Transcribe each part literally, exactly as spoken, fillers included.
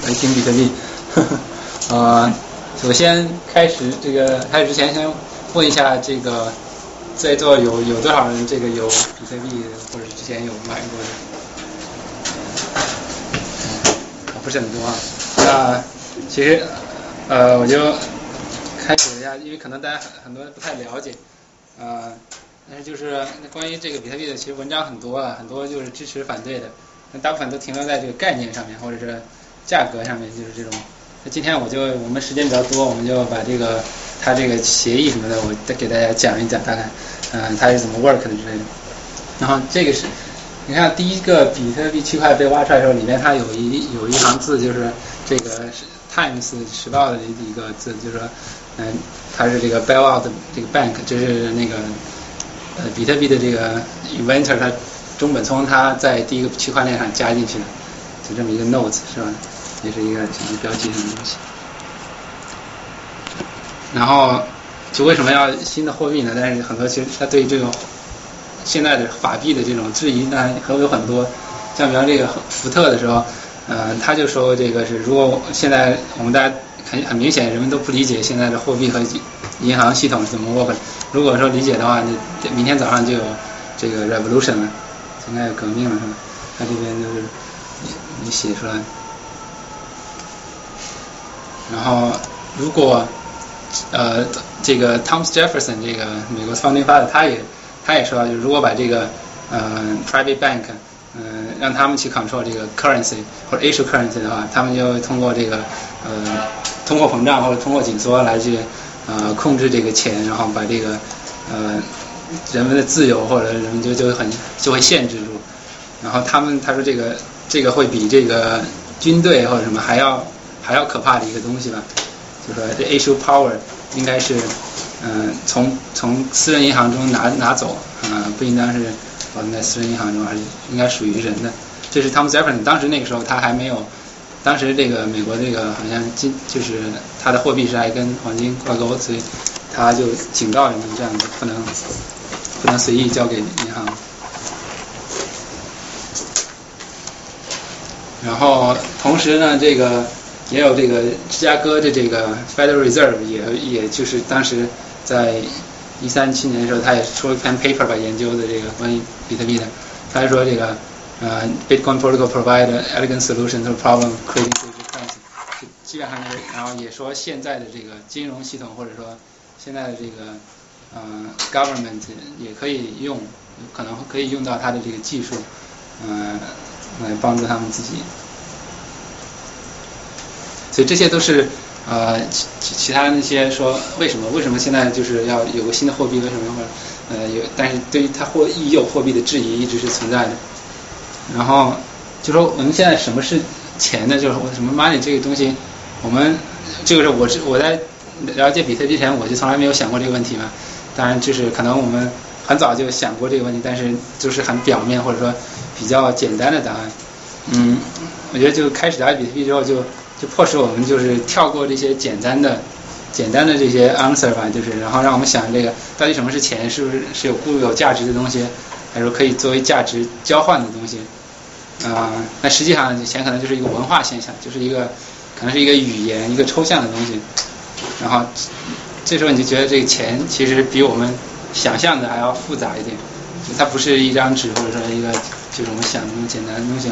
来听比特币。呃，首先开始这个开始之前，先问一下这个在座有有多少人这个有比特币或者之前有买过的？不是很多啊。那其实呃我就开始一下，因为可能大家很很多人不太了解，呃，但是就是关于这个比特币的，其实文章很多啊，很多就是支持反对的，那大部分都停留在这个概念上面，或者是价格上面，就是这种。那今天我就我们时间比较多，我们就把这个它这个协议什么的，我再给大家讲一讲，大概嗯、呃、它是怎么 work 的之类的。然后这个是，你看第一个比特币区块被挖出来的时候，里面它有一有一行字，就是这个 Times 时报的一个字，就是说，嗯、呃，它是这个 bailout 的这个 bank， 就是那个呃比特币的这个 inventor 他中本聪他在第一个区块链上加进去的，就这么一个 note 是吧？也是一个什么标记什么东西。然后就为什么要新的货币呢？但是很多其实他对这种现在的法币的这种质疑呢，还有很多。像比方这个福特的时候，呃，他就说这个是如果现在我们大家很很明显人们都不理解现在的货币和银行系统是怎么 work。如果说理解的话，那明天早上就有这个 revolution 了，应该有革命了是吧？他这边就是你写出来。然后，如果呃这个 Thomas Jefferson 这个美国 founding father 他也他也说，就是如果把这个呃 private bank 嗯、呃、让他们去 control 这个 currency 或者 issue currency 的话，他们就通过这个呃通货膨胀或者通货紧缩来去呃控制这个钱，然后把这个呃人们的自由或者人们就就很就会限制住。然后他们他说这个这个会比这个军队或者什么还要还要可怕的一个东西吧，就说这 issue power 应该是，嗯、呃，从从私人银行中拿拿走，啊、呃，不应当是保存在私人银行中，而是应该属于人的。这是 Thomas Jefferson 当时那个时候他还没有，当时这个美国这个好像金就是他的货币是还跟黄金挂钩，所以他就警告人们这样子不能不能随意交给银行。然后同时呢，这个也有这个芝加哥的这个 Federal Reserve 也也就是当时在一三七年的时候，他也出了一篇 paper 吧，研究的这个关于比特币的。他说这个呃 Bitcoin protocol provide an elegant solution to the problem creating digital currency， 基本上就是，然后也说现在的这个金融系统或者说现在的这个呃 government 也可以用，可能可以用到它的这个技术，呃。来帮助他们自己，所以这些都是呃其其他那些说为什么为什么现在就是要有个新的货币，为什么会呃有，但是对于它货已有货币的质疑一直是存在的。然后就说我们现在什么是钱呢？就是什么 money 这个东西，我们这个是我是我在了解比特币前我就从来没有想过这个问题嘛。当然就是可能我们很早就想过这个问题，但是就是很表面或者说比较简单的答案。嗯，我觉得就开始了解比特币之后就，就就迫使我们就是跳过这些简单的、简单的这些 answer 吧，就是然后让我们想这个到底什么是钱，是不是是有固有价值的东西，还是说可以作为价值交换的东西？啊、呃，那实际上钱可能就是一个文化现象，就是一个可能是一个语言、一个抽象的东西。然后这时候你就觉得这个钱其实比我们想象的还要复杂一点，它不是一张纸或者说一个就是我们想的那么简单的东西。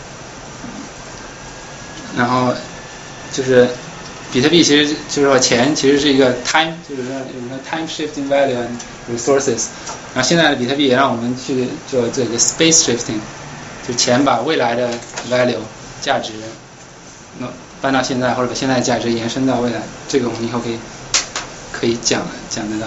然后就是比特币其实就是说钱其实是一个 time， 就是说有个 time shifting value and resources。然后现在的比特币也让我们去做这个 space shifting， 就钱把未来的 value 价值那搬到现在，或者把现在的价值延伸到未来。这个我们以后可以可以讲讲得到。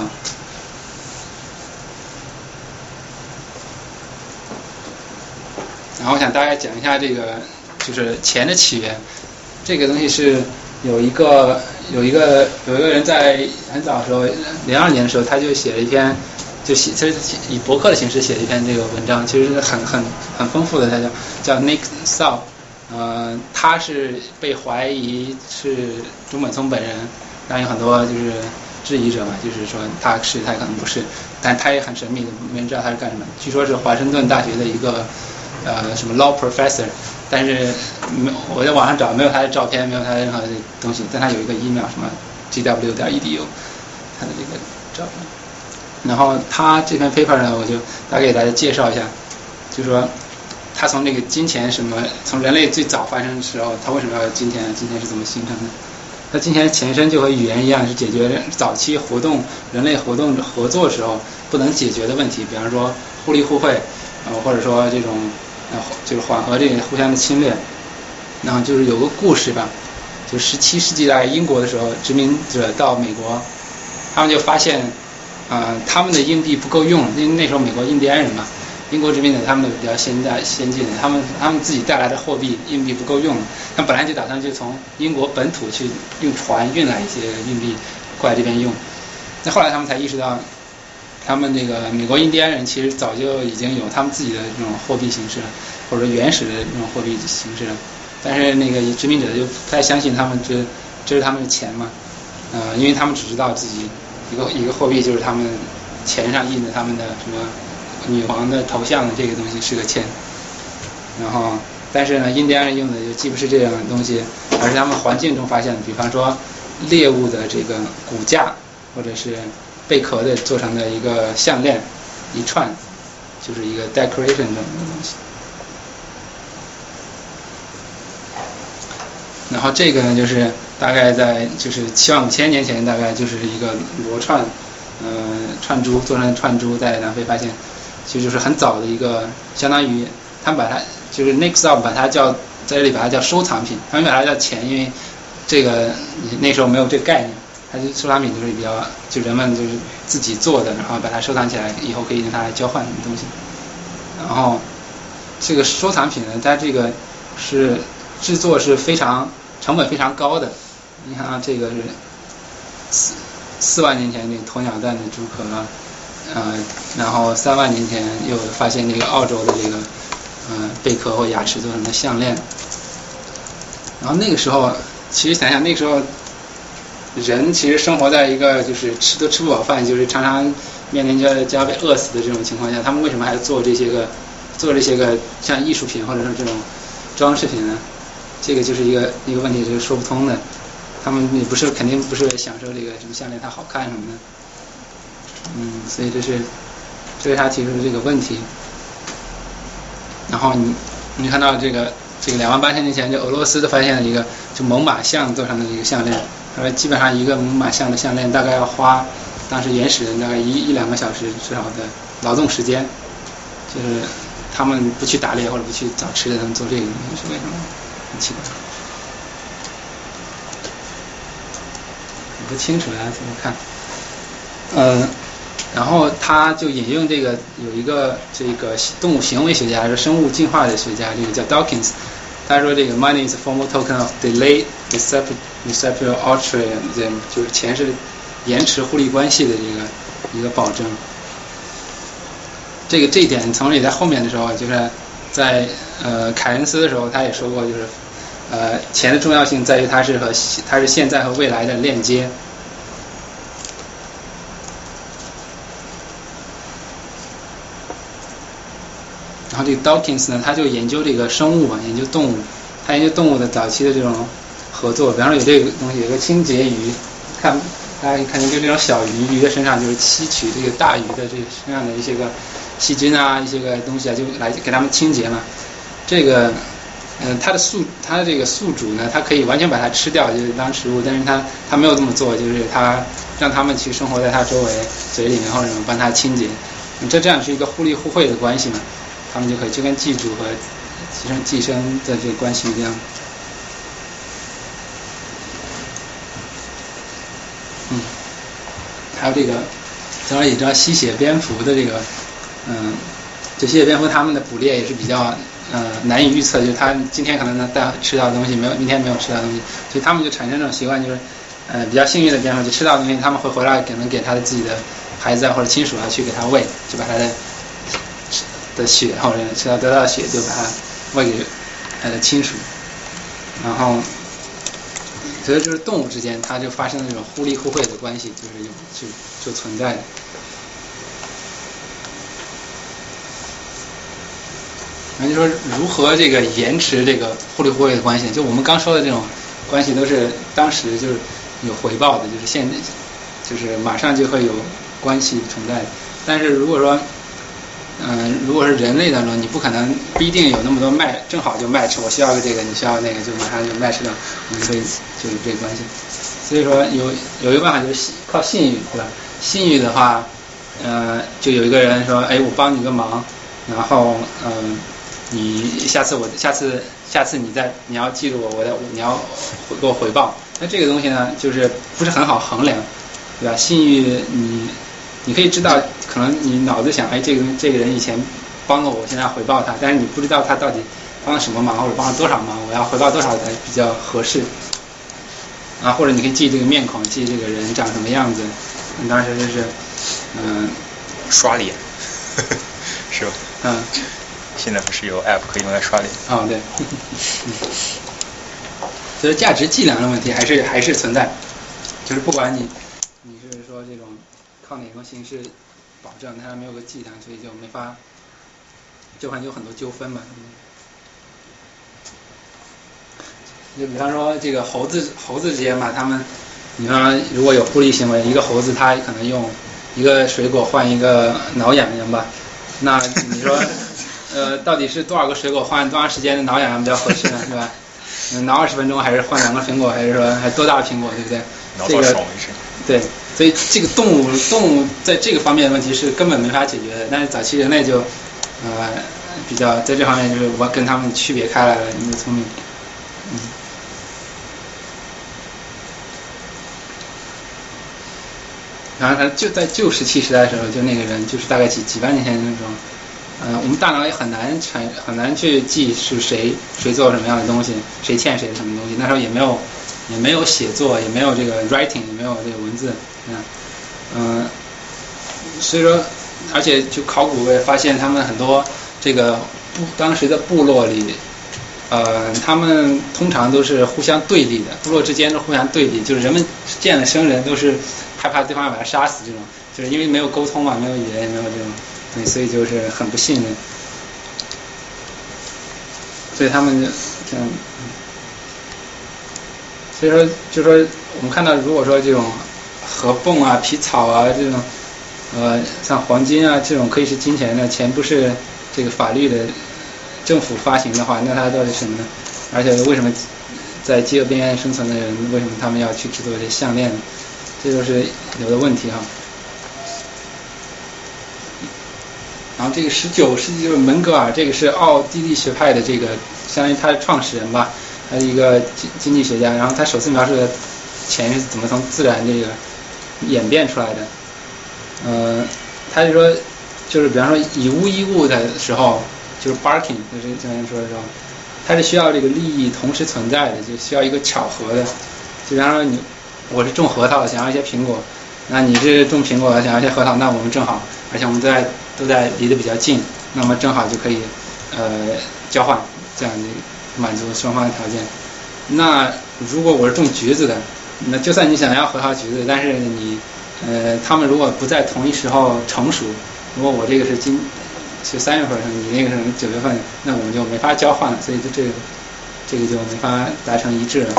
然后我想大概讲一下这个就是钱的起源。这个东西是有一个有一个有一个人在很早的时候，零二年的时候，他就写了一篇，就写他以博客的形式写了一篇这个文章，其实是很很很丰富的。他叫叫 Nick Saul， 呃，他是被怀疑是中本聪本人，但有很多就是质疑者嘛，就是说他是他可能不是，但他也很神秘的，没人知道他是干什么。据说是华盛顿大学的一个呃什么 law professor， 但是没我在网上找没有他的照片，没有他的任何的东西，但他有一个 email 什么 g w 点 e d u 他的这个照片。然后他这篇 paper 呢，我就大概给大家介绍一下，就是说他从这个金钱什么，从人类最早发生的时候，他为什么要有金钱？金钱是怎么形成的？它金钱前身就和语言一样，是解决早期活动人类活动合作时候不能解决的问题，比方说互利互惠，呃，或者说这种呃就是缓和这个互相的侵略。然后就是有个故事吧，就十七世纪在英国的时候，殖民者到美国，他们就发现，呃，他们的硬币不够用，因为那时候美国印第安人嘛，英国殖民者他们的比较现代先进的，他们他们自己带来的货币硬币不够用，他们本来就打算就从英国本土去用船运来一些硬币过来这边用，那后来他们才意识到，他们这个美国印第安人其实早就已经有他们自己的这种货币形式了，或者原始的这种货币形式了。但是那个殖民者就不太相信他们这这是他们的钱嘛，呃，因为他们只知道自己一个一个货币就是他们钱上印的他们的什么女王的头像的这个东西是个钱，然后但是呢，印第安人用的就既不是这样的东西，而是他们环境中发现的，比方说猎物的这个骨架或者是贝壳的做成的一个项链一串，就是一个 decoration 这种东西。然后这个呢，就是大概在就是七万五千年前，大概就是一个螺串，呃，串珠做成的串珠，在南非发现，其实就是很早的一个，相当于他们把它就是 Nixon 把它叫在这里把它叫收藏品，他们把它叫钱，因为这个那时候没有这个概念，它就收藏品就是比较就人们就是自己做的，然后把它收藏起来，以后可以用它来交换什么东西。然后这个收藏品呢，它这个是制作是非常成本非常高的，你看啊，这个是四四万年前这个鸵鸟蛋的珠壳，呃，然后三万年前又发现这个澳洲的这个呃贝壳或牙齿做成的项链，然后那个时候其实想想那个时候人其实生活在一个就是吃都吃不饱饭，就是常常面临着就要被饿死的这种情况下，他们为什么还做这些个做这些个像艺术品或者说这种装饰品呢？这个就是一个一个问题，就是说不通的。他们也不是肯定不是享受这个什么项链它好看什么的，嗯，所以这是这是他提出的这个问题。然后你你看到这个这个两万八千年前就俄罗斯的发现了一个就猛犸象做成的一个项链，他说基本上一个猛犸象的项链大概要花当时原始人大概一一两个小时至少的劳动时间，就是他们不去打猎或者不去找吃的，他们做这个东西是为什么？很奇怪，我不清楚大家怎么看。嗯，然后他就引用这个有一个这个动物行为学家，是生物进化的学家，这个叫 Dawkins， 他说这个 money is a formal token of delayed reciprocal altruism， 就是钱是延迟互利关系的这个一个保证。这个这一点从你在后面的时候，就是在呃凯恩斯的时候，他也说过，就是呃钱的重要性在于它是和它是现在和未来的链接。然后这个 Dawkins 呢，他就研究这个生物嘛，研究动物，他研究动物的早期的这种合作，比方说有这个东西，有个清洁鱼，看大家可以看见，就这种小鱼，鱼的身上就是吸取这个大鱼的这个身上的一些个细菌啊，一些个东西啊，就来给它们清洁嘛。这个，嗯、呃，它的宿它的这个宿主呢，它可以完全把它吃掉，就是当食物，但是它它没有这么做，就是它让它们去生活在它周围嘴里面，或者帮它清洁。这这样是一个互利互惠的关系嘛，他们就可以就跟寄主和寄生寄生的这个关系一样。嗯，还有这个，当然也知道吸血蝙蝠的这个，嗯，这吸血蝙蝠它们的捕猎也是比较呃难以预测，就是它今天可能能带吃到的东西，没有明天没有吃到的东西，所以它们就产生这种习惯，就是呃比较幸运的蝙蝠就吃到的东西，他们会回来可能给他的自己的孩子啊或者亲属啊去给他喂，就把他的的血或者吃到得到的血就把它喂给他的亲属，然后。所以就是动物之间，它就发生了这种互利互惠的关系，就是有就就存在的。 然后就说如何这个延迟这个互利互惠的关系，就我们刚说的这种关系都是当时就是有回报的，就是现就是马上就会有关系存在的。但是如果说嗯、呃，如果是人类当中，你不可能不一定有那么多match，正好就match，我需要个这个，你需要那个，就马上就match了，我们可以就有这个关系。所以说有有一个办法就是靠信誉，对吧？信誉的话，呃，就有一个人说，哎，我帮你个忙，然后嗯、呃，你下次我下次下次你再你要记住我，我的你要给我回报。那这个东西呢，就是不是很好衡量，对吧？信誉你。你可以知道，可能你脑子想，哎，这个这个人以前帮了我，现在要回报他，但是你不知道他到底帮了什么忙，或者帮了多少忙，我要回报多少才比较合适。啊，或者你可以记这个面孔，记这个人长什么样子。当时就是，嗯、呃， 刷脸，是吧？ 嗯。 现在不是有 app 可以用来刷脸？ 哦，对。所以价值计量的问题还是还是存在，就是不管你你是说这种。靠哪种形式保证它没有个计量，所以就没法，就会有很多纠纷嘛。就比方说这个猴子猴子之间嘛，他们，你说如果有互利行为，一个猴子它可能用一个水果换一个挠痒痒吧，那你说呃到底是多少个水果换多长时间的挠痒痒比较合适呢？是吧？挠二十分钟还是换两个苹果，还是说还多大的苹果，对不对？ 挠到爽为止。 对。所以这个动物动物在这个方面的问题是根本没法解决的，但是早期人类就呃比较在这方面就是我跟他们区别开来了，你的聪明，嗯。然后他就在旧石器时代的时候，就那个人就是大概几几万年前的那种，呃，我们大脑也很难产很难去记是谁谁做什么样的东西，谁欠谁什么东西，那时候也没有也没有写作，也没有这个 writing， 也没有这个文字。嗯，嗯，所以说，而且就考古也发现他们很多这个部当时的部落里，呃，他们通常都是互相对立的，部落之间都互相对立，就是人们见了生人都是害怕对方要把他杀死，这种就是因为没有沟通嘛，没有语言，也没有这种，对，所以就是很不信任，所以他们就这样，所以说就说我们看到，如果说这种。河蚌啊、皮草啊这种，呃，像黄金啊这种可以是金钱的钱，不是这个法律的政府发行的话，那它到底是什么呢？而且为什么在饥饿边缘生存的人，为什么他们要去制作这些项链呢？这都是有的问题哈。然后这个十九世纪就是门格尔，这个是奥地利学派的这个，相当于他的创始人吧，他是一个经经济学家，然后他首次描述的钱是怎么从自然这个演变出来的。呃，他就说，就是比方说以物易物的时候，就是 barking， 就是经常说的时候，它是需要这个利益同时存在的，就需要一个巧合的。就比方说你，我是种核桃，想要一些苹果，那你是种苹果想要一些核桃，那我们正好，而且我们都在都在离得比较近，那么正好就可以呃交换，这样满足双方的条件。那如果我是种橘子的，那就算你想要核桃橘子，但是你呃他们如果不在同一时候成熟，如果我这个是今是三月份，你那个是九月份，那我们就没法交换了，所以就这个这个就没法达成一致了。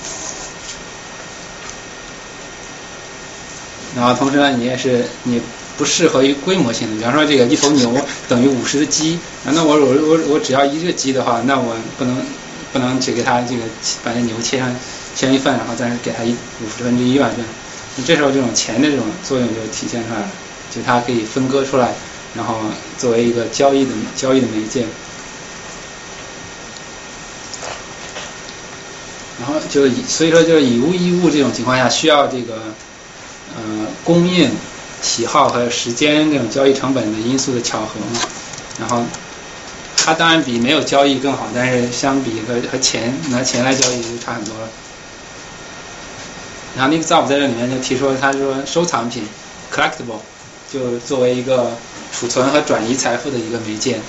然后同时呢，你也是你不适合于规模性的，比方说这个一头牛等于五十的鸡，那我我我我只要一个鸡的话，那我不能不能只给它这个把这牛切上切一份，然后再给它一五十分之一吧，这样，这时候这种钱的这种作用就体现出来了，就它可以分割出来，然后作为一个交易的交易的媒介。然后就以所以说就是以物易物这种情况下，需要这个呃供应、喜好和时间这种交易成本的因素的巧合嘛。然后它当然比没有交易更好，但是相比和和钱拿钱来交易就差很多了。然后 Nick Szabo 在这里面就提出，他说收藏品 collectible 就作为一个储存和转移财富的一个媒介。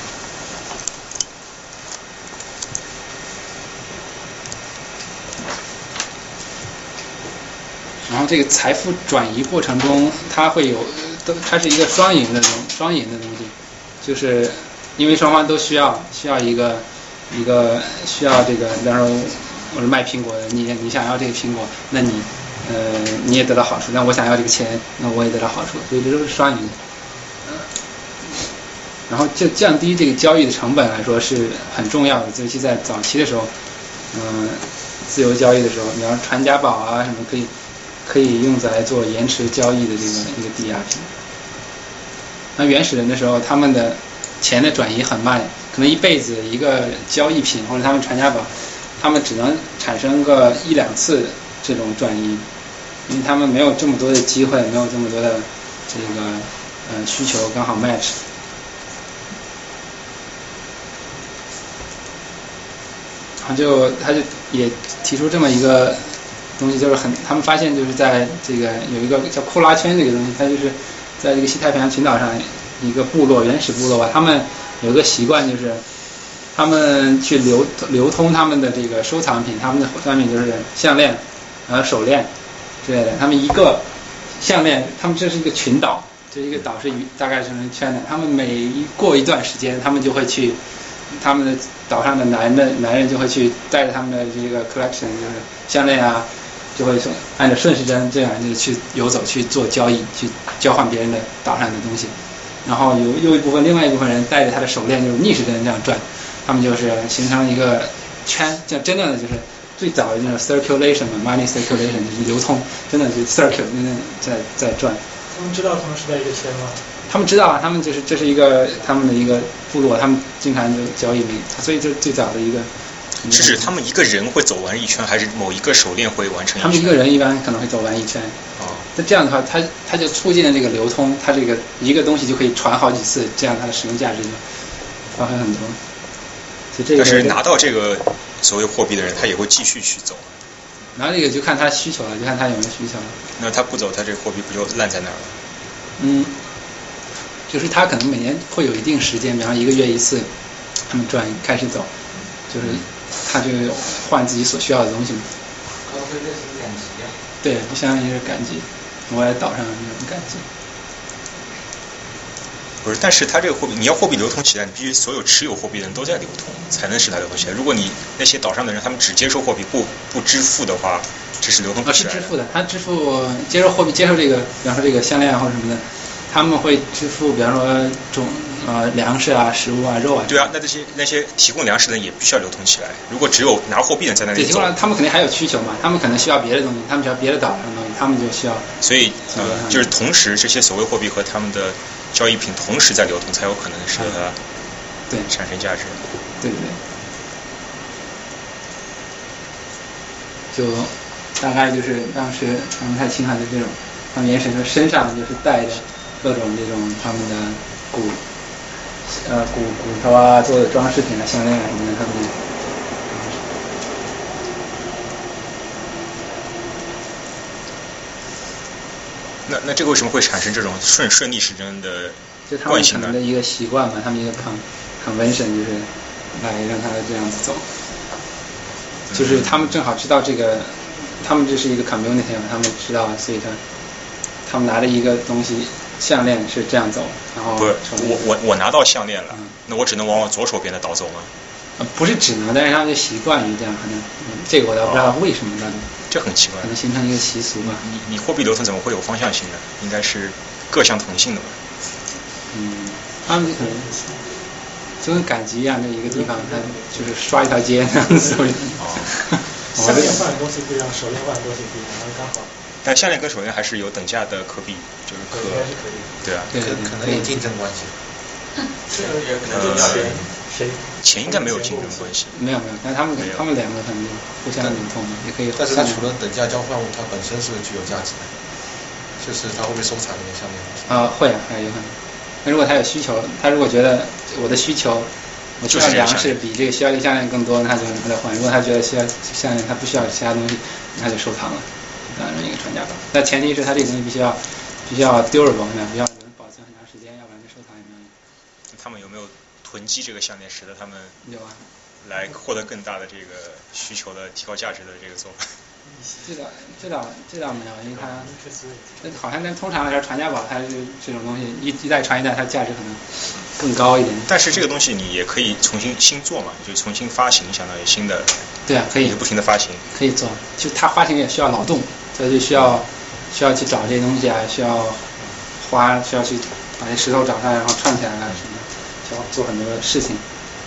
然后这个财富转移过程中，它会有，它是一个双赢的东双赢的东西，就是因为双方都需要需要一个一个需要这个，比方说我是卖苹果的，你你想要这个苹果，那你呃你也得到好处，那我想要这个钱，那我也得到好处，所以这都是双赢的。然后就降低这个交易的成本来说是很重要的，尤其在早期的时候，嗯、呃，自由交易的时候，比方传家宝啊什么可以可以用来做延迟交易的这个一个抵押品。那原始人的时候，他们的钱的转移很慢，可能一辈子一个交易品或者他们传家宝，他们只能产生个一两次这种转移，因为他们没有这么多的机会，没有这么多的这个呃需求刚好 match。然后就他就也提出这么一个东西，就是很他们发现就是在这个有一个叫库拉圈这个东西，它就是在这个西太平洋群岛上一个部落原始部落吧，他们有个习惯就是他们去流流通他们的这个收藏品，他们的商品就是项链，然后手链之类的，他们一个项链，他们这是一个群岛，这一个岛是大概是成圈的，他们每过一段时间，他们就会去。他们的岛上的男的男人就会去带着他们的这个 collection， 就是项链啊，就会按照顺时针这样就去游走去做交易，去交换别人的岛上的东西。然后有有一部分另外一部分人带着他的手链就是逆时针这样转，他们就是形成一个圈，这样真正的就是最早的那种 circulation 嘛 ，money circulation 就是流通，真的就是 circle 那在在转。 他们知道他们是在一个圈吗？ 他们知道啊，他们就是这是一个他们的一个部落，他们经常就交易，所以这最早的一个。 是指他们一个人会走完一圈，还是某一个手链会完成一圈？ 他们一个人一般可能会走完一圈。 哦。 那这样的话，它它就促进了这个流通，它这个一个东西就可以传好几次，这样它的使用价值就发挥很多。所以这个。 但是拿到这个所谓货币的人，他也会继续去走。 拿这个就看他需求了，就看他有没有需求了。 那他不走，他这个货币不就烂在那儿了？ 嗯。就是他可能每年会有一定时间，比方一个月一次，他们转开始走，就是他就换自己所需要的东西嘛。 高飞这是赶集啊。 对，就相当于是赶集，我在岛上那种赶集。 不是，但是他这个货币，你要货币流通起来，你必须所有持有货币的人都在流通，才能使它流通起来。如果你那些岛上的人他们只接受货币不不支付的话，这是流通不起来的。 是支付的，他支付接受货币，接受这个，比方说这个项链啊或者什么的。他们会支付，比方说种呃粮食啊、食物啊、肉啊。 对啊，那这些那些提供粮食的人也必须要流通起来。如果只有拿货币的人在那里走， 对，他们肯定还有需求嘛，他们可能需要别的东西，他们需要别的岛上的东西，他们就需要。 所以呃，就是同时这些所谓货币和他们的交易品同时在流通，才有可能使得它对产生价值。 对对对。就大概就是当时他们太清海的这种，他们原始人身上就是带着。各种这种他们的骨呃骨骨头啊做的装饰品啊项链啊什么的，他们那那这个为什么会产生这种顺顺逆时针的就他们可能的一个习惯嘛，他们一个 con convention 就是来让他这样子走，就是他们正好知道这个，他们这是一个 community 嘛，他们知道，所以他他们拿着一个东西。项链是这样走，然后不是我我我拿到项链了， 嗯、 那我只能往我左手边的岛走吗？ 呃，不是只能，但是他们就习惯于这样，可能、嗯、这个我倒不知道为什么呢、哦？ 这很奇怪， 可能形成一个习俗吧。 你你货币流通怎么会有方向性呢？应该是各项同性的吧？ 嗯，他们可能就跟赶集一样的一个地方，他就是刷一条街这样子。 哦。项链换的东西不一样，手链换的东西不一样，然后刚好。 但项链跟手链还是有等价的可比，就是可对啊， 可可能有竞争关系。 这个也可能就钱谁钱应该没有竞争关系。 没有没有，但他们他们两个可能互相流通的，也可以。 但是它除了等价交换物，它本身是具有价值的，就是它会不会收藏那个项链？ 啊，会啊，还有可能。那如果他有需求，他如果觉得我的需求，我需要粮食比这个需要这个项链更多，那他就他再换。如果他觉得需要项链，他不需要其他东西，那就收藏了。当然一个传家宝，但前提是它这个东西必须要必须要 durable， 必须要能保存很长时间，要不然这收藏也没有用。 他们有没有囤积这个项链，使得他们有啊， 来获得更大的这个需求的提高价值的这个做法？ 这倒这倒这倒没有，因为它好像跟通常来说传家宝它是这种东西一一代传一代，它价值可能更高一点。 但是这个东西你也可以重新新做嘛，就重新发行，相当于新的。 对啊，可以不停的发行。 可以做，就它发行也需要劳动，所以就需要需要去找这些东西啊，需要花需要去把这石头找上来，然后串起来啊什么的，需要做很多事情。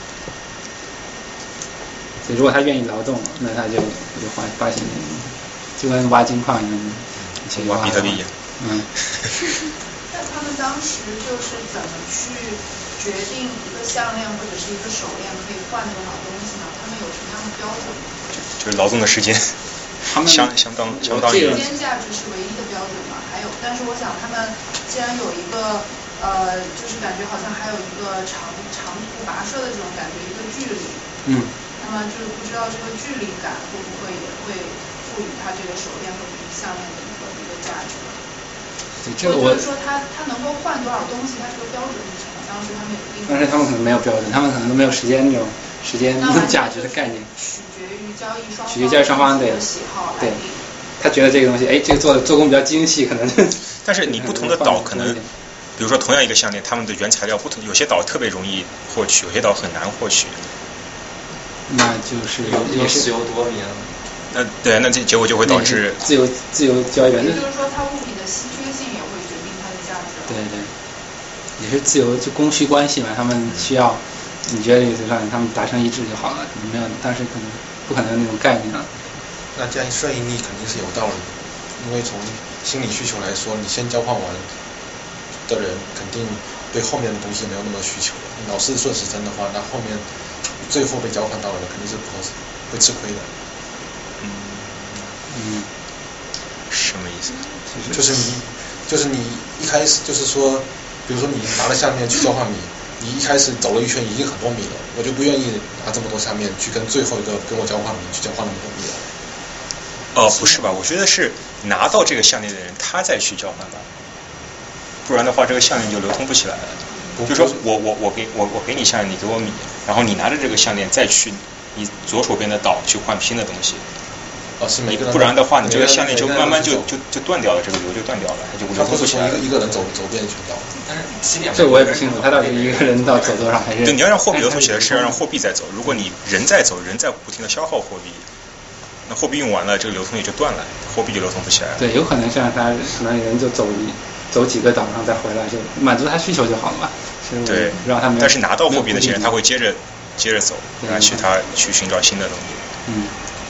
所以如果他愿意劳动，那他就就发发行，就跟挖金矿一样， 挖比特币一样。 嗯。 那他们当时就是怎么去决定一个项链或者是一个手链可以换多少东西呢？他们有什么样的标准吗？ 就是劳动的时间，相相当相当于。 时间价值是唯一的标准嘛？还有，但是我想他们既然有一个呃，就是感觉好像还有一个长长途跋涉的这种感觉，一个距离。 嗯。 那么就是不知道这个距离感会不会也会赋予它这个手链或者项链的一个一个价值？ 对，这个我就是说它它能够换多少东西，它这个标准是什么？当时他们有定。 但是他们可能没有标准，他们可能都没有时间这种时间价值的概念。 取决于交易双方。 取决于交易双方对喜好来对。他觉得这个东西，哎，这个做做工比较精细，可能。 但是你不同的岛可能，比如说同样一个项链，他们的原材料不同，有些岛特别容易获取，有些岛很难获取。 那就是也是自由多年。 那对，那这结果就会导致自由自由交易员。 也就是说，它物品的稀缺性也会决定它的价值。 对对，也是自由就供需关系嘛，他们需要，你觉得这个让他们达成一致就好了，可能没有，当时可能不可能那种概念啊。 那这样顺应力肯定是有道理的，因为从心理需求来说，你先交换完的人肯定对后面的东西没有那么需求了。你老是顺时针的话，那后面最后被交换到的肯定是会吃亏的。 嗯嗯， 什么意思？ 就是你，就是你一开始就是说，比如说你拿了下面去交换米，你一开始走了一圈已经很多米了，我就不愿意拿这么多下面去跟最后一个跟我交换米去交换那么多米了。 哦，不是吧？我觉得是拿到这个项链的人他再去交换吧，不然的话这个项链就流通不起来了。就说我我我给我我给你项链，你给我米，然后你拿着这个项链再去你左手边的岛去换新的东西。 哦，是每个人。 不然的话，你这个项链就慢慢就就就断掉了，这个流就断掉了，它就流通不起来了。 一个人走走遍全岛。 但是起点。 这我也不清楚，他到底一个人到走多少还是？ 对，你要让货币流通起来，是要让货币在走。如果你人在走，人在不停的消耗货币。那货币用完了，这个流通也就断了，货币就流通不起来了。 对，有可能像他可能人就走一走几个岛上再回来，就满足他需求就好了嘛。 对， 让他们。 但是拿到货币那些人，他会接着接着走，然后去他去寻找新的东西。 嗯。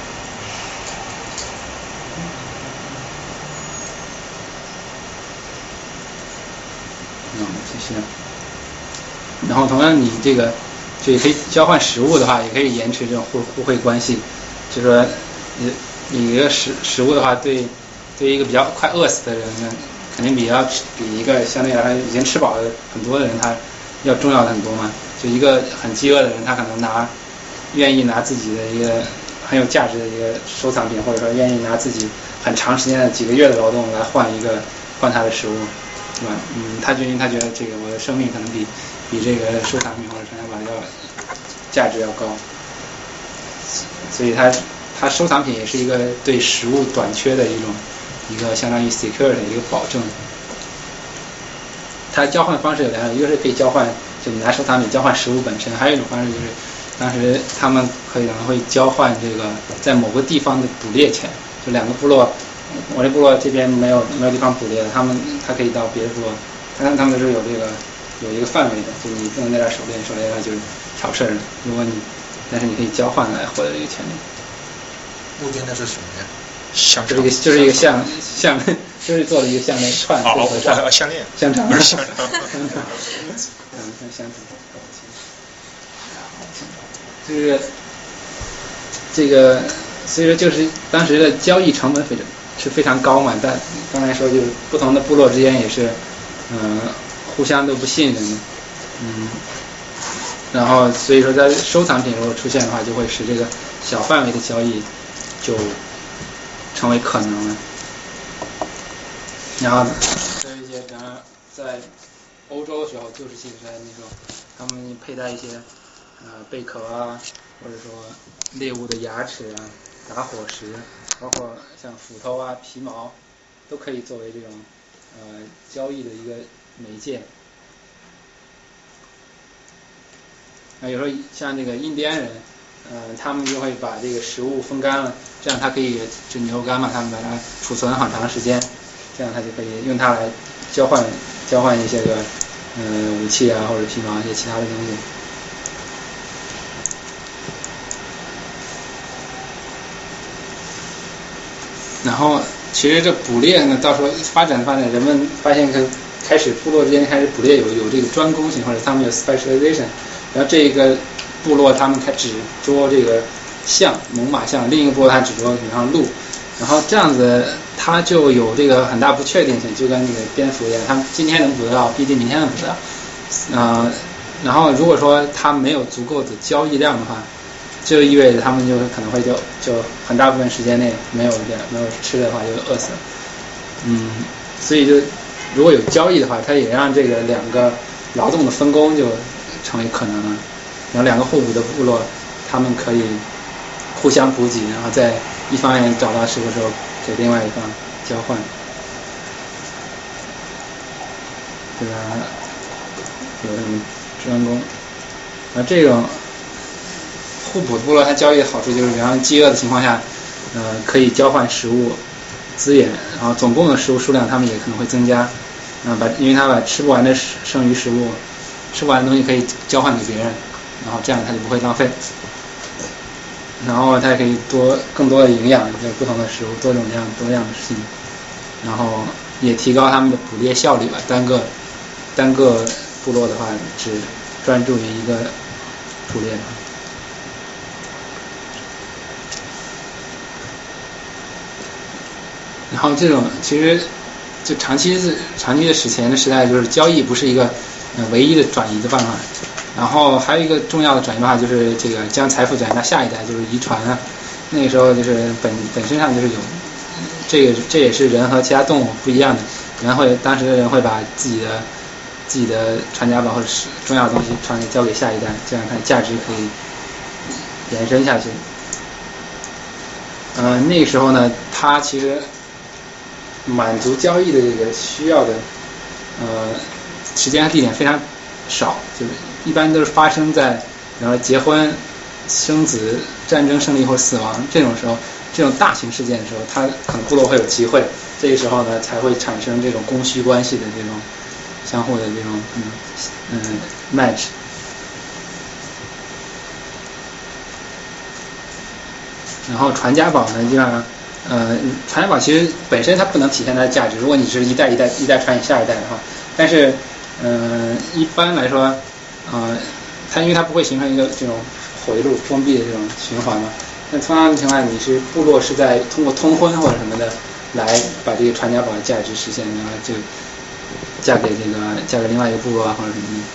嗯，谢谢。然后同样，你这个就也可以交换食物的话，也可以延迟这种互互惠关系。就是说，你你一个食食物的话，对对于一个比较快饿死的人呢，肯定比要比一个相对来说已经吃饱的很多的人他要重要的很多嘛。就一个很饥饿的人，他可能拿愿意拿自己的一个很有价值的一个收藏品，或者说愿意拿自己很长时间的几个月的劳动来换一个换他的食物，对吧？嗯，他就因为他觉得这个我的生命可能比比这个收藏品或者传家宝要价值要高。所以它它收藏品也是一个对食物短缺的一种一个相当于 secure 的一个保证。它交换方式有两种，一个是可以交换，就你拿收藏品交换食物本身，还有一种方式就是当时他们可能会交换这个在某个地方的捕猎权，就两个部落，我这部落这边没有没有地方捕猎，他们他可以到别的部落，他们他们是有这个有一个范围的，就你不能在这儿狩猎，狩猎那就是吵事儿了。如果你但是你可以交换来获得这个权利。 路边那是什么呀？ 香就是一个就是一个项项链，就是做了一个项链串。 哦哦，项链。 香肠。 不是香肠。 香肠。嗯，香肠。就是这个，所以说就是当时的交易成本非常是非常高嘛。但刚才说就是不同的部落之间也是，嗯、呃，互相都不信任的，嗯。然后，所以说，在收藏品如果出现的话，就会使这个小范围的交易就成为可能了。然后，还有一些，比方说，在欧洲的时候，旧石器时代那时候，他们佩戴一些呃贝壳啊，或者说猎物的牙齿啊、打火石， 包括像斧头啊、皮毛，都可以作为这种呃交易的一个媒介。啊，有时候像这个印第安人，呃，他们就会把这个食物风干了，这样它可以就牛肉干嘛，他们把它储存很长时间，这样它就可以用它来交换交换一些个呃武器啊或者皮毛一些其他的东西。然后其实这捕猎呢，到时候发展发展，人们发现开始部落之间开始捕猎有有这个专攻性，或者他们有 specialization。然后这个部落他们开只捉这个象，猛犸象，另一个部落他只捉比方鹿，然后这样子它就有这个很大不确定性，就跟那个蝙蝠一样，他们今天能捕得到，不一定明天能捕得到。呃，然后如果说它没有足够的交易量的话，就意味着他们就可能会就就很大部分时间内没有没有吃的话就饿死了。嗯，所以就如果有交易的话，它也让这个两个劳动的分工就成为可能了，然后两个互补的部落，他们可以互相补给，然后在一方面找到食物之后，给另外一方交换，对吧？有什么专攻？而这种互补部落，它交易的好处就是，比方饥饿的情况下，呃，可以交换食物资源，然后总共的食物数量，他们也可能会增加。啊，把因为他把吃不完的剩余食物。吃不完的东西可以交换给别人，然后这样它就不会浪费，然后它也可以多更多的营养，就不同的食物多种样多样性，然后也提高他们的捕猎效率吧。单个单个部落的话，只专注于一个捕猎。然后这种其实就长期是长期的史前的时代，就是交易不是一个呃唯一的转移的办法。然后还有一个重要的转移办法就是这个将财富转移到下一代，就是遗传啊。那个时候就是本本身上就是有这个，这也是人和其他动物不一样的。人会当时的人会把自己的自己的传家宝或者是重要的东西传给交给下一代，这样它的价值可以延伸下去。呃，那个时候呢，它其实满足交易的这个需要的呃时间和地点非常少，就是一般都是发生在然后结婚、生子、战争胜利或死亡这种时候，这种大型事件的时候，它可能部落会有机会，这个时候呢才会产生这种供需关系的这种相互的这种嗯嗯 match。然后传家宝呢，基本上，呃，传家宝其实本身它不能体现它的价值。如果你是一代一代一代传给下一代的话，但是，呃，一般来说，呃，它因为它不会形成一个这种回路封闭的这种循环嘛。那通常情况下，你是部落是在通过通婚或者什么的来把这个传家宝的价值实现，然后就嫁给这个嫁给另外一个部落啊或者什么的。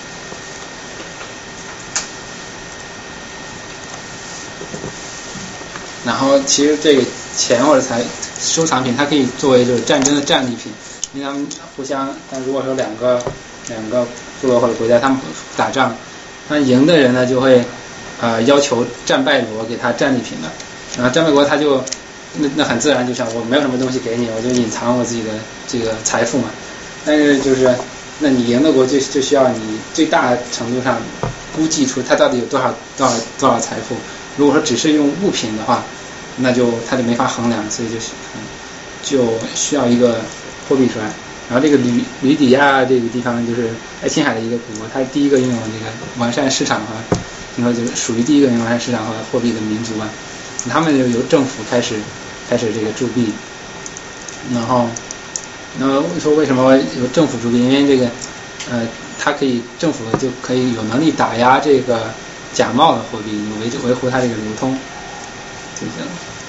然后其实这个钱或者财收藏品，它可以作为就是战争的战利品，因为他们互相，但如果说两个两个部落或者国家他们打仗，那赢的人呢就会呃要求战败国给他战利品的，然后战败国他就那那很自然就想我没有什么东西给你，我就隐藏我自己的这个财富嘛。但是就是那你赢的国就就需要你最大程度上估计出它到底有多少多少多少财富。如果说只是用物品的话，那就它就没法衡量，所以就嗯就需要一个货币出来。然后这个吕吕底亚这个地方就是爱琴海的一个古国，它第一个拥有这个完善市场和听说就是属于第一个拥有完善市场和货币的民族吧。他们就由政府开始开始这个铸币，然后那么说为什么由政府铸币？因为这个呃它可以政府就可以有能力打压这个假冒的货币，维维护它这个流通就行。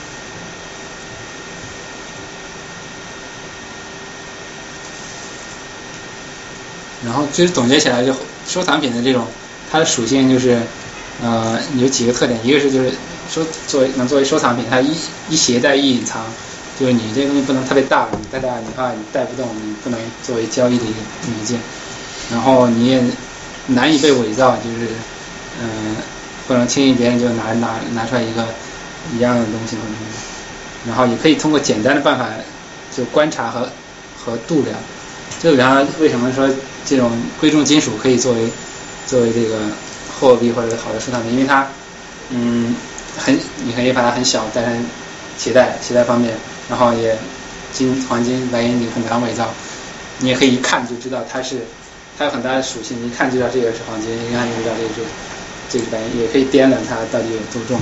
然后其实总结起来，就收藏品的这种它的属性就是，呃，有几个特点，一个是就是收作为能作为收藏品，它一一携带一隐藏，就是你这个东西不能特别大，你太大的话你带不动，你不能作为交易的一个媒介，然后你也难以被伪造，就是嗯、呃，不能轻易别人就拿拿拿出来一个一样的东西或者什么， 然后也可以通过简单的办法就观察和和度量。就比方为什么说这种贵重金属可以作为作为这个货币或者好的收藏品，因为它嗯很你可以把它很小，但是携带携带方便，然后也金黄金白银你很难伪造，你也可以一看就知道它是它有很大的属性，你一看就知道这个是黄金，一看就知道这个是这个是白银，也可以掂量它到底有多重。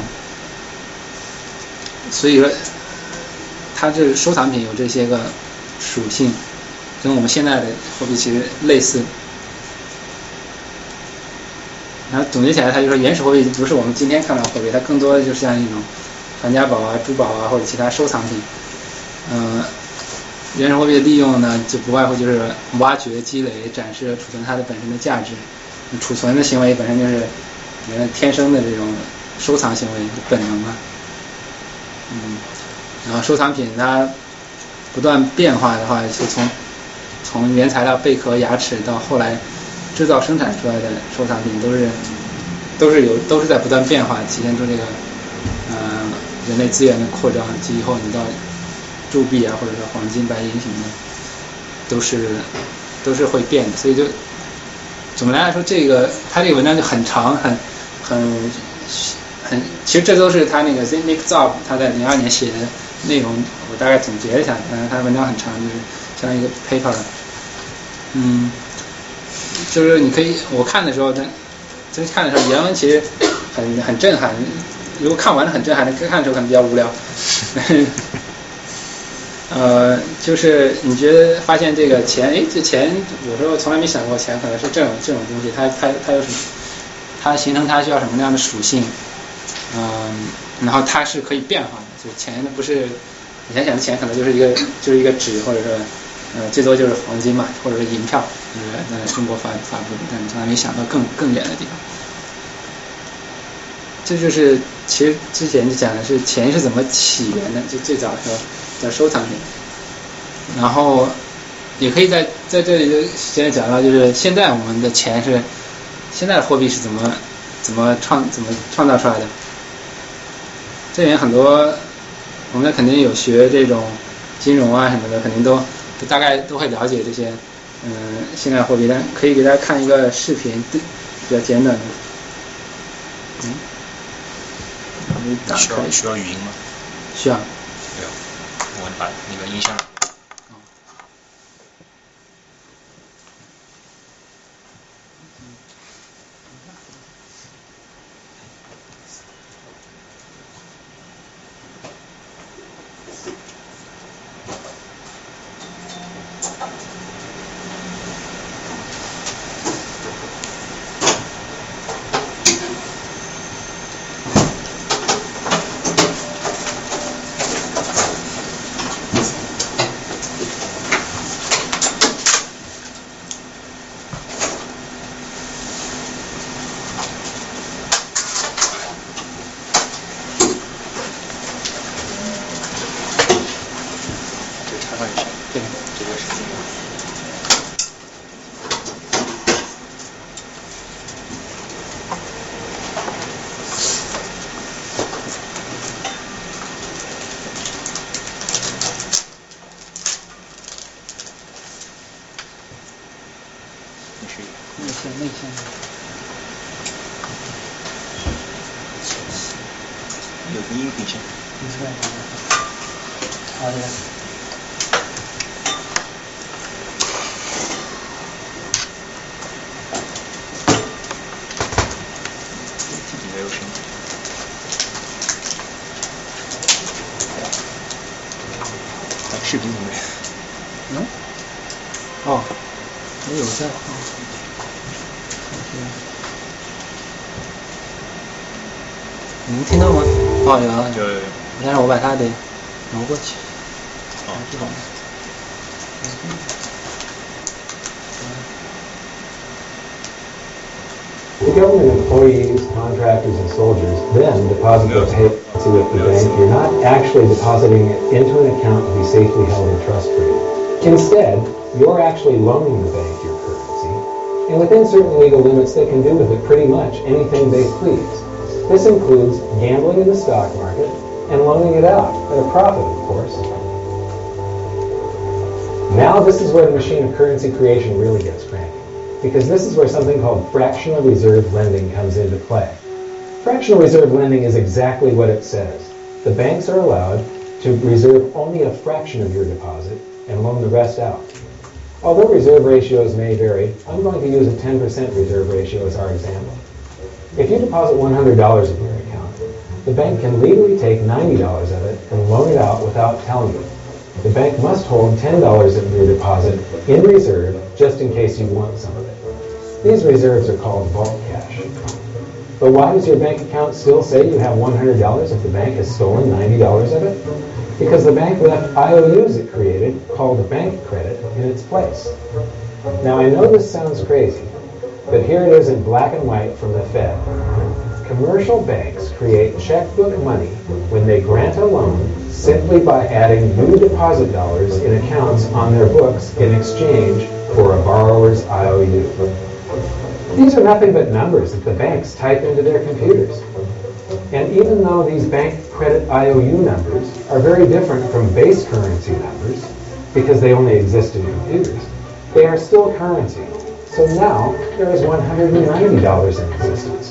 所以说它这收藏品有这些个属性，跟我们现在的货币其实类似。然后总结起来，它就说原始货币不是我们今天看到的货币，它更多的就是像一种传家宝啊、珠宝啊或者其他收藏品。嗯、呃，原始货币的利用呢，就不外乎就是挖掘、积累、展示和储存它的本身的价值。储存的行为本身就是人天生的这种收藏行为本能啊。嗯，然后收藏品它不断变化的话，就从从原材料贝壳、牙齿到后来制造生产出来的收藏品，都是都是有都是在不断变化，体现出这个呃人类资源的扩张。及以后你到铸币啊，或者说黄金、白银什么的，都是都是会变的。所以就总的来说，这个他这个文章就很长，很很很，其实这都是他那个 Zygmunt Zob 他在零二年写的内容，我大概总结了一下。嗯，他的文章很长，就是相当于一个 paper。嗯，就是你可以我看的时候，真真看的时候，原文其实很很震撼。如果看完了很震撼，看的时候可能比较无聊。呃，就是你觉得发现这个钱，哎，这钱有时候从来没想过钱可能是这种这种东西，它它它有什么？它形成它需要什么样的属性？嗯、呃，然后它是可以变化的，就是钱不是以前想的钱可能就是一个就是一个纸，或者说呃最多就是黄金嘛，或者是银票，就是在中国发发布的，但你从来没想到更更远的地方。这就是其实之前就讲的是钱是怎么起源的，就最早的时候叫收藏品，然后也可以在在这里就现在讲到，就是现在我们的钱是现在的货币是怎么怎么创怎么创造出来的。这里面很多我们肯定有学这种金融啊什么的，肯定都都大概都会了解这些嗯、呃、现在货币，但可以给大家看一个视频，比较简短的。嗯。 需要需要语音吗？ 需要。 对，我把那个音箱。 内线有个音频线。 好的。 自己没有声音。视频里面。 嗯？哦，没有在。你能听到吗？哦，有啊， 有有有。 但是我把它得挪过去。 哦，这种。 The government employees, contractors, and soldiers then deposit their pay with the bank. You're not actually depositing it into an account to be safely held in trust for you. Instead, you're actually loaning the bank your currency, and within certain legal limits, they can do with it pretty much anything they please. This includes gambling in the stock market and loaning it out at a profit, of course. Now this is where the machine of currency creation really gets cranky, because this is where something called fractional reserve lending comes into play. Fractional reserve lending is exactly what it says. The banks are allowed to reserve only a fraction of your deposit and loan the rest out. Although reserve ratios may vary, I'm going to use a ten percent reserve ratio as our example. If you deposit one hundred dollars in your account, the bank can legally take ninety dollars of it and loan it out without telling you. The bank must hold ten dollars of your deposit in reserve just in case you want some of it. These reserves are called vault cash. But why does your bank account still say you have one hundred dollars if the bank has stolen ninety dollars of it? Because the bank left I O Us it created, called bank credit, in its place. Now I know this sounds crazy, but here it is in black and white from the Fed. Commercial banks create checkbook money when they grant a loan simply by adding new deposit dollars in accounts on their books in exchange for a borrower's I O U. These are nothing but numbers that the banks type into their computers. And even though these bank credit I O U numbers are very different from base currency numbers, because they only exist in computers, they are still currency. So now there is one hundred ninety dollars in existence.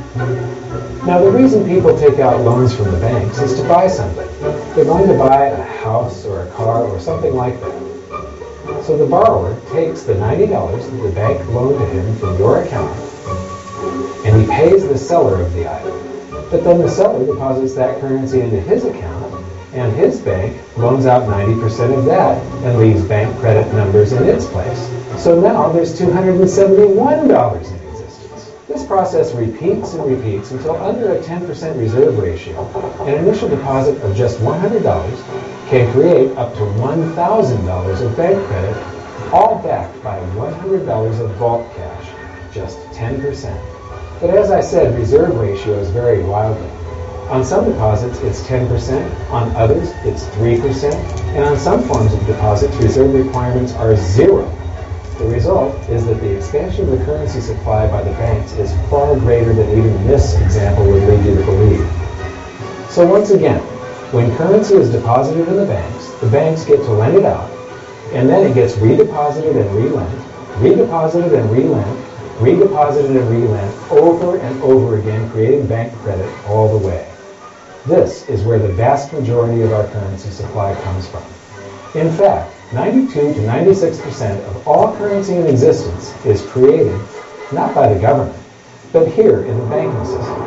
Now the reason people take out loans from the banks is to buy something. They're going to buy a house or a car or something like that. So the borrower takes the ninety dollars that the bank loaned to him from your account, and he pays the seller of the item. But then the seller deposits that currency into his account, and his bank loans out ninety percent of that and leaves bank credit numbers in its place. So now there's two hundred seventy-one dollars in existence. This process repeats and repeats until under a ten percent reserve ratio, an initial deposit of just one hundred dollars can create up to one thousand dollars of bank credit, all backed by one hundred dollars of vault cash, just ten percent. But as I said, reserve ratios vary wildly. On some deposits, it's ten percent. On others, it's three percent. And on some forms of deposits, reserve requirements are zero. The result is that the expansion of the currency supply by the banks is far greater than even this example would lead you to believe. So once again, when currency is deposited in the banks, the banks get to lend it out, and then it gets redeposited and relent, redeposited and relent, redeposited and relent over and over again, creating bank credit all the way. This is where the vast majority of our currency supply comes from. In fact, ninety-two to ninety-six percent of all currency in existence is created not by the government, but here in the banking system.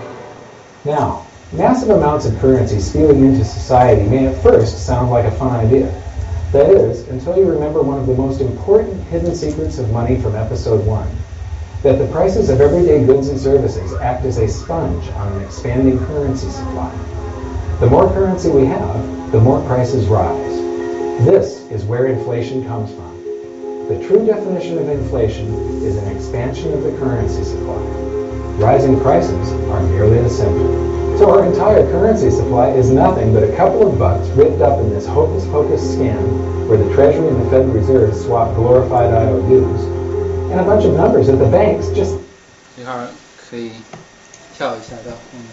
Now, massive amounts of currency spewing into society may at first sound like a fun idea. That is, until you remember one of the most important hidden secrets of money from episode one, that the prices of everyday goods and services act as a sponge on an expanding currency supply. The more currency we have, the more prices rise. This is where inflation comes from. The true definition of inflation is an expansion of the currency supply. Rising prices are merely the symptom. So our entire currency supply is nothing but a couple of bucks ripped up in this hocus-pocus scam where the Treasury and the Federal Reserve swap glorified I O Us, and a bunch of numbers that the banks just... 这块儿可以跳一下到后面。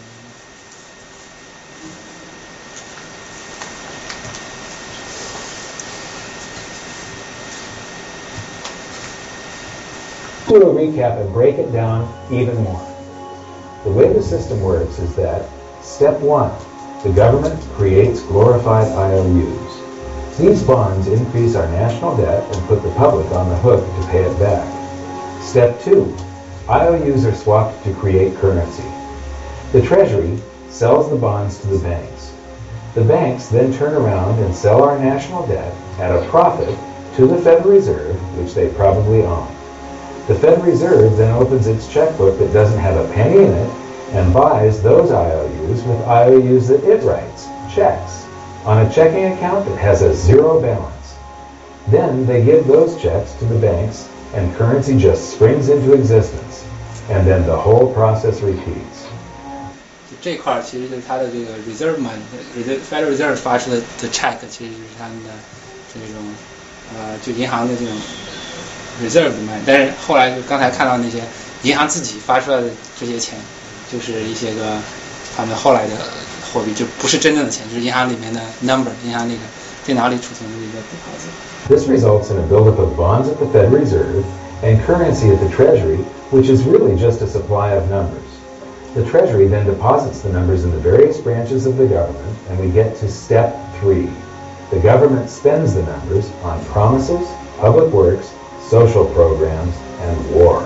Do a recap and break it down even more. The way the system works is that, step one, the government creates glorified I O Us. These bonds increase our national debt and put the public on the hook to pay it back. Step two, I O Us are swapped to create currency. The Treasury sells the bonds to the banks. The banks then turn around and sell our national debt at a profit to the Federal Reserve, which they probably own. The Federal Reserve then opens its checkbook that doesn't have a penny in it and buys those I O Us with I O Us that it writes, checks, on a checking account that has a zero balance. Then they give those checks to the banks and currency just springs into existence. And then the whole process repeats. 这块儿其实就是它的这个 reserve money， Federal Reserve 发出的的 check 其实就是他们的这种呃就银行的这种 reserve money， 但是后来就刚才看到那些银行自己发出来的这些钱，就是一些个他们后来的货币，就不是真正的钱，就是银行里面的 number， 银行那个电脑里储存的一个 deposit。 This results in a buildup of bonds at the Fed Reserve and currency at the Treasury, which is really just a supply of numbers. The Treasury then deposits the numbers in the various branches of the government, and we get to step three. The government spends the numbers on promises, public works, social programs, and war.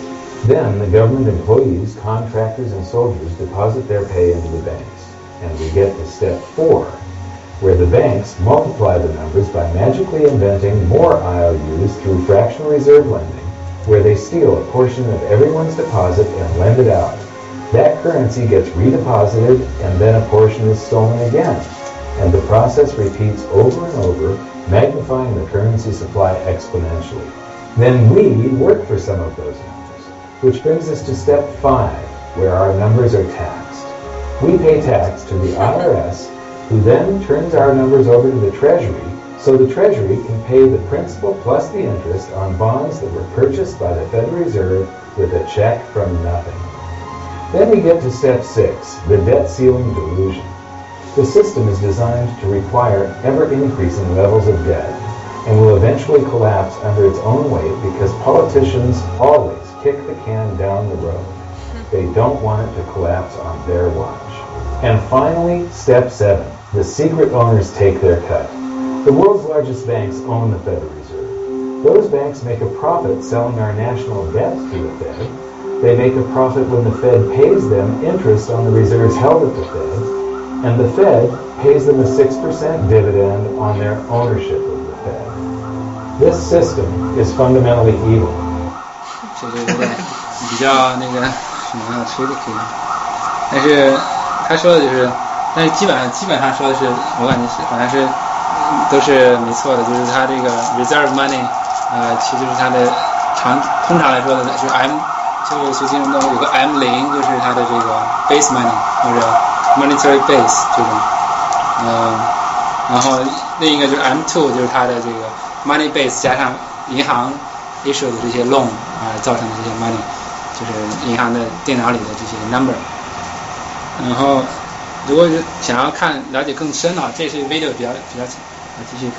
Then the government employees, contractors, and soldiers deposit their pay into the banks, and we get to step four, where the banks multiply the numbers by magically inventing more I O Us through fractional reserve lending, where they steal a portion of everyone's deposit and lend it out. That currency gets redeposited, and then a portion is stolen again, and the process repeats over and over, magnifying the currency supply exponentially. Then we work for some of those numbers, which brings us to step five, where our numbers are taxed. We pay tax to the I R S, who then turns our numbers over to the Treasury, so the Treasury can pay the principal plus the interest on bonds that were purchased by the Federal Reserve with a check from nothing. Then we get to step six, the debt ceiling delusion. The system is designed to require ever-increasing levels of debt and will eventually collapse under its own weight because politicians always kick the can down the road. They don't want it to collapse on their watch. And finally, step seven, the secret owners take their cut. The world's largest banks own the Federal Reserve. Those banks make a profit selling our national debt to the Fed. They make a profit when the Fed pays them interest on the reserves held at the Fed, and the Fed pays them a six percent dividend on their ownership of the Fed. This system is fundamentally evil. 这个有点比较那个什么 tricky， 但是他说的就是，但是基本上基本上说的是，我感觉是好像是都是没错的，就是他这个 reserve money， 呃，其实就是他的常通常来说的是 M。这个学金融的有个 M 零，就是它的这个 base money 或者 monetary base 这种，嗯、呃，然后另一个就是 M 二， 就是它的这个 money base 加上银行 issue 的这些 loan 啊、呃、造成的这些 money， 就是银行的电脑里的这些 number。然后如果是想要看了解更深的话，这是 video 比较比较我继续看。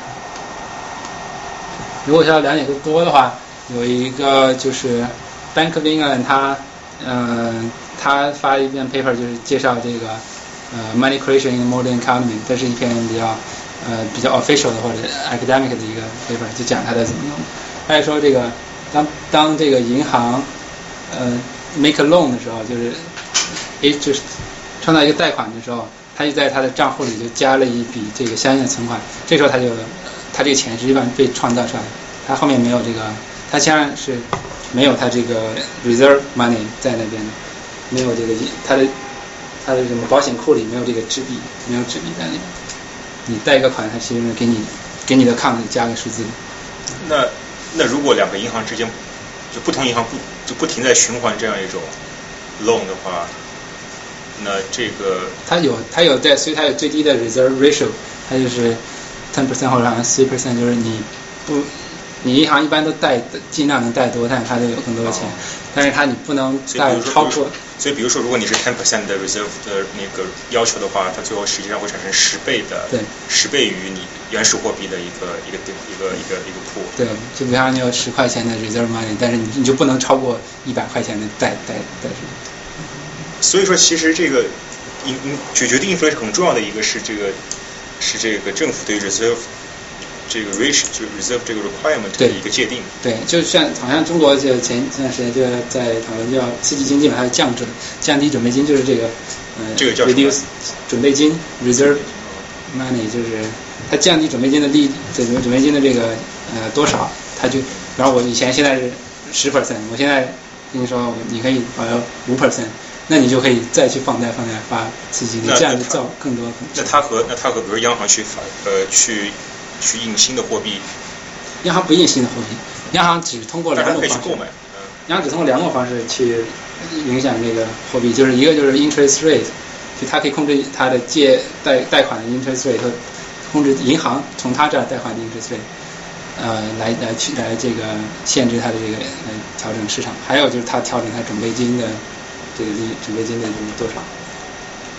如果想要了解更多的话，有一个就是。Bank of England 他呃他发一篇 paper 就是介绍这个呃 money creation in the modern economy， 这是一篇比较呃比较 official 的或者 academic 的一个 paper， 就讲它的怎么用。他就说这个当当这个银行呃 make a loan 的时候，就是诶就是创造一个贷款的时候，他就在他的账户里就加了一笔这个相应的存款，这时候他就他这个钱实际上被创造出来的，他后面没有这个，他先然是。没有他这个 reserve money 在那边的，没有这个他的他的什么保险库里没有这个纸币，没有纸币在那边。你贷一个款，他其实给你给你的 account 加个数字。 那那如果两个银行之间就不同银行不就不停在循环这样一种 loan 的话，那这个它有它有在，所以它有最低的 reserve ratio， 它就是 ten percent 或者好像 three percent， 就是你不。你银行一般都贷尽量能贷多，但是它就有更多的钱，但是它你不能贷超过。 所以比如说，如果你是 ten percent 的 reserve 的那个要求的话，它最后实际上会产生十倍的， 对， 十倍于你原始货币的一个一个一个一个一个 pool。 对，就比方你有十块钱的 reserve money， 但是你你就不能超过一百块钱的贷贷贷出。 所以说，其实这个因决决定 inflation 很重要的一个是这个是这个政府对 reserve。这个 ratio 就 reserve 这个 requirement 的一个界定。 对，对就像好像中国就前前段时间就在讨论，就要刺激经济嘛，还有降准、降低准备金，就是这个呃， 这个叫 reduce 准备金 reserve money， 就是它降低准备金的利，这个准备金的这个呃多少，它就，然后我以前现在是十 percent， 我现在跟你说你可以保留五 percent， 那你就可以再去放贷放贷发刺激，你这样就造更多。 那它和那它和比如央行去发呃去。去印新的货币， 央行不印新的货币，央行只通过两种方式， 购买嗯、 央行只通过两种方式去影响这个货币，就是一个就是 interest rate， 就它可以控制它的借贷贷款的 interest rate， 控制银行从它这儿贷款的 interest rate， 呃，来来去来这个限制它的这个呃调整市场，还有就是它调整它准备金的这个利准备金的多少。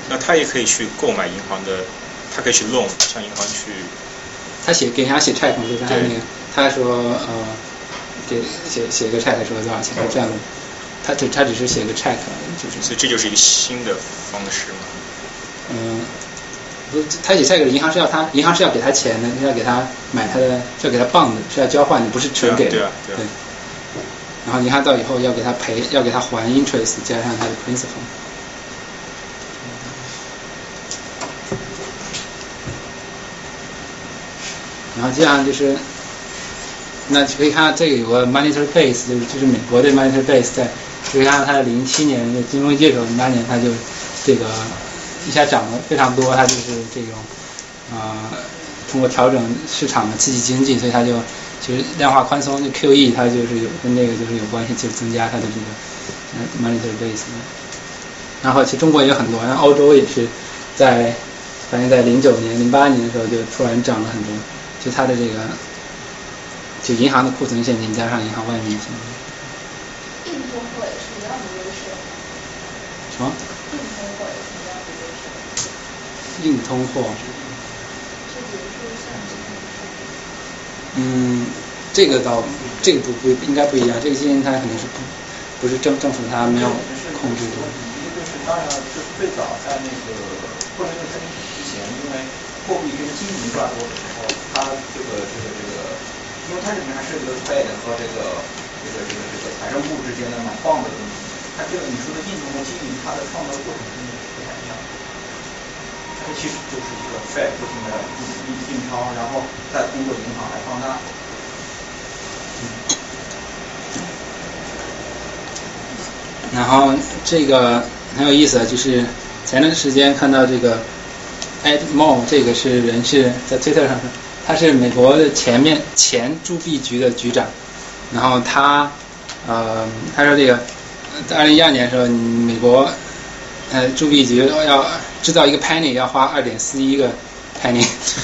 那他也可以去购买银行的，他可以去 loan 向银行去。 他写给人家写 check 嘛，就刚才那个，他说呃，给写写个 check 说多少钱，这样的，他只他只是写个 check， 就是。 所以这就是一个新的方式嘛。 嗯，不，他写 check 银行是要他银行是要给他钱的，是要给他买他的，是要给他棒的，是要交换的，不是纯给的。 对啊，对啊。 对。然后银行到以后要给他赔，要给他还 interest 加上他的 principal。然后这样就是，那可以看到这个有个 monetary base， 就是就是美国的 monetary base， 在可以看到它的零七年的金融危机的时候，零八年它就这个一下涨得非常多，它就是这种呃通过调整市场的刺激经济，所以它就其实量化宽松就 Q E 它就是有跟这个就是有关系，就是增加它的这个 monetary base。然后其实中国也有很多，然后欧洲也是在反正在零九年、零八年的时候就突然涨了很多。就它的这个，就银行的库存现金加上银行外面的现金。 硬通货也是一样的优势。 什么？ 硬通货也是一样的优势。 硬通货。 就比如说像这种。 嗯，这个倒，这个不不应该不一样，这个基金它肯定是不不是政政府它没有控制的。 一个就是当然了，就是最早在那个或者是在之前，因为货币跟金银挂钩的时候。它这个这个这个，因为它里面还是这个 Fed 和这个这个这个这个财政部之间的买棒的东西，它这个你说的硬通货经营，它的创造过程跟不太一样。它其实就是一个 Fed 不停的印印钞，然后再通过银行来放大。 然后这个很有意思，就是前段时间看到这个 Ed Mo， 这个是人是在 Twitter 上说。他是美国的前面前铸币局的局长，然后他，呃，他说这个，在二零一二年的时候，美国，呃，铸币局要制造一个 penny 要花二点四一个 penny，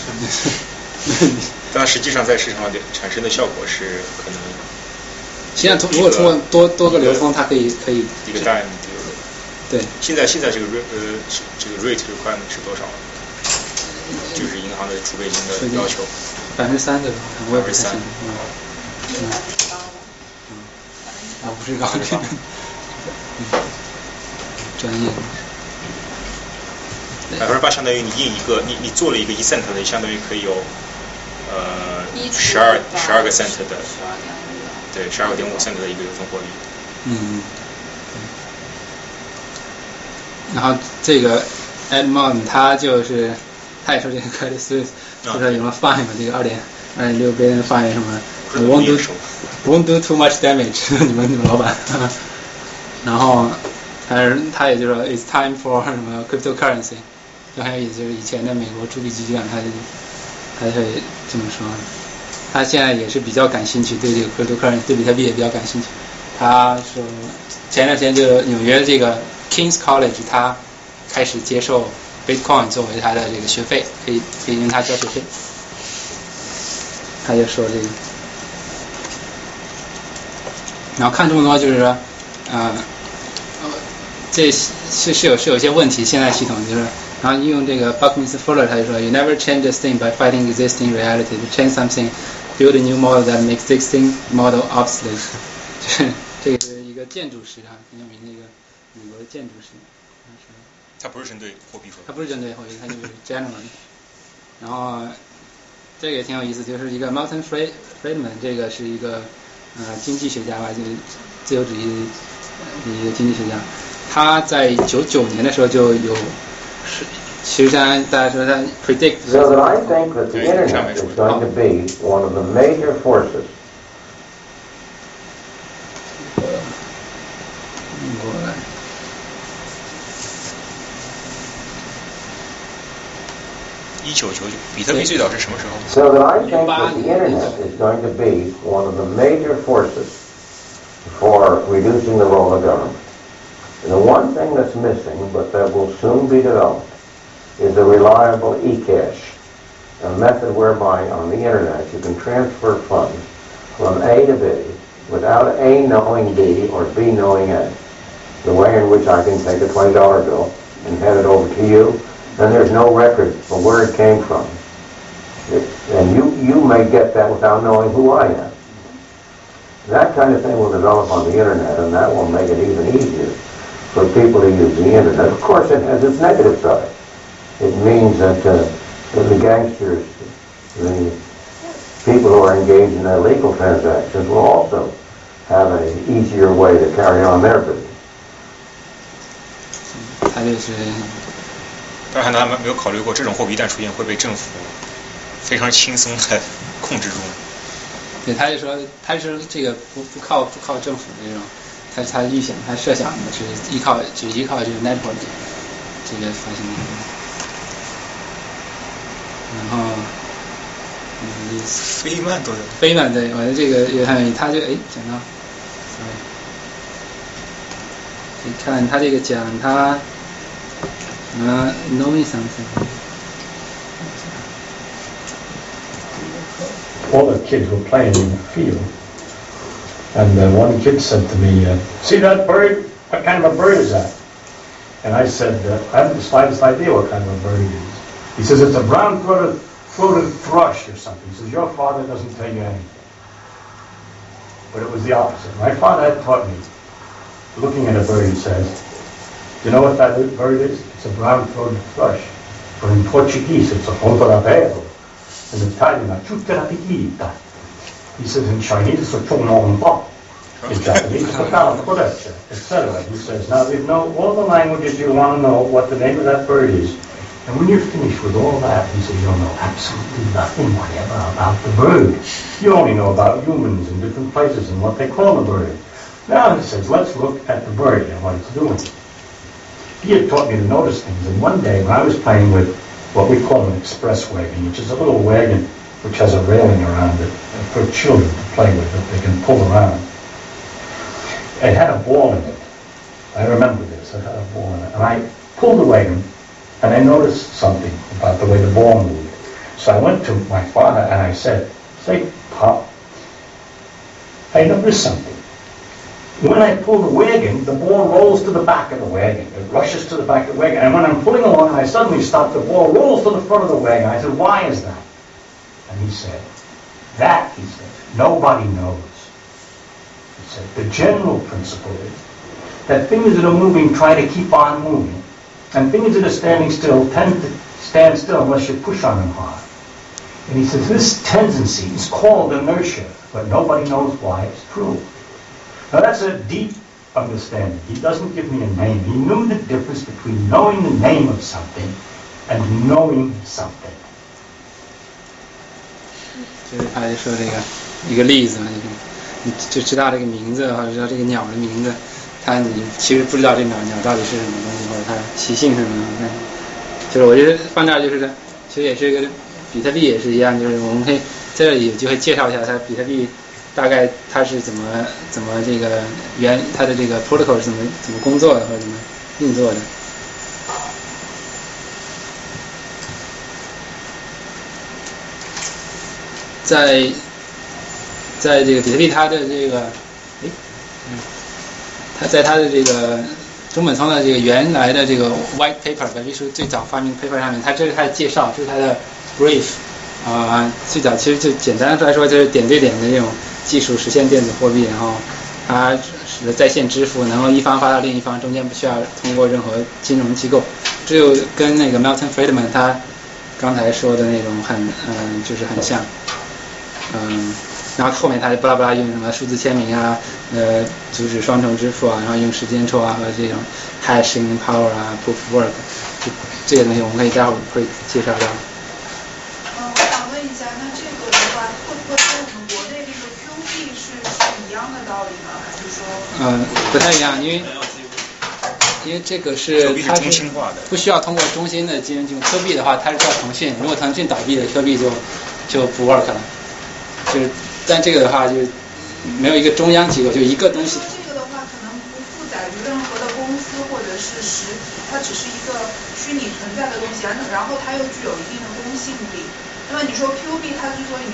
但实际上在市场上产生的效果是可能， 实际上如果通过多多个流通，它可以可以一个 dime， 对。现在现在这个 rate 呃这个 rate requirement 是多少？就是银行的储备金的要求， 百分之三对吧？我也不太清楚。 嗯。 嗯。啊，不是高的。专业。 百分之八相当于你印一个，你你做了一个一 cent 的，相当于可以有呃十二十二个 cent 的，对，十二个点五 cent 的一个流通货币。 嗯。然后这个 Edmond 他就是。他也说这个 Credit Suisse 就说有什么 fine 嘛，这个二点二点六 billion fine 什么 ，won't do won't do too much damage 你们你们老板，然后但是他也就说 it's time for 什么 cryptocurrency， 就很有意思，就是以前的美国铸币局长他就他会这么说，他现在也是比较感兴趣，对这个 cryptocurrency 对比特币也比较感兴趣。他说前段时间就纽约这个 King's College 他开始接受。Bitcoin 作为他的这个学费，可以可以用它交学费。他就说这个，然后看这么多就是说，呃，这是是有是有些问题，现在系统就是，然后用这个 Buckminster Fuller 他就说 ，You never change a thing by fighting existing reality. To change something, build a new model that makes existing model obsolete. 就是这个是一个建筑师啊，很有名的一个美国的建筑师。 它不是针对货币， 它不是针对货币，它就是 general。然后这个也挺有意思，就是一个 Milton Friedman， 这个是一个呃经济学家吧，就是自由主义的一个经济学家。他在九九年的时候就有，其实相当于大家说他 predict。 So that I think that the internet is going to be one of the major forces. 一九九九，比特币最早是什么时候 ？So that I think that the internet is going to be one of the major forces for reducing the role of government. And the one thing that's missing, but that will soon be developed, is a reliable e-cash, a method whereby on the internet you can transfer funds from A to B without A knowing B or B knowing A. The way in which I can take a twenty dollar bill, and headed over to you, then there's no record of where it came from. It, and you, you may get that without knowing who I am. That kind of thing will develop on the internet, and that will make it even easier for people to use the internet. Of course, it has its negative side. It means that uh, the gangsters, the people who are engaged in illegal transactions will also have an easier way to carry on their business. 他就是， 当然他们没有考虑过，这种货币一旦出现，会被政府非常轻松的控制住。 对，他就说，他是这个不不靠不靠政府的这种，他他预想他设想的是依靠只依靠这个 network 这个发行的，然后嗯， 菲曼都有。 菲曼对，我的这个也很有意思，他就哎讲到 ，sorry， 你看他这个讲他。Uh, knowing something. All the kids were playing in the field, and uh, one kid said to me, uh, "See that bird? What kind of a bird is that?" And I said, uh, "I haven't the slightest idea what kind of a bird it is." He says, "It's a brown-throated throated thrush or something." He says, "Your father doesn't tell you anything." But it was the opposite. My father had taught me, looking at a bird, he says, "You know what that bird is? It's a brown-throated thrush. But in Portuguese, it's a fontorapero. In Italian, a ciuterapita. He says in Chinese, it's a chononpa. In Japanese, it's a calacorecha, et cetera" He says, "Now you know all the languages you want to know what the name of that bird is. And when you're finished with all that," he says, "you'll know absolutely nothing whatever about the bird. You only know about humans in different places and what they call the bird. Now," he says, "let's look at the bird and what it's doing." He had taught me to notice things, and one day when I was playing with what we call an express wagon, which is a little wagon which has a railing around it for children to play with that they can pull around. It had a ball in it. I remember this. It had a ball in it. And I pulled the wagon, and I noticed something about the way the ball moved. So I went to my father and I said, "Say, Pop, I noticed something. When I pull the wagon, the ball rolls to the back of the wagon. It rushes to the back of the wagon. And when I'm pulling along and I suddenly stop, the ball rolls to the front of the wagon." I said, "Why is that?" And he said, "That," he said, "nobody knows." He said, "The general principle is that things that are moving try to keep on moving, and things that are standing still tend to stand still unless you push on them hard." And he says, "This tendency is called inertia, but nobody knows why it's true." Now that's a deep understanding. He doesn't give me a name. He knew the difference between knowing the name of something and knowing something. 就是他就说这个一个例子嘛，就是你就知道这个名字或者知道这个鸟的名字，它你其实不知道这鸟鸟到底是什么东西或者它习性是什么。但就是我觉得放这儿就是其实也是一个比特币也是一样，就是我们可以在这里有机会介绍一下它比特币。大概它是怎么怎么这个原它的这个 protocol 是怎么怎么工作的或者怎么运作的？在在这个比特币它的这个，哎，嗯，它在它的这个中本聪的这个原来的这个 white paper 白皮书最早发明 paper 上面，它这是它的介绍，这是它的 brief 啊、呃，最早其实就简单来说就是点对点的这种。技术实现电子货币，然后它使得在线支付能够一方发到另一方，中间不需要通过任何金融机构，这就跟那个 Milton Friedman 他刚才说的那种很嗯、呃、就是很像，嗯，然后后面他就巴拉巴拉用什么数字签名啊，呃阻止双重支付啊，然后用时间戳啊和这种 hashing power 啊 proof work 这这些东西我们可以待会儿会介绍到。 嗯，我想问一下，那这个的话会不会跟我们国内那个 Q 币是是一样的道理吗？还是说？嗯， 不太一样，因为因为这个是它是不需要通过中心的金融机构。Q 币的话，它是叫腾讯，如果腾讯倒闭了 ，Q 币就就不 work 了。就是，但这个的话就没有一个中央机构，就一个东西。 这个的话可能不负载于任何的公司或者是实体，它只是一个虚拟存在的东西，然后它又具有一定的公信力。那么你说 Q 币它之所以你说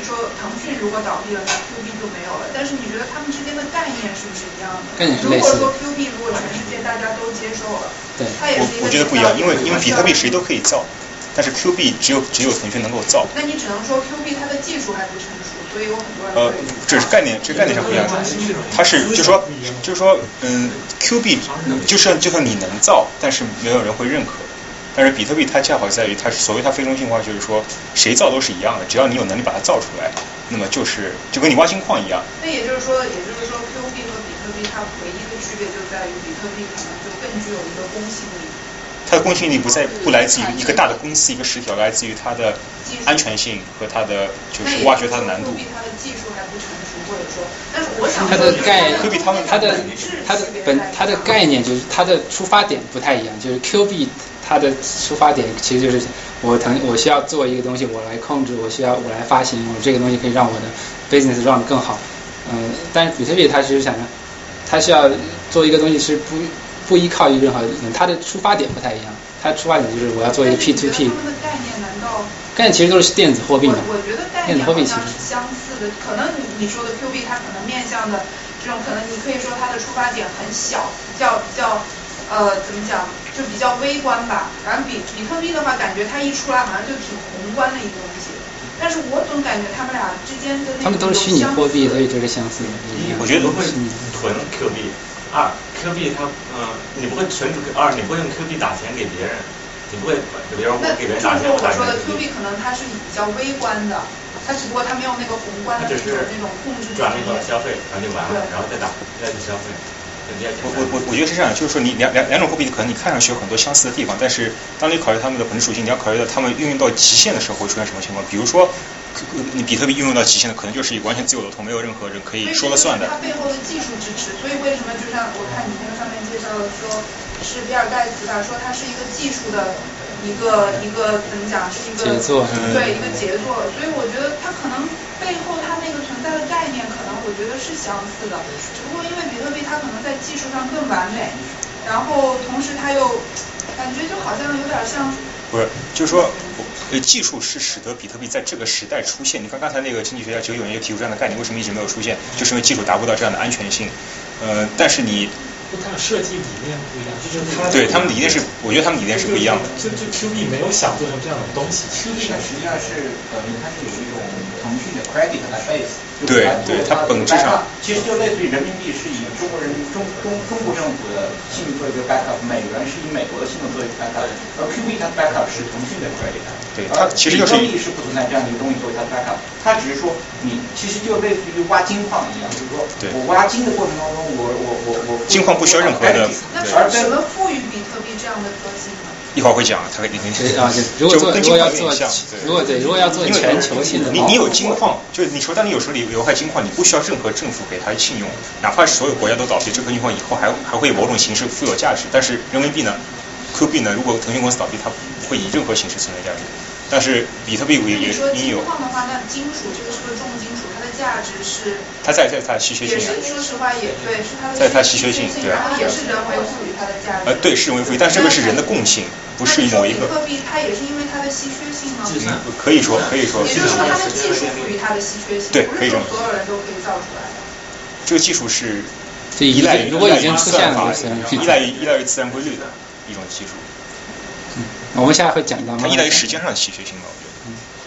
说腾讯如果倒闭了，那 Q B 就没有了。但是你觉得他们之间的概念是不是一样的？ 概念是类似的。 如果说 Q B 如果全世界大家都接受了， 对， 它也是一个。 我我觉得不一样，因为因为比特币谁都可以造，但是 Q B 只有只有腾讯能够造。 那你只能说 Q B 它的技术还不成熟，所以有很多人。 呃，这是概念，这概念上不一样。它是就是说就是说嗯 ，Q B 就算就算你能造，但是没有人会认可。但是比特币它恰好在于它是所谓它非中心化，就是说谁造都是一样的，只要你有能力把它造出来，那么就是就跟你挖金矿一样。 那也就是说，也就是说 Q B 和比特币它唯一的区别就在于比特币可能就更具有一个公信力。 它的公信力不在不来自于一个大的公司一个实体，来自于它的安全性和它的就是挖掘它的难度。 它的技术还不成熟，或者说，但是我想它的概科比他们它的它的本它的概念就是它的出发点不太一样，就是 Q B 它的出发点其实就是我腾我需要做一个东西，我来控制，我需要我来发行，我这个东西可以让我的 business run 得更好。嗯，但是比特币它其实想着，它需要做一个东西是不不依靠于任何人，它的出发点不太一样。它的出发点就是我要做一个 P to P。 他们的概念难道？ 概念其实都是电子货币嘛。 我觉得概念好像是相似的，可能你说的 Q B 它可能面向的这种，可能你可以说它的出发点很小，比较比较呃怎么讲，就比较微观吧。然后比比特币的话，感觉它一出来好像就挺宏观的一个东西。但是我总感觉他们俩之间的那他们都是虚拟货币，所以就是相似的。 我觉得不会囤 Q B。二 Q B 它嗯、呃，你不会存二，你不会用 Q B 打钱给别人，你不会比如我给别人打钱， 我打钱。我说的 Q B 可能它是比较微观的，它只不过它没有那个宏观的那种那种控制。 转那个消费，然后就完了，然后再打再去消费。 我我我我觉得是这样，就是说你两两两种货币可能你看上去有很多相似的地方，但是当你考虑它们的本质属性，你要考虑到它们运用到极限的时候会出现什么情况。比如说，你比特币运用到极限的，可能就是一个完全自由流通，没有任何人可以说了算的。 它背后的技术支持，所以为什么就像我看你那个上面介绍的说，是比尔盖茨吧，说它是一个技术的一个一个怎么讲，是一个杰作， 对一个杰作。所以我觉得它可能背后它那个存在的概念，可能我觉得是相似的，只不过因为比特币它可能在技术上更完美，然后同时它又感觉就好像有点像。 不是，就是说，呃，技术是使得比特币在这个时代出现。你看刚才那个经济学家九九年就提出这样的概念，为什么一直没有出现？就是因为技术达不到这样的安全性。呃，但是你。 它的设计理念不一样，就是它对他们理念是，我觉得他们理念是不一样的。 就就 Q B 没有想做成这样的东西 ，Q B 呢实际上是呃，它是有一种腾讯的 credit 来 base， 对对，它本质上其实就类似于人民币是以中国人民中中中国政府的信用作为一个 backup， 美元是以美国的信用作为 backup， 而 Q B 它的 backup 是腾讯的 credit。 对，它其实就是比特币是不存在这样的一个东西作为它的 backup， 它只是说你其实就类似于挖金矿一样，就是说我挖金的过程当中，我我我我金矿不需要任何的。 那什么赋予比特币这样的特性呢？ 一会儿会讲，他会你你啊，如果做如果要做， 如果对如果要做全球性的， 你你有金矿，就是你说当你有手里有块金矿，你不需要任何政府给它信用，哪怕所有国家都倒闭，这颗金矿以后还还会有某种形式富有价值。但是人民币呢 ，Q 币呢，如果腾讯公司倒闭，它不会以任何形式存在价值。但是比特币也也你有。金矿的话，那金属这个是个重金属，它的价值是。 它在在它的稀缺性。 也是说实话也对，是它的。 在它稀缺性，对。 然后也是人为赋予它的价值。 呃，对，是人为赋予，但这个是人的共性，不是某一个。 比特币它也是因为它的稀缺性吗？ 嗯，可以说，可以说。 也就是说，它的技术赋予它的稀缺性， 对，可以这么说。所有人都可以造出来的。 这个技术是依赖于如果已经出现了， 依赖于依赖于自然规律的一种技术。 嗯，我们下来会讲到。 它依赖于时间上的稀缺性吧，我觉得。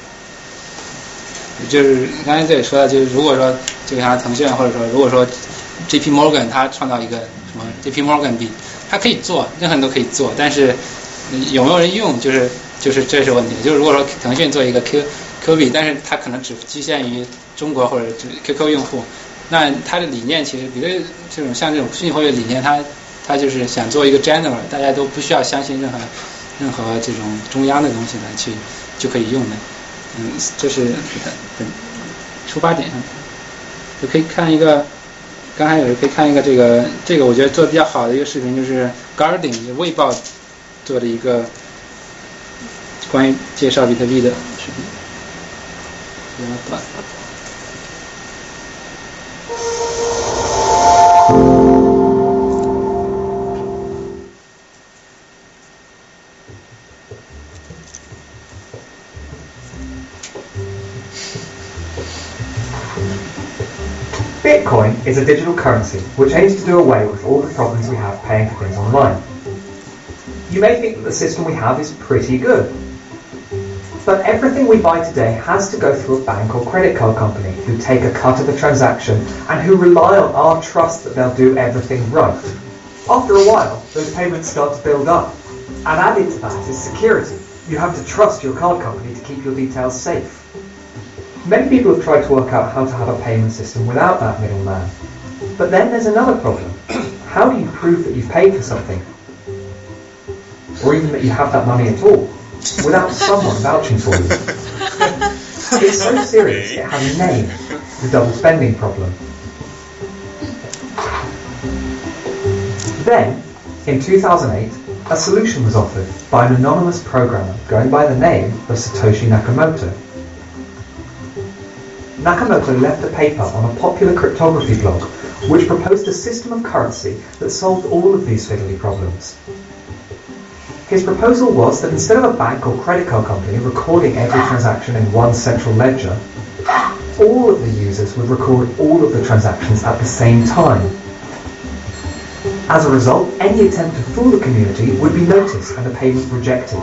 就是刚才这里说的，就是如果说就像腾讯或者说如果说 J P Morgan 它创造一个什么 J P Morgan 币，它可以做，任何人都可以做，但是有没有人用，就是就是这是问题。就是如果说腾讯做一个 Q Q 币，但是它可能只局限于中国或者 Q Q 用户，那它的理念其实比如这种像这种虚拟货币理念，它它就是想做一个 general， 大家都不需要相信任何任何这种中央的东西来去就可以用的。嗯，这是本出发点上，就可以看一个，刚才有人可以看一个这个这个我觉得做的比较好的一个视频，就是 Guardian 就卫报做的一个关于介绍比特币的视频，比较短。 Bitcoin is a digital currency which aims to do away with all the problems we have paying for things online. You may think that the system we have is pretty good, but everything we buy today has to go through a bank or credit card company who take a cut of the transaction and who rely on our trust that they'll do everything right. After a while, those payments start to build up, and added to that is security. You have to trust your card company to keep your details safe. Many people have tried to work out how to have a payment system without that middleman. But then there's another problem. How do you prove that you've paid for something? Or even that you have that money at all, without someone vouching for you? It's so serious it has a name, the double spending problem. Then, in two thousand eight, a solution was offered by an anonymous programmer going by the name of Satoshi Nakamoto. Nakamoto left a paper on a popular cryptography blog which proposed a system of currency that solved all of these fiddly problems. His proposal was that instead of a bank or credit card company recording every transaction in one central ledger, all of the users would record all of the transactions at the same time. As a result, any attempt to fool the community would be noticed and a payment rejected.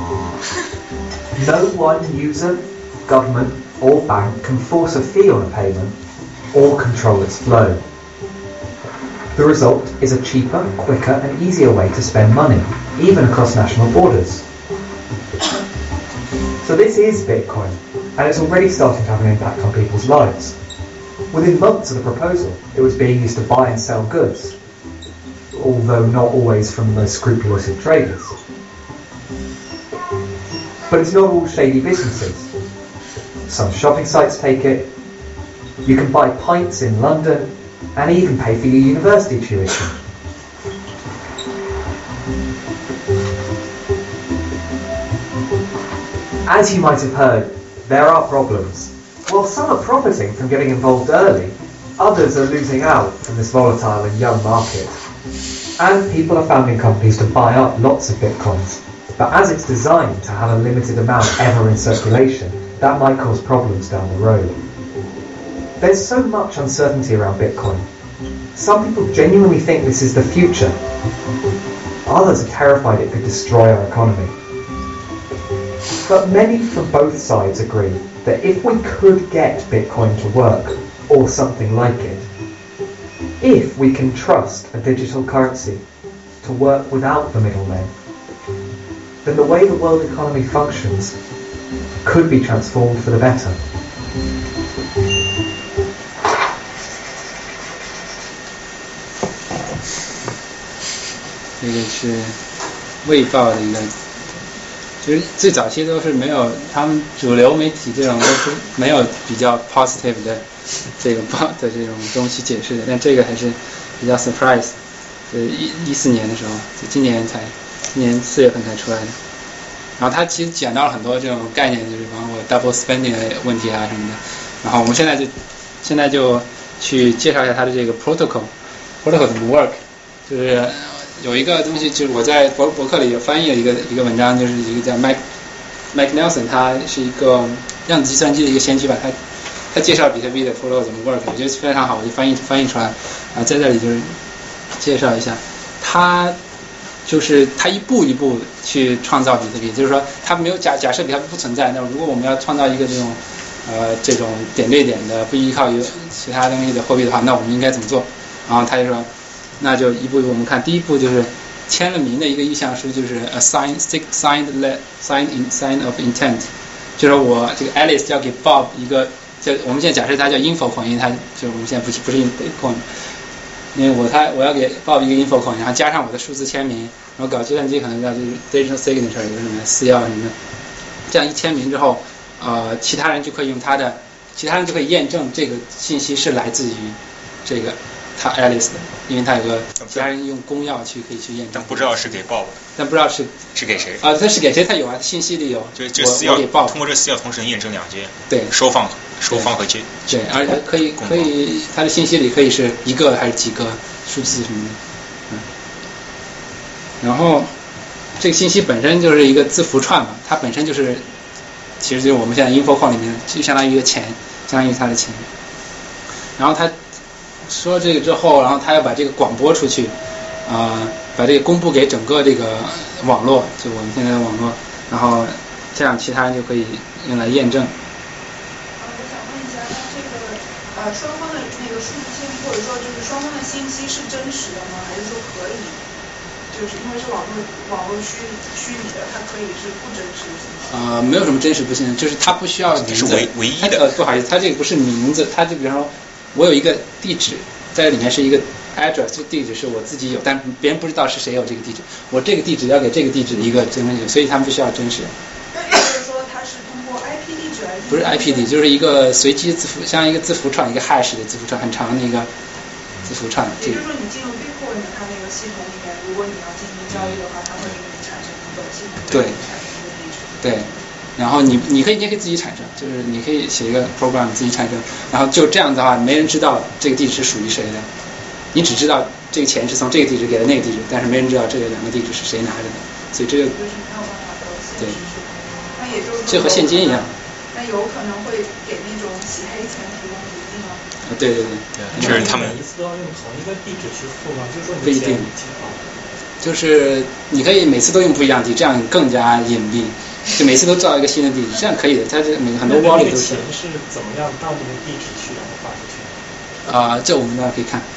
No one user, government, or bank can force a fee on a payment or control its flow. The result is a cheaper, quicker, and easier way to spend money, even across national borders. So this is Bitcoin, and it's already starting to have an impact on people's lives. Within months of the proposal, it was being used to buy and sell goods, although not always from the most scrupulous of traders. But it's not all shady businesses. Some shopping sites take it. You can buy pints in London and even pay for your university tuition. As you might have heard, there are problems. While some are profiting from getting involved early, others are losing out from this volatile and young market. And people are founding companies to buy up lots of bitcoins. But as it's designed to have a limited amount ever in circulation, that might cause problems down the road. There's so much uncertainty around Bitcoin. Some people genuinely think this is the future. Others are terrified it could destroy our economy. But many from both sides agree that if we could get Bitcoin to work, or something like it, if we can trust a digital currency to work without the middlemen, then the way the world economy functions could be transformed for the better. 这个是卫报的一个，其实最早期都是没有，他们主流媒体这种都是没有比较 positive 的这个报的这种东西解释的，但这个还是比较 surprise。就是一一四年的时候，就今年才，今年四月份才出来的。然后他其实讲到了很多这种概念，就是包括 double spending 的问题啊什么的。然后我们现在就现在就去介绍一下它的这个 protocol，protocol 怎么 work， 就是有一个东西，就是我在博博客里有翻译了一个一个文章，就是一个叫 Mike Mike Nelson， 他是一个量子计算机的一个先驱吧，他他介绍比特币的 protocol 怎么 work， 我觉得非常好，我就翻译翻译出来，然后在这里就是介绍一下，他。就是他一步一步去创造比特币，就是说他没有假假设比特币不存在，那如果我们要创造一个这种呃这种点对点的不依靠于其他东西的货币的话，那我们应该怎么做？然后他就说，那就一步一步我们看，第一步就是签了名的一个意向书，就是 a sign signed let signed in sign of intent， 就是我这个 Alice 要给 Bob 一个叫我们现在假设它叫 info coin， 因为它就我们现在不是不是 Bitcoin。因为我他我要给报一个 info coin， 然后加上我的数字签名，然后搞计算机可能叫就是 digital signature， 有什么私钥什么的，这样一签名之后，呃，其他人就可以用他的，其他人就可以验证这个信息是来自于这个他 Alice 的，因为他有个其他人用公钥去可以去验证。 但不知道是给报的。 但不知道是是给谁？ 啊，他是给谁？他有啊，信息里有。 就这私钥通过这私钥同时验证两件。对。收放。收放和接， 对，而且可以可以，它的信息里可以是一个还是几个数字什么的，嗯。然后这个信息本身就是一个字符串嘛，它本身就是，其实就是我们现在 info coin 里面就相当于一个钱，相当于它的钱。 然后他说这个之后，然后他要把这个广播出去，啊、呃，把这个公布给整个这个网络，就我们现在的网络，然后这样其他人就可以用来验证。 呃，我想问一下，那这个呃双方的那个数据信息，或者说就是双方的信息是真实的吗？还是说可以？就是因为是网络网络虚虚拟的，它可以是不真实的。 呃，没有什么真实不真实，就是它不需要名字， 是唯唯一的。 呃，不好意思，它这个不是名字，它就比方说，我有一个地址，在里面是一个 address， 这地址是我自己有，但别人不知道是谁有这个地址，我这个地址要给这个地址的一个真实，所以他们不需要真实。 那也就是说，它是通过 I P 地址来？ 不是 I P 地，就是一个随机字符，像一个字符串，一个 hash 的字符串，很长的一个字符串。 也就是说，你进入 Bitcoin 的它那个系统里面，如果你要进行交易的话，它会给你产生一个系统对产生一个地址。 对，然后你你可以你也可以自己产生，就是你可以写一个 program 自己产生，然后就这样的话，没人知道这个地址是属于谁的，你只知道这个钱是从这个地址给了那个地址，但是没人知道这两个地址是谁拿着的，所以这个对， 那也就是这和现金一样。 那有可能会给那种洗黑钱提供途径吗？ 啊，对对对， 就是他们每一次都要用同一个地址去付吗？就是说你不一定，就是你可以每次都用不一样的地址，这样更加隐蔽。就每次都造一个新的地址，这样可以的。它这每个很多 wallet 都是。 钱是怎么样到那个地址去，然后发出去？ 啊、呃，这我们大家可以看。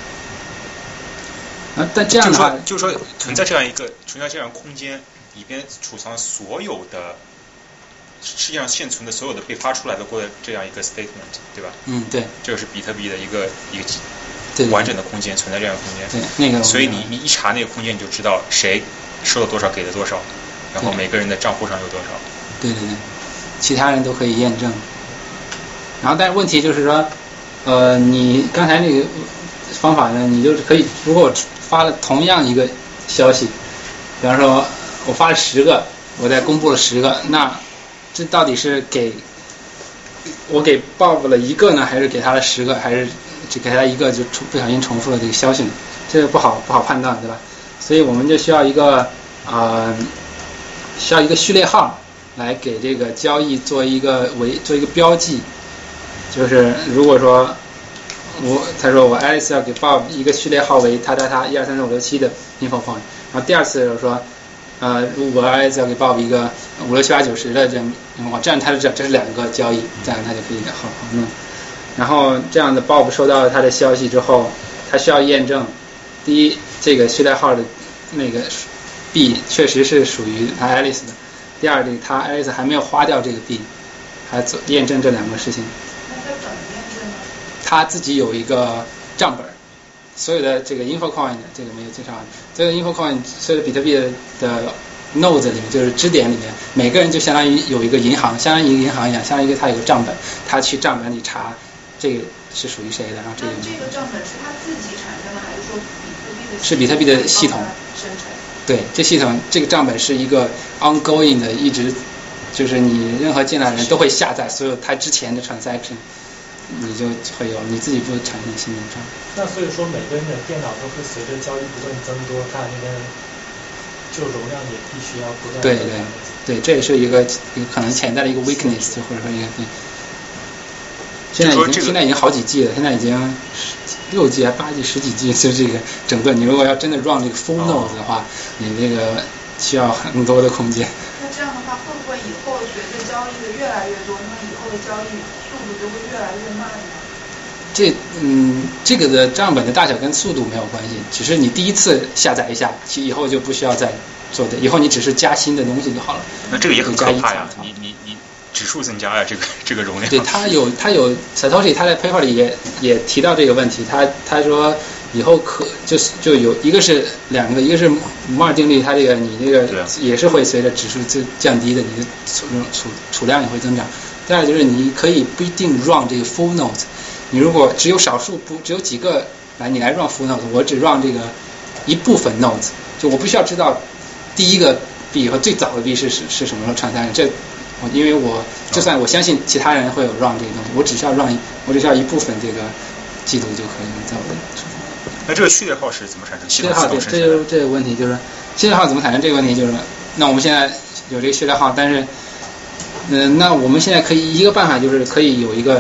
啊，但这样的话， 就是说，就是说存在这样一个存在这样空间里边储藏所有的世界上现存的所有的被发出来的过这样一个 statement， 对吧？ 嗯，对。 这个是比特币的一个一个对完整的空间，存在这样的空间。 对，那个。 所以你你一查那个空间，你就知道谁收了多少，给了多少。然后每个人的账户上有多少？ 对对对，其他人都可以验证。然后，但是问题就是说，呃，你刚才那个方法呢，你就是可以，如果我发了同样一个消息，比方说我发了十个，我再公布了十个，那这到底是给我给 Bob 了一个呢，还是给他了十个，还是只给他一个就不小心重复了这个消息呢？这个不好不好判断，对吧？所以我们就需要一个啊。呃需要一个序列号来给这个交易做一个为做一个标记，就是如果说我他说我 Alice 要给 Bob 一个序列号为他他他一二三四五六七的 info point， 然后第二次就是说呃如果 Alice 要给 Bob 一个五六七八九十的这样 info point， 这样他就知道这是两个交易，这样他就可以好好弄。然后这样的 Bob 收到了他的消息之后，他需要验证第一这个序列号的那个币确实是属于他 Alice 的。第二，这个他 Alice 还没有花掉这个币，还做验证这两个事情。 那他怎么验证呢？ 他自己有一个账本，所有的这个 InfoCoin 这个没有介绍，这个 InfoCoin 所有的比特币的 nodes 里面，就是支点里面，每个人就相当于有一个银行，相当于一个银行一样，相当于一个他有个账本，他去账本里查这个是属于谁的，然后这个。 那这个账本是他自己产生的，还是说比特币的？ 是比特币的系统生成。 对，这系统这个账本是一个 ongoing 的，一直就是你任何进来的人都会下载所有他之前的 transaction， 你就会有你自己不产生新的账。 那所以说每个人的电脑都会随着交易不断增多，它那个就容量也必须要不断。 对对对，这也是一个一个可能潜在的一个 weakness， 或者说一个对。现在已经、这个、现在已经好几 G 了，现在已经六 G 还八 G 十几 G， 就这个整个你如果要真的 run 这个 full node 的话，你这个需要很多的空间。 那这样的话，会不会以后随着交易的越来越多，那么以后的交易速度就会越来越慢呢？ 这嗯，这个的账本的大小跟速度没有关系，只是你第一次下载一下，其以后就不需要再做的，以后你只是加新的东西就好了。 那这个也很可怕呀！你你你。指数增加呀，这个这个容量。 对，他有他有 Satoshi 他在 paper 里也也提到这个问题，他他说以后可就是就有一个是两个，一个是摩尔定律，它这个你这个也是会随着指数就降低的，你的储储储量也会增长。第二就是你可以不一定 run 这个 full node， 你如果只有少数不只有几个来你来 run full node， 我只 run 这个一部分 node， 就我不需要知道第一个币和最早的币是是是什么时候产生的，这。因为我就算我相信其他人会有 run 这个东西，我只需要 run， 我只需要一部分这个记录就可以了，在我的。 那这个序列号是怎么产生？ 序列号对，这就这个问题就是序列号怎么产生？这个问题就是，那我们现在有这个序列号，但是，嗯、呃，那我们现在可以一个办法就是可以有一个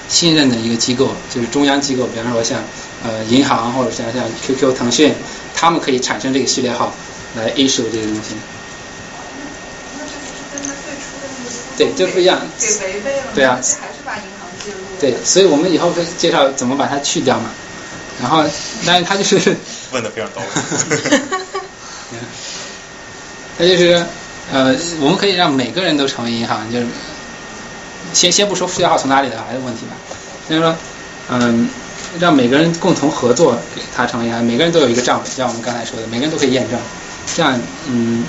信任的一个机构，就是中央机构，比方说像呃银行或者像像 Q Q、腾讯，他们可以产生这个序列号来 issue 这个东西。 那这不是跟他最初的那个对，这不一样。 给违背了吗？ 对啊。 还是把银行介入。 对，所以我们以后会介绍怎么把它去掉嘛。然后，但是它就是问的非常到位。 它就是呃，我们可以让每个人都成为银行，就是先先不说序列号从哪里来的问题吧，就是说，嗯，让每个人共同合作给它成为银行，每个人都有一个账本，像我们刚才说的，每个人都可以验证，这样，嗯，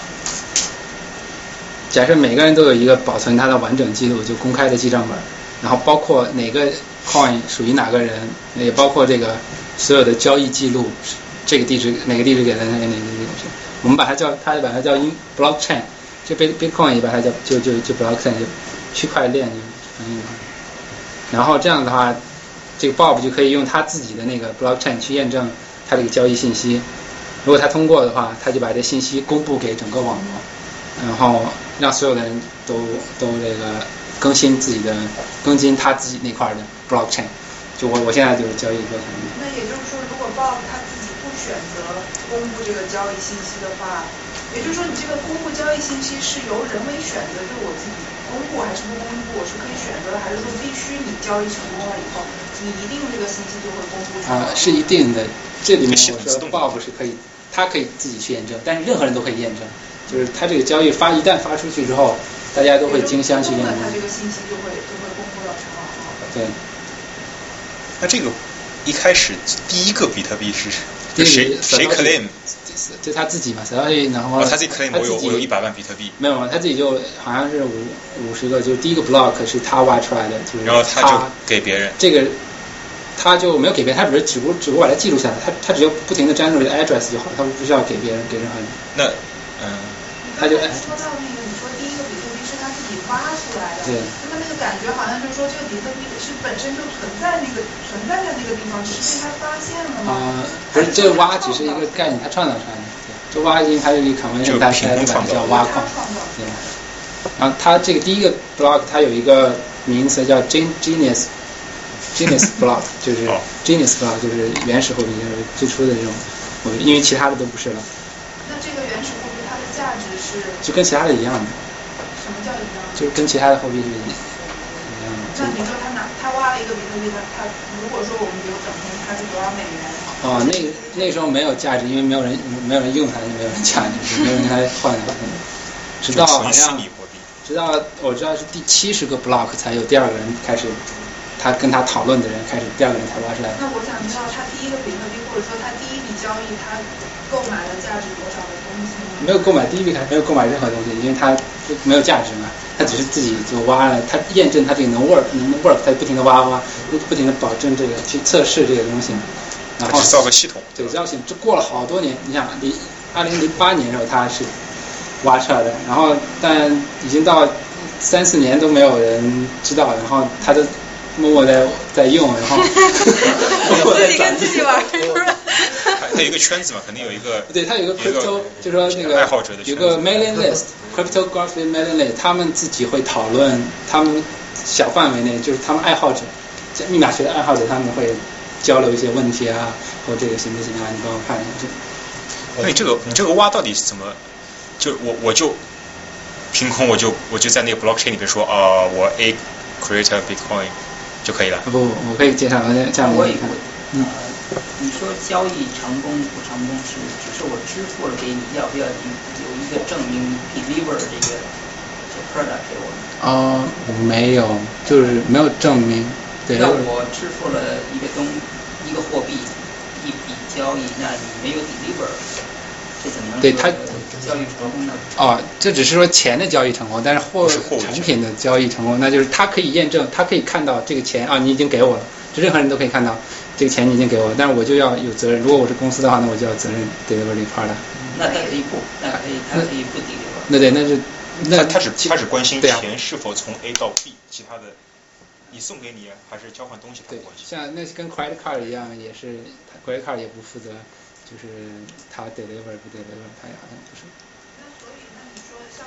假设每个人都有一个保存它的完整记录，就公开的记账本，然后包括哪个 coin 属于哪个人，也包括这个所有的交易记录，这个地址哪个地址给的，哪个哪个地址，我们把它叫，它把它叫 in blockchain， 这 Bitcoin 也把它叫就就就 blockchain 就区块链就翻译的话，然后这样的话，这个 Bob 就可以用他自己的那个 blockchain 去验证他这个交易信息，如果他通过的话，他就把这信息公布给整个网络，然后让所有的人都都这个更新自己的更新他自己那块的 blockchain， 就我我现在就是交易 blockchain。 那也就是说，如果 Bob 他自己不选择公布这个交易信息的话，也就是说你这个公布交易信息是由人为选择，就是我自己公布还是不公布，我是可以选择的，还是说必须你交易成功了以后，你一定这个信息就会公布出来？ 啊、呃，是一定的。这里面我说 Bob 是可以，他可以自己去验证，但是任何人都可以验证。就是他这个交易发一旦发出去之后，大家都会竞相去验证。 他这个信息就会就会公布到全网。 对。 那这个一开始第一个比特币是谁谁 claim？ 就他自己嘛 ，Satoshi， 然后、 哦、他自己 claim 我有我有一百万比特币。 没有，他自己就好像是五五十个，就第一个 block 是他挖出来的，就是然后他就给别人。 这个他就没有给别人，他只是只不只不过把它记录下来，他他只要不停的粘入这个 address 就好，他不需要给别人给任何人。 那嗯， 他就说到那个，你说第一个比特币是他自己挖出来的， 对， 那么那个感觉好像就是说这个比特币是本身就存在那个存在在那个地方，只是被他发现了吗？ 啊、呃，不是，这个挖只是一个概念，他创造出来的。这挖因为它有一个 convention， 大家把它叫挖矿，对吧？然后它这个第一个 block 它有一个名词叫 genius genius block， 就是 genius block 就是原始货币，就是最初的这种货币，因为其他的都不是了。 那这个原始货币它的价值是？ 就跟其他的一样的。 什么叫一样？ 就是跟其他的货币是一样的。 那你说他拿他挖了一个比特币，他他如果说我们比如整天它是多少美元？ 哦，那那时候没有价值，因为没有人没有人用它，就没有人价值，没有人来换它。直到好像直到我知道是第七十个 block 才有第二个人开始，他跟他讨论的人开始，第二个人才挖出来。 那我想知道他第一个比特币，或者说他第一笔交易，他购买了价值多少的东西吗？ 没有购买第一笔，还没有购买任何东西，因为他没有价值嘛，他只是自己就挖了，他验证他这个能 work 能 work， 他不停的挖挖，不停的保证这个去测试这个东西。然后造个系统， 对，造系统，这过了好多年。你想，离二零零八年的时候他是挖出来的，然后但已经到三四年都没有人知道，然后他就默默在在用，然后自己跟自己玩， 他有一个圈子嘛，肯定有一个。 对，他有一个 crypto， 就是说那个爱好者的有个 mailing list，cryptography mailing list， 他们自己会讨论，他们小范围内就是他们爱好者，密码学的爱好者，他们会交流一些问题啊，或这个行不行啊？你帮我看一下。 那你这个你这个挖到底是怎么？就我我就凭空我就我就在那个 blockchain 里面说啊、呃，我 A create a Bitcoin 就可以了。 不，我可以介绍这样我也看。 嗯，你说交易成功不成功是只是我支付了给你，要不要你有一个证明 deliver 这个这 product 给我们？ 哦，我没有，就是没有证明。对。 那我支付了一个东一个货币一笔交易，那你没有 deliver， 这怎么能对他交易成功呢？ 哦，这只是说钱的交易成功，但是货产品的交易成功，那就是他可以验证，他可以看到这个钱啊，你已经给我了，这任何人都可以看到这个钱你已经给我了，但是我就要有责任。如果我是公司的话，那我就要责任 deliver 这 part 的。 那他可以不，那可以，他可以不 deliver。 那对，那是那他只他只关心钱是否从 A 到 B， 其他的你送给你还是交换东西他不关心。 像那跟 credit card 一样，也是 credit card 也不负责。就是他 deliver 不 deliver， 他好像不是。 那所以，那你说像那个交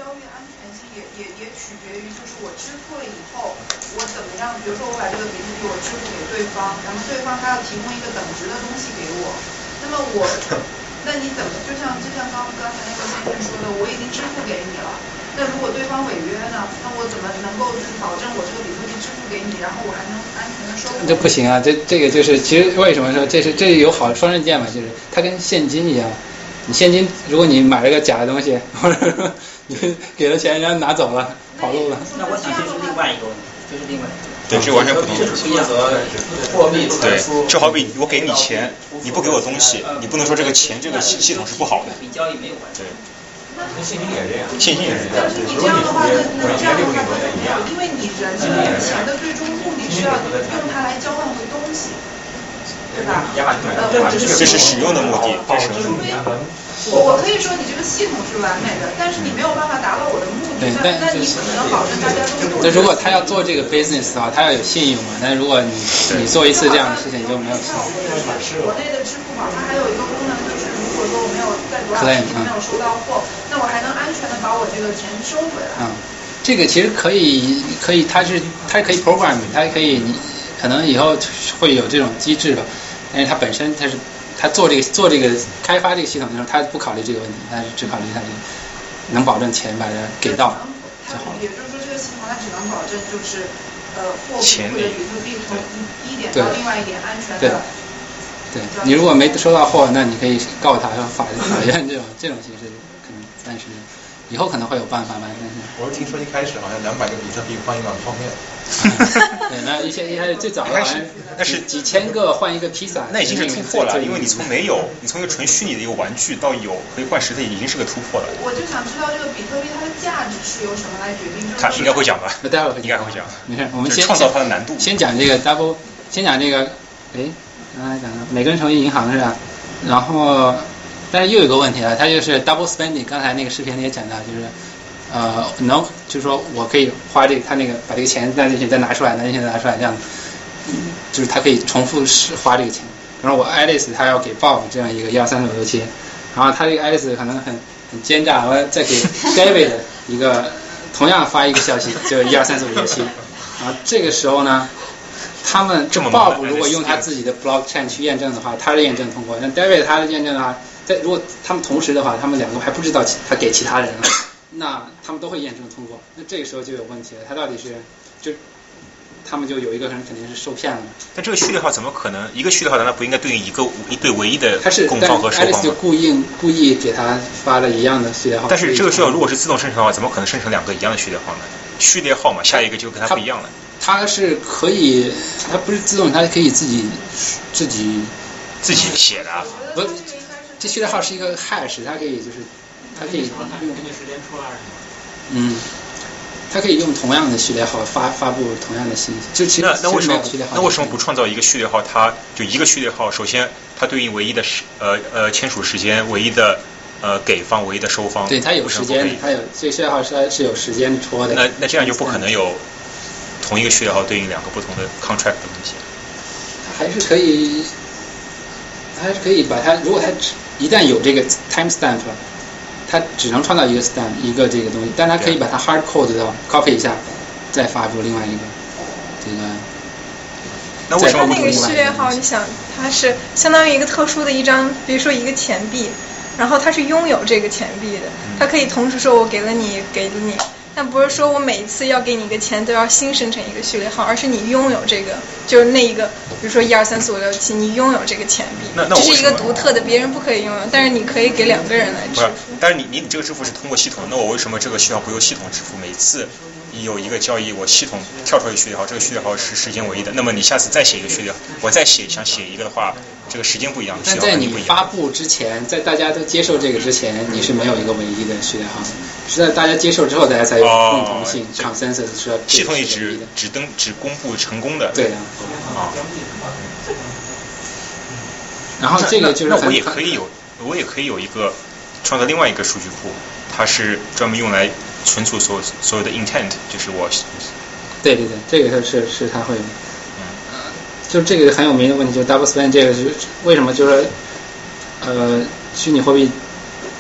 交易的安全性也也也取决于，就是我支付了以后，我怎么样？比如说我把这个比特币我支付给对方，然后对方他要提供一个等值的东西给我，那么我，那你怎么就像就像刚刚才那个先生说的，我已经支付给你了。那如果对方违约呢？那我怎么能够就是保证我这个比特币支付给你，然后我还能安全的收回？ 这不行啊！这这个就是其实为什么说这是这有好双刃剑嘛？就是它跟现金一样，你现金如果你买了个假的东西，或者说你给了钱人家拿走了跑路了， 那我想这是另外一个问题，这是另外一个。 对，是完全不同的。 负责货币对，就好比我给你钱，你不给我东西，你不能说这个钱这个系系统是不好的。 比交易没有关系。 对。 那现金也是这样， 现金也是这样。 但是你这样的话，那那这样的话，因为你人这个钱的最终目的是要用它来交换回东西，对吧？呃， 这是使用的目的，这是。 我我可以说你这个系统是完美的，但是你没有办法达到我的目的，那那你怎么能保证大家都用？ 那如果他要做这个 business 的话，他要有信用嘛。但如果你你做一次这样的事情，你就没有信用。 国内的支付宝它还有一个功能，就是如果说我没有在多少时间没有收到货，那我还能安全的把我这个钱收回来。 嗯，这个其实可以可以，它是它可以 program， 它可以你可能以后会有这种机制吧，但是它本身它是。他做这个做这个开发这个系统的时候，他不考虑这个问题，他是只考虑他这个能保证钱把它给到就好了。 也就是说，这个系统它只能保证就是呃货币或者比特币从一一点到另外一点安全的。 对，对你如果没收到货，那你可以告他，法法院这种这种形式可能暂时以后可能会有办法吧。但是我是听说一开始好像两百个比特币换一碗泡面。 对，那一些一开始最早好像那是几千个换一个披萨， 那已经是突破了，因为你从没有，你从一个纯虚拟的一个玩具到有可以换实体，已经是个突破了。 我就想知道这个比特币它的价值是由什么来决定？ 他应该会讲吧？ 那待会儿应该会讲。 没事，我们先创造它的难度。 先讲这个 double， 先讲这个，哎，刚才讲的每个人成为银行是吧？然后，但是又有个问题啊，它就是 double spending， 刚才那个视频里也讲到，就是。呃，能就是说我可以花这个，他那个把这个钱再进去，再拿出来，拿进去再拿出来，这样，嗯，就是他可以重复是花这个钱。比如说我 Alice 他要给 Bob 这样一个一二三四五六七，然后他这个 Alice 可能很很奸诈，我再给 David 一个同样发一个消息，就一二三四五六七，然后这个时候呢，他们 Bob 如果用他自己的 blockchain 去验证的话，他的验证通过；那 David 他的验证的话，在如果他们同时的话，他们两个还不知道他给其他人了。那他们都会验证通过，那这个时候就有问题了。他到底是就他们就有一个人肯定是受骗了。 但这个序列号怎么可能一个序列号难道不应该对应一个一对唯一的供方和收方吗？ 但是 Alice 就故意故意给他发了一样的序列号。 但是这个序列号如果是自动生成的话，怎么可能生成两个一样的序列号呢？序列号嘛，下一个就跟它不一样了。 它是可以，它不是自动，它可以自己自己自己写的。 不，这序列号是一个 hash， 它可以就是。它可以用根据时间出来是吗？ 嗯，它可以用同样的序列号发发布同样的信息。就其实那那为什么序列号那为什么不创造一个序列号？它就一个序列号，首先它对应唯一的时呃呃签署时间，唯一的呃给方，唯一的收方。 对，它有时间，它有这序列号是是有时间戳的。 那那这样就不可能有同一个序列号对应两个不同的 contract 的东西。 还是可以，还是可以把它，如果它一旦有这个 timestamp。它只能创造一个 stamp 一个这个东西，但它可以把它 hard code 到 copy 一下，再发布另外一个这个。 那为什么它那个序列号，你想，它是相当于一个特殊的一张，比如说一个钱币，然后它是拥有这个钱币的，它可以同时说我给了你，给了你，但不是说我每一次要给你一个钱都要新生成一个序列号，而是你拥有这个，就是那一个，比如说一二三四五六七，你拥有这个钱币， 那那这是一个独特的，别人不可以拥有，但是你可以给两个人来支付。 但是你你这个支付是通过系统，那我为什么这个序列号不由系统支付？每次你有一个交易，我系统跳出一个序列号，这个序列号是时间唯一的。那么你下次再写一个序列号，我再写想写一个的话，这个时间不一样，序列号肯定不一样。 但在你发布之前，在大家都接受这个之前，你是没有一个唯一的序列号的，是在大家接受之后，大家才有共同性、哦、consensus 是要系统里只只登只公布成功的。 对的。 啊。 然后这个就是那我也可以有，我也可以有一个。创造另外一个数据库，它是专门用来存储所所有的 intent， 就是我。 对对对，这个是是它会有。嗯。就这个很有名的问题，就是 double spend 这个是为什么？就是呃，虚拟货币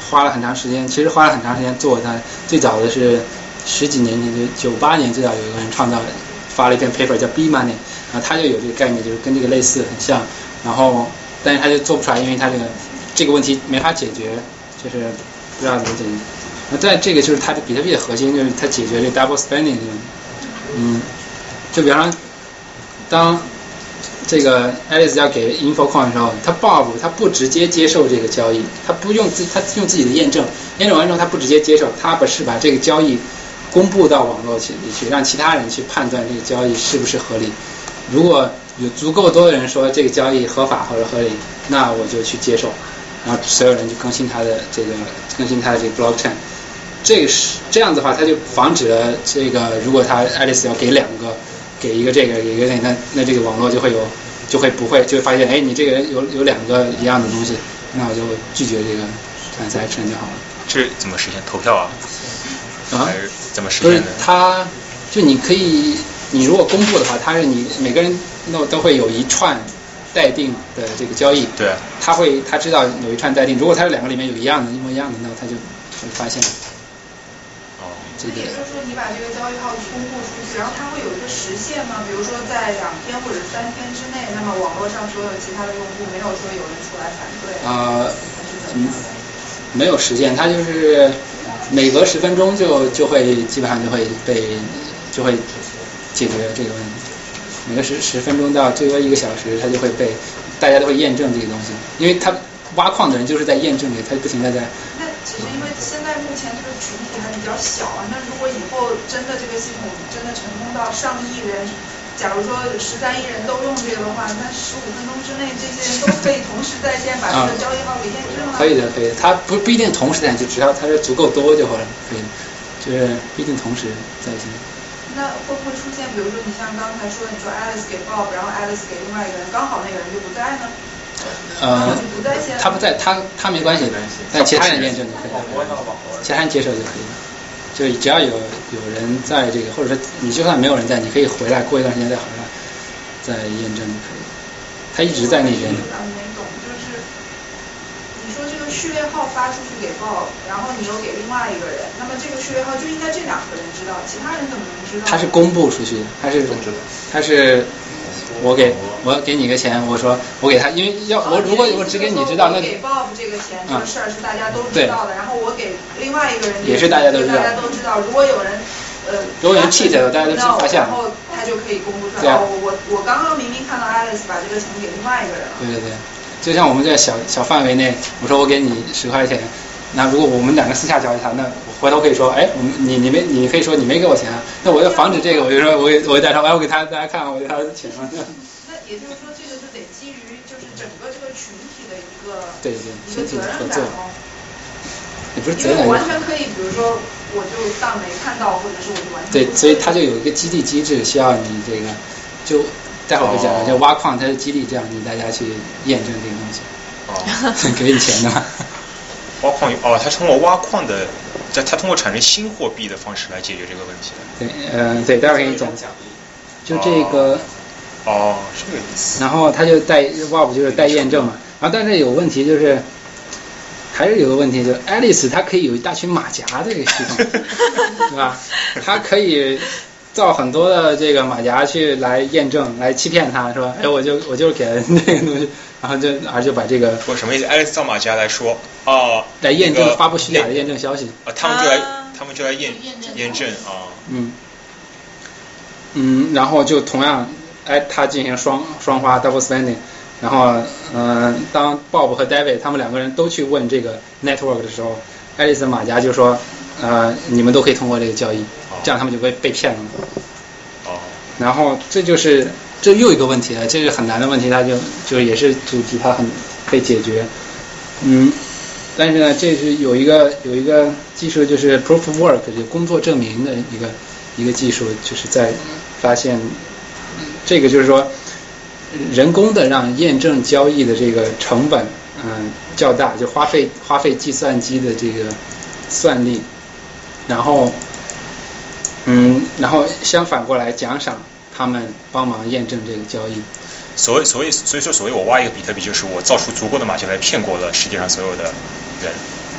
花了很长时间，其实花了很长时间做它。最早的是十几年前，就九八年最早有一个人创造，发了一篇 paper 叫 B Money， 然后他就有这个概念，就是跟这个类似很像，然后但是他就做不出来，因为他这个这个问题没法解决，就是不知道怎么解决。那在这个就是它的比特币的核心，就是它解决这 double spending 这个，嗯，就比方说，当这个 Alice 要给 InfoCoin 的时候，他 Bob 他不直接接受这个交易，他不用自他用自己的验证，验证完之后他不直接接受，他不是把这个交易公布到网络里去，让其他人去判断这个交易是不是合理。如果有足够多的人说这个交易合法或者合理，那我就去接受，然后所有人就更新他的这个更新他的这个 blockchain。这个是这样子的话，他就防止了这个，如果他 Alice 要给两个，给一个这个，给一个那个，那那这个网络就会有，就会不会就会发现，哎，你这个人有有两个一样的东西，那我就拒绝这个 transaction 就好了。 这怎么实现投票啊？ 啊？ 还是怎么实现的？ 他就你可以，你如果公布的话，他是你每个人都都会有一串待定的这个交易。 对。 他会他知道有一串待定，如果他两个里面有一样的，一模一样的，那他就会发现。 这也就是说，你把这个交易号公布出去，然后它会有一个时限吗？比如说在两天或者三天之内，那么网络上所有其他的用户没有说有人出来反对。 呃，嗯，没有时限，它就是每隔十分钟就就会基本上就会被就会解决这个问题。每个十十分钟到最多一个小时，它就会被大家都会验证这个东西，因为它挖矿的人就是在验证这个，他不停的在。 那其实因为现在目前这个群体还比较小啊，那如果以后真的这个系统真的成功到上亿人，假如说十三亿人都用这个的话，那十五分钟之内这些人都可以同时在线把这个交易号给验证了。 可以的，可以的，它不不一定同时在线，就只要它是足够多就好了，可以的，就是不一定同时在线。 那会不会出现，比如说你像刚才说，你说 Alice 给 Bob， 然后 Alice 给另外一个人，刚好那个人就不在呢？ 呃，他不在，他他没关系，但其他人验证就可以了，其他人接受就可以了。就是只要有有人在这个，或者说你就算没有人在，你可以回来，过一段时间再回来再验证就可以了。他一直在那边。 没懂，就是你说这个序列号发出去给 Bob， 然后你又给另外一个人，那么这个序列号就应该这两个人知道，其他人怎么能知道？ 他是公布出去的，他是他是。我给我给你个钱，我说我给他，因为要我如果我只给你知道，那给 Bob 这个钱这个事儿是大家都知道的，然后我给另外一个人也是大家都知道， 大家都知道，如果有人呃如果有人 cheat 了，大家都知发现， 然后他就可以公布出来。哦，我我刚刚明明看到 Alice 把这个钱给另外一个人了。 对对对，就像我们在小小范围内，我说我给你十块钱，那如果我们两个私下交易它，那我回头可以说，哎，我们你你没你可以说你没给我钱啊，那我要防止这个，我就说我给我给大家说，哎，我给他大家看，我给他的钱了。 那也就是说，这个就得基于就是整个这个群体的一个对对一个责任感哦。 也不是责任感， 因为我完全可以，比如说我就当没看到，或者是我就完全对，所以它就有一个激励机制，需要你这个就待会儿会讲的，就挖矿它是激励这样你大家去验证这个东西，哦，给你钱的嘛。 挖矿哦，它通过挖矿的，它通过产生新货币的方式来解决这个问题的。 对，嗯、呃，对，待会儿给你讲。就这个。 哦，是这个意思。 然后它就带 W A P 就是带验证嘛，然后但是有问题就是，还是有个问题，就是 Alice 它可以有一大群马甲的这个系统，对吧？它可以造很多的这个马甲去来验证，来欺骗他，说，哎，我就我就是给了这个东西，然后就而就把这个我什么意思 ？Alice 造马甲来说，哦， 来验证、那个、发布虚假的验证消息， 啊，他们就来他们就来验验证啊， 嗯嗯，然后就同样。哎，他进行双双花 double spending， 然后嗯、呃，当 Bob 和 David 他们两个人都去问这个 network 的时候，爱丽丝马甲就说，呃，你们都可以通过这个交易，这样他们就被被骗了。 哦。 然后这就是这又一个问题了，这是很难的问题，它就就也是阻止它很被解决。嗯，但是呢，这是有一个有一个技术，就是 proof of work 这个工作证明的一个一个技术，就是在发现。这个就是说，人工的让验证交易的这个成本，嗯、呃，较大，就花费花费计算机的这个算力，然后，嗯，然后相反过来奖赏他们帮忙验证这个交易。 所谓所谓所以说所谓我挖一个比特币，就是我造出足够的马甲来骗过了世界上所有的人。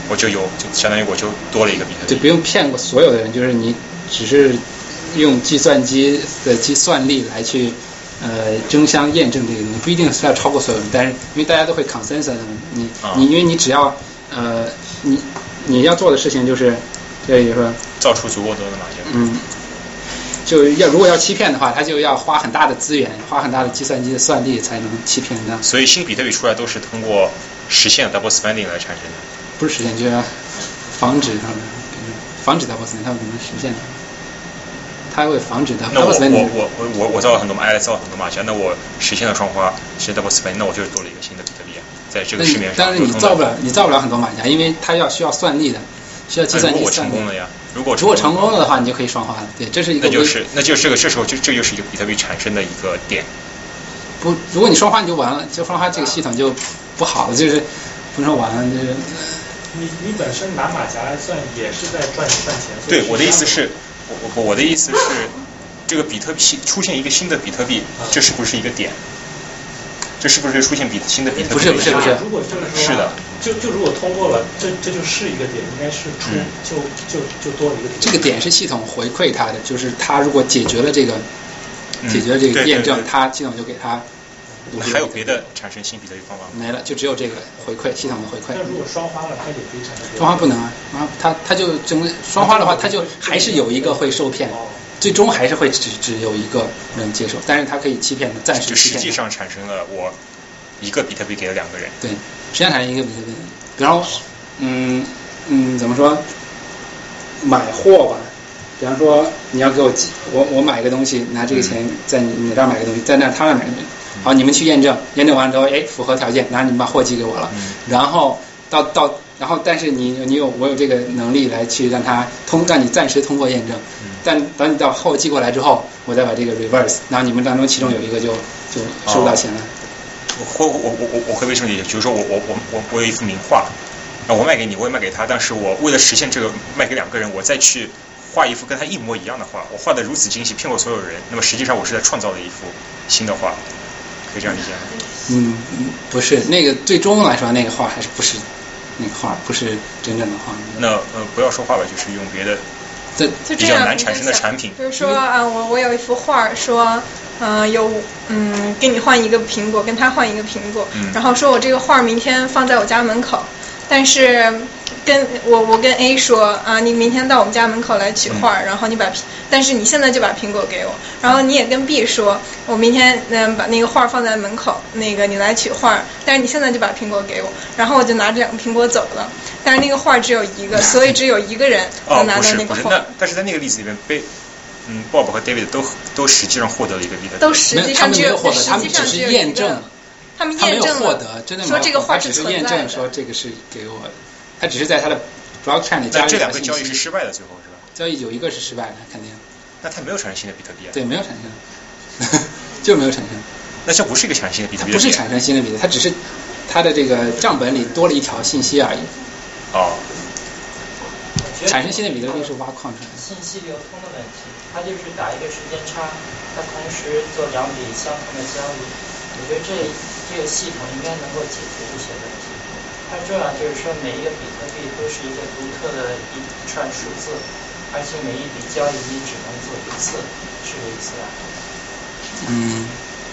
我就有就相当于我就多了一个比特币。 对，不用骗过所有的人，就是你只是用计算机的计算力来去呃争相验证这个东西，不一定是要超过所有人，但是因为大家都会 consensus， 你你因为你只要呃你你要做的事情就是，这就是说造出足够多的马甲。 嗯。就要如果要欺骗的话，他就要花很大的资源，花很大的计算机的算力才能欺骗的。 所以新比特币出来都是通过实现 double spending 来产生的。 不是实现，就要防止他们，防止 double spending， 他们怎么实现的？他会防止 double spending。 那我我我我我造了很多马，爱造了很多马甲，那我实现了双花，实现 double spending， 那我就是多了一个新的比特币啊，在这个市面上。 但是你造不了，你造不了很多马甲，因为它要需要算力的。需要计算机算力。 如果成功了呀，如果如果成功了的话，你就可以双花了。对，这是一个。 那就是那就是这个这时候就这就是一个比特币产生的一个点。 不，如果你双花你就完了，就双花这个系统就不好了，就是不能说完了，就是。 你你本身拿马甲来算也是在赚赚钱。 对，我的意思是，我我我的意思是，这个比特币出现一个新的比特币，这是不是一个点？这是不是出现比新的比特币？ 不是不是不是。 如果就是说，是的。 就就如果通过了，这这就是一个点，应该是出、嗯、就就就多了一个点。 这个点是系统回馈它的，就是它如果解决了这个、嗯、解决了这个验证， 对对对它系统就给它。 还有别的产生新比特币方法吗？ 没了，就只有这个回馈系统的回馈。 那如果双花了，它也可以产生。 双花不能啊，它它就整个双花的话，它就还是有一个会受骗。最终还是会只只有一个人接受，但是它可以欺骗的，暂时欺骗。 就实际上产生了我一个比特币给了两个人。 对，实际上产生一个比特币。比方说，嗯嗯，怎么说？买货吧，比方说你要给我我我买个东西，拿这个钱在你你这儿买个东西，在那他那儿买个东西，好，你们去验证，验证完了之后，哎，符合条件，然后你们把货寄给我了，然后到到。然后，但是你你有我有这个能力来去让它通，让你暂时通过验证。但等你到货寄过来之后，我再把这个 reverse， 然后你们当中其中有一个就就收不到钱了。 我我我我我会为什么理解？比如说我我我我我有一幅名画，那我卖给你，我也卖给他，但是我为了实现这个卖给两个人，我再去画一幅跟他一模一样的画，我画的如此精细，骗过所有人。那么实际上我是在创造了一幅新的画，可以这样理解吗？ 嗯，不是，那个最终来说，那个画还是不是。那个画不是真正的画。 那呃，不要说画吧，就是用别的比较难产生的产品。 比如说啊，我我有一幅画，说，呃，有嗯，给你换一个苹果，跟他换一个苹果， 嗯、 然后说我这个画明天放在我家门口，但是跟我我跟 A 说啊，你明天到我们家门口来取画，嗯、然后你把，但是你现在就把苹果给我，然后你也跟 B 说，我明天嗯把那个画放在门口，那个你来取画，但是你现在就把苹果给我，然后我就拿着两个苹果走了，但是那个画只有一个，所以只有一个人能拿到那个画。 哦，不是不是，那但是在那个例子里面被。嗯 ，Bob 和 David 都都实际上获得了一个比特币， 都实际上只有获得，他们只是验证， 他们验证获得，真的说这个画是存在的，只是验证说这个是给我的，他只是在他的 blockchain 里加入。 那这两个交易是失败的，最后是吧？ 交易有一个是失败的，肯定。 那他没有产生新的比特币啊？ 对，没有产生，就没有产生。 那这不是一个产生新的比特币？ 不是产生新的比特币，它只是它的这个账本里多了一条信息而已。 哦。 产生新的比特币是挖矿出来的。 信息流通的问题，它就是打一个时间差，它同时做两笔相同的交易。我觉得这这个系统应该能够解决这些问题。它重要就是说，每一个比特币都是一个独特的一串数字，而且每一笔交易你只能做一次，是这意思吧？ 嗯。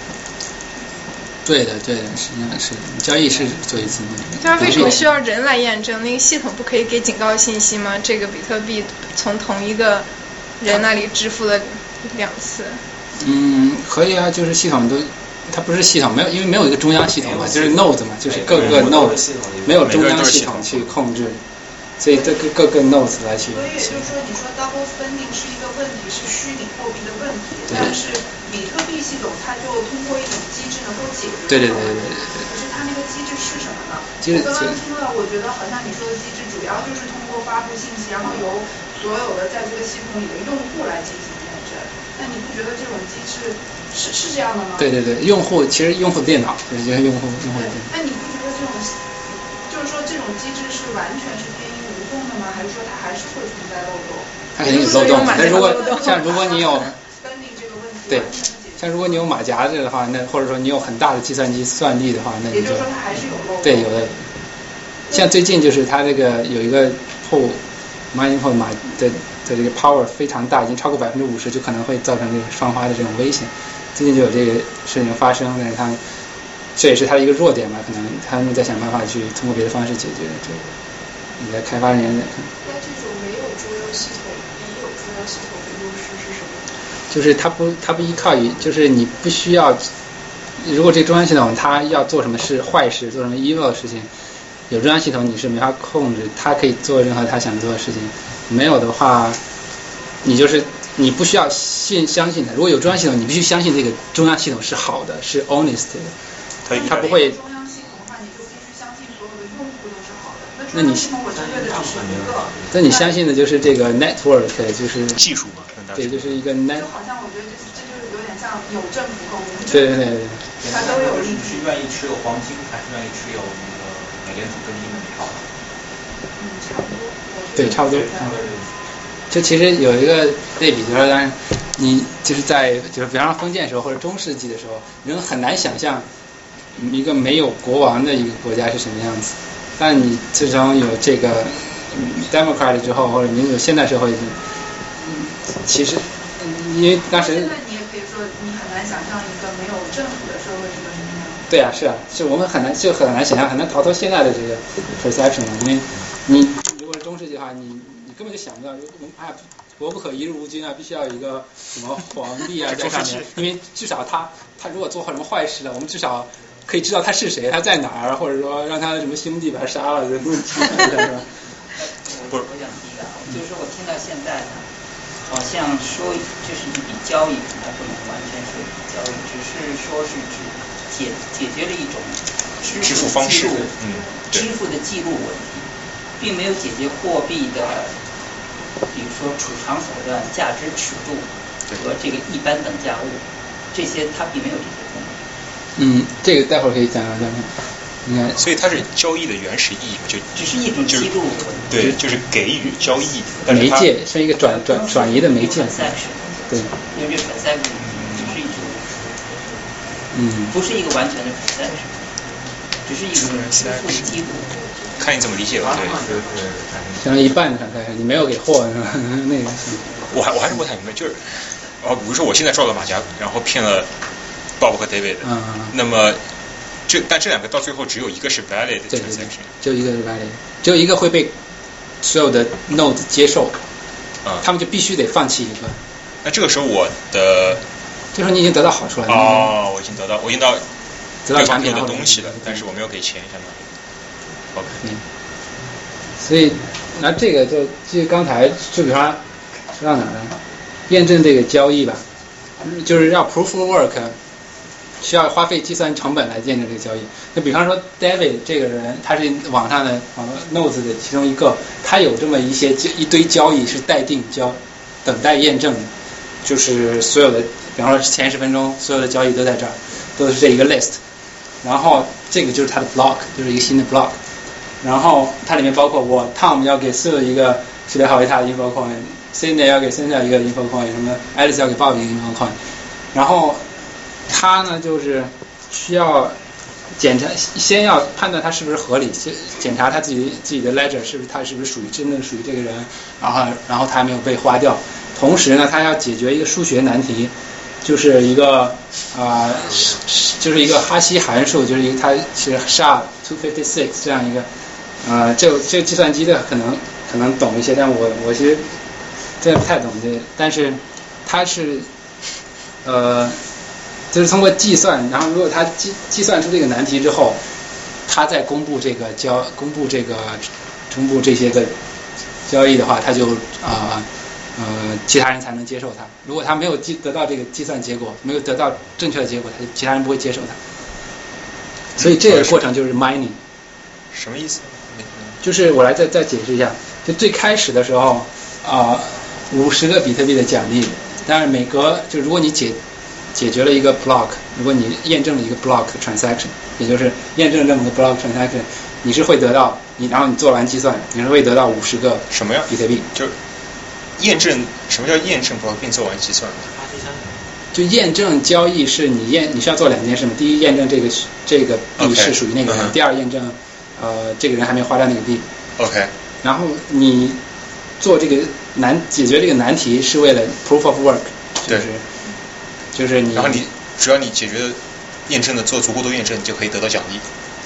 对的，对的，实际上是交易是做一次。 它为什么需要人来验证？那个系统不可以给警告信息吗？这个比特币从同一个人那里支付了两次。 嗯，可以啊，就是系统都，它不是系统，没有，因为没有一个中央系统嘛，就是 node 嘛，就是各个 node， 没有中央系统去控制，所以这个各个 nodes 来去。 所以也就是说，你说 double spending 是一个问题，是虚拟货币的问题，但是比特币系统它就通过一种机制能够解决。 对对对对对对。 可是它那个机制是什么呢？ 我刚刚听到，我觉得好像你说的机制主要就是通过发布信息，然后由所有的在这个系统里的用户来进行验证。那你不觉得这种机制是是这样的吗？ 对对对，用户其实用户电脑，就是用户用户的电脑。 那你不觉得这种就是说这种机制是完全是天衣无缝的吗？还是说它还是会存在漏洞？ 它肯定有漏洞，但如果像如果你有对，像如果你有马甲这个的话，那或者说你有很大的计算机算力的话，那你就也就是说它还是有漏洞。 对，有的。其像最近就是它这个有一个 pool mining pool 码的的这个 power 非常大，已经超过百分之五十，就可能会造成这个双花的这种危险。最近就有这个事情发生，但是它这也是它的一个弱点吧，可能他们在想办法去通过别的方式解决这个。你在开发人员在看。 那这种没有中央系统，也有中央系统的优势是什么？ 就是它不，它不依靠于，就是你不需要，如果这中央系统它要做什么事坏事，做什么 evil 的事情，有中央系统你是没法控制，它可以做任何它想做的事情。没有的话，你就是你不需要信相信它。如果有中央系统，你必须相信这个中央系统是好的，是 honest 的，它不会。 中央系统的话，你就必须相信所有的用户都是好的。 那你系统我针对的只是一个。 那你相信的就是这个 network， 就是技术嘛？ 对，就是一个 net。 就好像我觉得这这就是有点像有政府和无政府。 对对对对。 它都有利。是愿意持有黄金，还是愿意持有那个美联储跟英美钞？ 嗯，差不多。 对，差不多。就其实有一个类比，就是当然你就是在就是比方说封建时候或者中世纪的时候，人很难想象一个没有国王的一个国家是什么样子。但你自从有这个 democrat 之后，或者民主现代社会，其实因为当时现在你也可以说你很难想象一个没有政府的社会是个什么样。 对啊，是啊，是我们很难就很难想象，很难逃脱现在的这个 perception 了，因为你如果是中世纪的话，你你根本就想不到，哎，国不可一日无君啊，必须要有一个什么皇帝啊在上面，因为至少他他如果做什么坏事了，我们至少可以知道他是谁，他在哪儿，或者说让他的什么兄弟把他杀了，这不是不是。我想提一个，就是说我听到现在呢，好像说这是一笔交易，还不能完全说一笔交易，只是说是指解解决了一种支付方式，嗯， 支付的记录问题，并没有解决货币的，比如说储藏手段、价值尺度和这个一般等价物，这些它并没有这些功能。 嗯，这个待会儿可以讲讲讲。应该， 所以它是交易的原始意义，就只是一种记录， 对，就是给予交易， 媒介是一个转转转移的媒介，对， 因为这 transaction 只是一种， 嗯， 不是一个完全的 transaction， 只是一种支付的记录。 看你怎么理解吧，对， 相当于一半的 transaction， 你没有给货是吧？那个， 我还我还是不太明白，就是，哦，比如说我现在抓到马甲，然后骗了 Bob 和 David， 嗯， 那么。这但这两个到最后只有一个是 valid transaction， 就一个是 valid， 只有一个会被所有的 node 接受， 啊、嗯， 他们就必须得放弃一个。 那这个时候我的， 这时候你已经得到好处了。 哦，我已经得到，我已经到得到产品的东西了，但是我没有给钱，相当于。OK。 嗯。所以，那这个就就刚才就比方说到哪儿了？验证这个交易吧，就是要 proof of work。需要花费计算成本来验证这个交易。那比方说 David 这个人，他是网上的网络 nodes 的其中一个，他有这么一些一堆交易是待定交，等待验证的，就是所有的，比方说前十分钟所有的交易都在这儿，都是这一个 list。然后这个就是它的 block， 就是一个新的 block。然后它里面包括我 Tom 要给 Sue 一个识别好为他的 info coin，Cindy 要给 Cindy 一个 info coin， 什么 Alice 要给 Bob 一个 info coin， 然后。他呢，就是需要检查，先要判断他是不是合理，先检查他自己自己的 ledger 是不是他是不是属于真正属于这个人，然后然后他还没有被花掉。同时呢，他要解决一个数学难题，就是一个啊、呃，就是一个哈希函数，就是一个它是 S H A two fifty-six 这样一个，呃，这这计算机的可能可能懂一些，但我我其实真的不太懂这个，但是它是呃。就是通过计算，然后如果他计计算出这个难题之后，他再公布这个交公布这个公布这些个交易的话，他就啊 呃, 呃其他人才能接受他。如果他没有计得到这个计算结果，没有得到正确的结果，他其他人不会接受他。所以这个过程就是 mining。 什么意思？ 就是我来再再解释一下，就最开始的时候啊，五十个比特币的奖励，但是每隔就如果你解解决了一个 block， 如果你验证了一个 block transaction， 也就是验证这么个 block transaction， 你是会得到你，然后你做完计算，你是会得到五十个什么呀？ 比特币。 就验证什么叫验证 block 并做完计算？ 就验证交易是你验你需要做两件事嘛，第一验证这个这个币是属于那个人， okay, 第二验证呃，这个人还没花掉那个币。 OK。 然后你做这个难解决这个难题是为了 proof of work， 就是就是你。 然后你只要你解决验证的做足够多验证，你就可以得到奖励。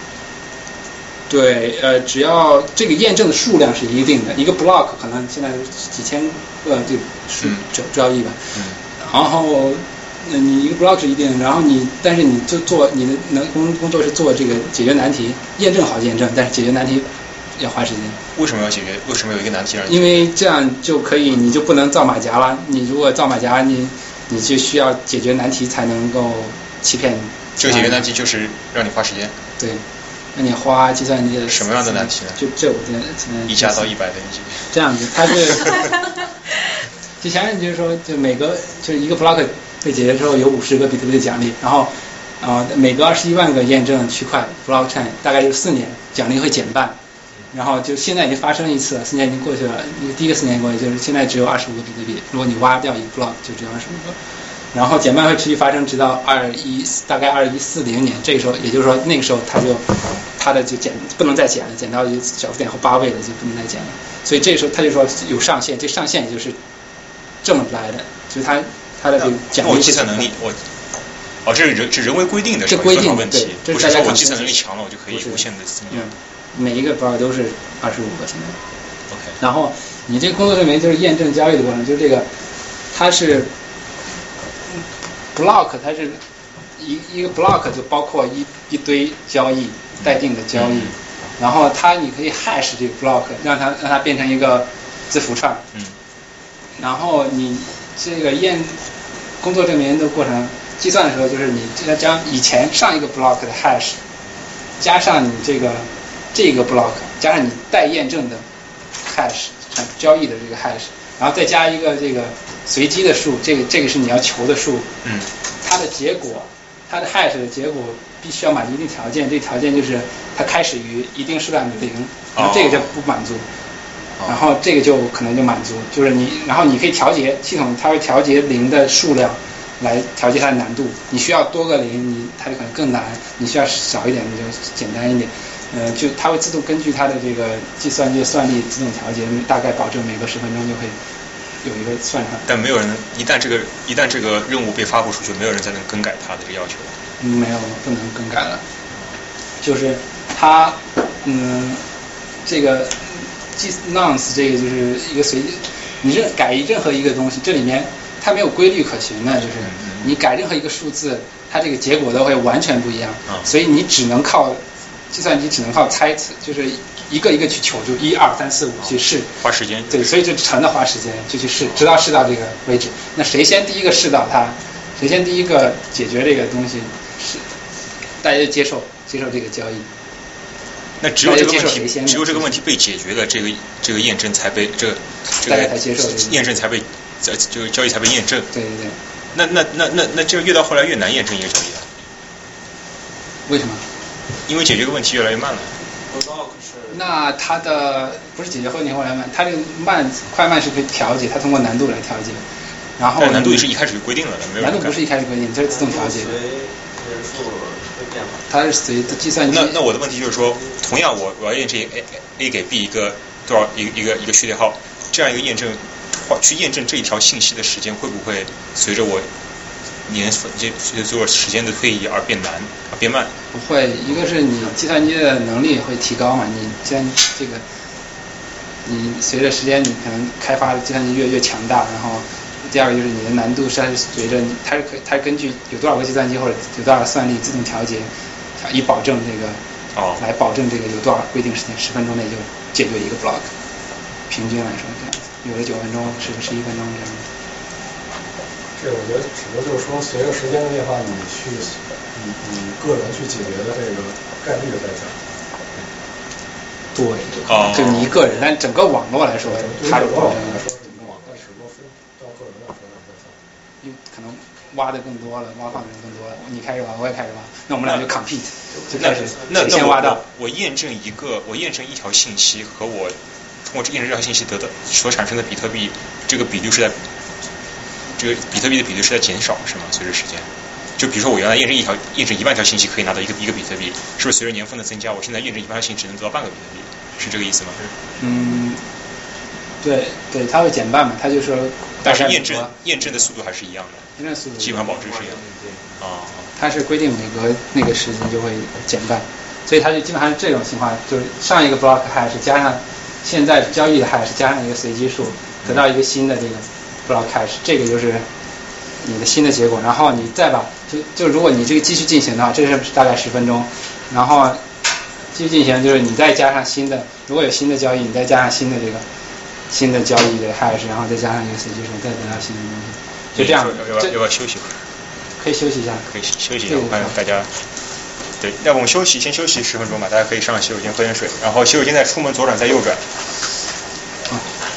对，呃，只要这个验证的数量是一定的，一个 block 可能现在几千个这个数交交易吧。 嗯。 然后，那你一个 block 是一定，然后你但是你就做你的能工工作是做这个解决难题，验证好验证，但是解决难题要花时间。 为什么要解决？为什么有一个难题让你？ 因为这样就可以，你就不能造马甲了。你如果造马甲，你你就需要解决难题才能够欺骗。 这个解决难题就是让你花时间。 对。那你花计算机的什么样的难题呢？ 就这我现在一加到一百等于几？ 这样子，它是之前就是说，就每个就是一个 block 被解决之后有五十个比特币的奖励，然后啊、呃、每隔二十一万个验证区块 blockchain 大概就是四年，奖励会减半，然后就现在已经发生一次了，四年已经过去了，第一个四年过去，就是现在只有二十五个比特币，如果你挖掉一个 block 就只有二十五个。然后减半会持续发生，直到二一大概二一四零年，这个时候也就是说那个时候它就它的就减不能再减了，减到一个小数点后八位了就不能再减了。所以这个时候他就说有上限，这上限也就是这么来的，就是它它的这个奖励。 我计算能力我哦这是人这人为规定的， 这规定问题， 对， 不是说我计算能力强了我就可以无限的增加。 嗯，每一个 block 都是二十五个现在。 OK。 然后你这个工作证明就是验证交易的过程，就是这个它是。block 它是一一个 block 就包括一一堆交易待定的交易，嗯、然后它你可以 hash 这个 block 让它让它变成一个字符串， 嗯， 然后你这个验工作证明的过程计算的时候，就是你要将以前上一个 block 的 hash 加上你这个这个 block 加上你待验证的 hash 交易的这个 hash。然后再加一个这个随机的数，这个这个是你要求的数， 嗯， 它的结果，它的 hash 的结果必须要满足一定条件，这个条件就是它开始于一定数量的零，然后这个就不满足， 哦、 然后这个就可能就满足，就是你，然后你可以调节系统，它会调节零的数量来调节它的难度，你需要多个零，你它就可能更难，你需要少一点，你就简单一点。呃，就它会自动根据它的这个计算机算力自动调节，大概保证每隔十分钟就会有一个算上。 但没有人一旦这个一旦这个任务被发布出去，没有人再能更改它的这个要求。 嗯，没有，不能更改了。就是它，嗯，这个计 nonce 这个就是一个随机，你任改任何一个东西，这里面它没有规律可循的，就是你改任何一个数字，它这个结果都会完全不一样， 嗯、 所以你只能靠。计算机只能靠猜测，就是一个一个去求助，一二三四五去试， 花时间。 对，所以就成了花时间，就去试，直到试到这个为止。那谁先第一个试到它，谁先第一个解决这个东西，是大家就接受接受这个交易。 那只有这个问题，只有这个问题被解决了，这个这个验证才被这个这个才接受验证才被这这个交易才被验证。 对对对。 那那那那那这越到后来越难验证一个交易了。 为什么？ 因为解决个问题越来越慢了。 那它的不是解决问题越来越慢，它这个慢快慢是可以调节，它通过难度来调节。然后难度也是一开始就规定了的，没有难度不是一开始规定，这是自动调节的。它是随计算机。 那那我的问题就是说，同样我我要验证 A A 给 B 一个多少一个一个一个序列号，这样一个验证，去验证这一条信息的时间会不会随着我年这随着时间的推移而变难而变慢？ 不会，一个是你计算机的能力会提高嘛，你既然这个，你随着时间你可能开发的计算机越越强大，然后第二个就是你的难度是随着你它是可它是根据有多少个计算机或者有多少个算力自动调节，以保证这个哦来保证这个有多少规定时间，十分钟内就解决一个 block， 平均来说这样子，有的九分钟，十十一分钟这样子。 这我觉得只不过就是说，随着时间的变化，你去你你个人去解决的这个概率在降。 对， 哦， 就你一个人，但整个网络来说，它是保证来说是一个网，但只不过分到个人来说在降。 因为可能挖的更多了，挖矿的人更多了，你开始挖，我也开始挖，那我们俩就 compete， 就开始那先挖到。 我验证一个，我验证一条信息和我通过验证这条信息得到所产生的比特币，这个比率是在。这个比特币的比例是在减少，是吗？随着时间， 就比如说我原来验证一条验证一万条信息可以拿到一个一个比特币，是不是随着年份的增加，我现在验证一万条信息只能得到半个比特币？是这个意思吗？ 嗯，对对，它会减半嘛，它就说。 但是验证验证的速度还是一样的， 验证速度基本上保值是一样的。啊、哦， 它是规定每隔那个时间就会减半，所以它就基本上是这种情况，就是上一个 block hash 加上现在交易的 hash 加上一个随机数，得到一个新的这个 block hash， 这个就是你的新的结果。然后你再把就就如果你这个继续进行的话，这是大概十分钟，然后继续进行就是你再加上新的，如果有新的交易，你再加上新的这个。新的交易的 hash， 然后再加上一个随机数，再得到新的东西，就这样。 要不要要不要休息会儿？ 可以休息一下。 可以休息一下，我看大家。对，要不我们休息，先休息十分钟吧，大家可以上洗手间喝点水，然后洗手间再出门左转再右转。 嗯。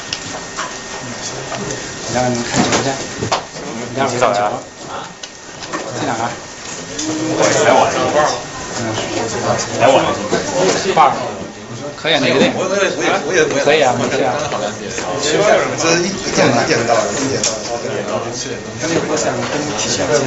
你让你们看球去。你让我们看球。在哪儿？ 来晚了。 嗯。 来晚了。 爸。可以啊，哪个队？ 我我也我也我也我也可以啊，没事啊。 这一一点一点到，一点到，一点到，四点钟。 那个我想跟你提前。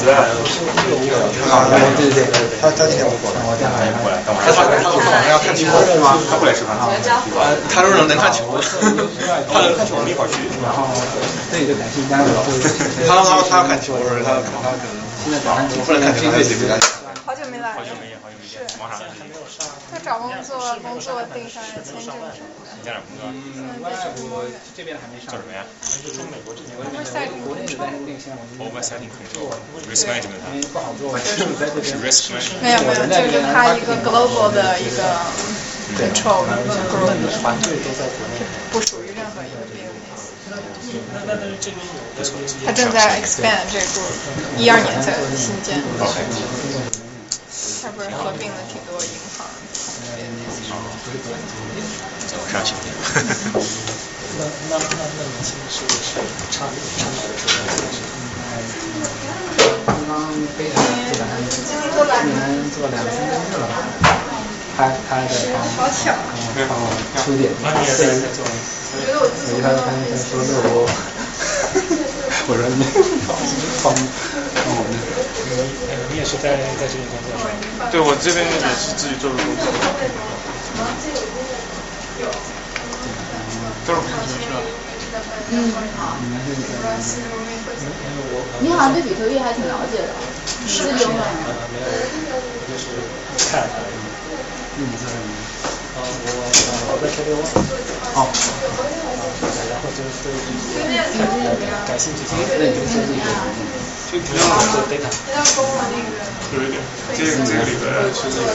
啊，对对对，他他今天不过来， 我这样来过来。 他他他晚上要看球是吗？ 他不来吃饭。 呃，他说能看球， 他能看球，我们一会儿去。 然后这个就感谢大家。 他他他要看球，他他可能现在早上不能看球，他自己不干。 好久没来。 好久没见，好久没见。忙啥呢？ 在找工作，工作订上签证什么的。 你在哪工作？ 嗯，我这边还没上。 叫什么呀？ 是从美国这边。国内的那个现在我们。 Oversighting control, risk management。 因为不好做， 是 risk management。 没有没有，就是他一个 global 的一个 control group，不属于任何一个 business。他正在 expand 这个 group， 一二年才新建。他不是合并了挺多银行。 怎么上新店？ 那那那那你现在是是差别差别是什么？ 刚刚非常基本上今年做两三个月了吧，拍拍的好巧， 帮我出点，私人做，我一看他他说乐我，我说你帮帮我呢。 你也是在在这里工作是吧？ 对，我这边也是自己做的工作。都是不上学是吧？ 嗯。你好像对比特币还挺了解的， 是自己用吗？ 没有，我就是看而已。 你做什么？ 啊，我我在车流。 哦。 然后就是对感兴趣， 那你就先自己做。 就不用做 data。 有一点，这个这个里边是这个，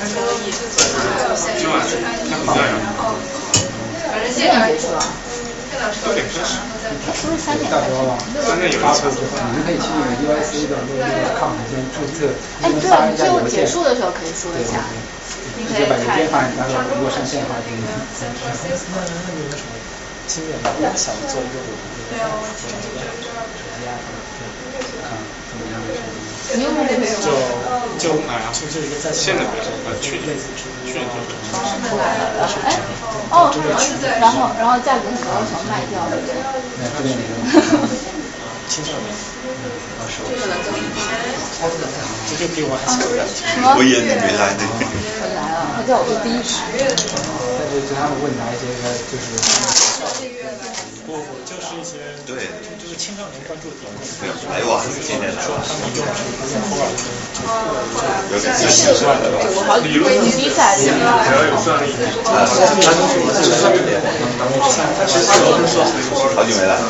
今晚那好像反正现在是吧？ 六点开始。 是不是三点到时候吧， 三点有一次。 你们可以去那个 U I C 的那个 account 先注册， 哎，对， 发一下就邮件。 结束的时候可以说一下。你可以直接把邮看件发你，到时候如果上线的话，就那那你有什么经验吗？我想做一个我的那个手机 app， 看怎么样的手机。 你用的没有？ 就就就就一个在现在不是，呃，去年去年就是。 哎，哦，然后然后价格很高，想卖掉，对不对？ 那这边那个青少年， 这个了就这就比我还小两岁。 我也没来呢。 我来了，他叫我做第一排。 但是就他们问答一些个就是不不，就是一些对， 就是青少年关注点。 来晚了，今天来说他们用这个托尔金， 有点习惯了吧？ 我好几回你比赛的。 只要有算力。 啊，他都是自己的。其实我是说，好久没来。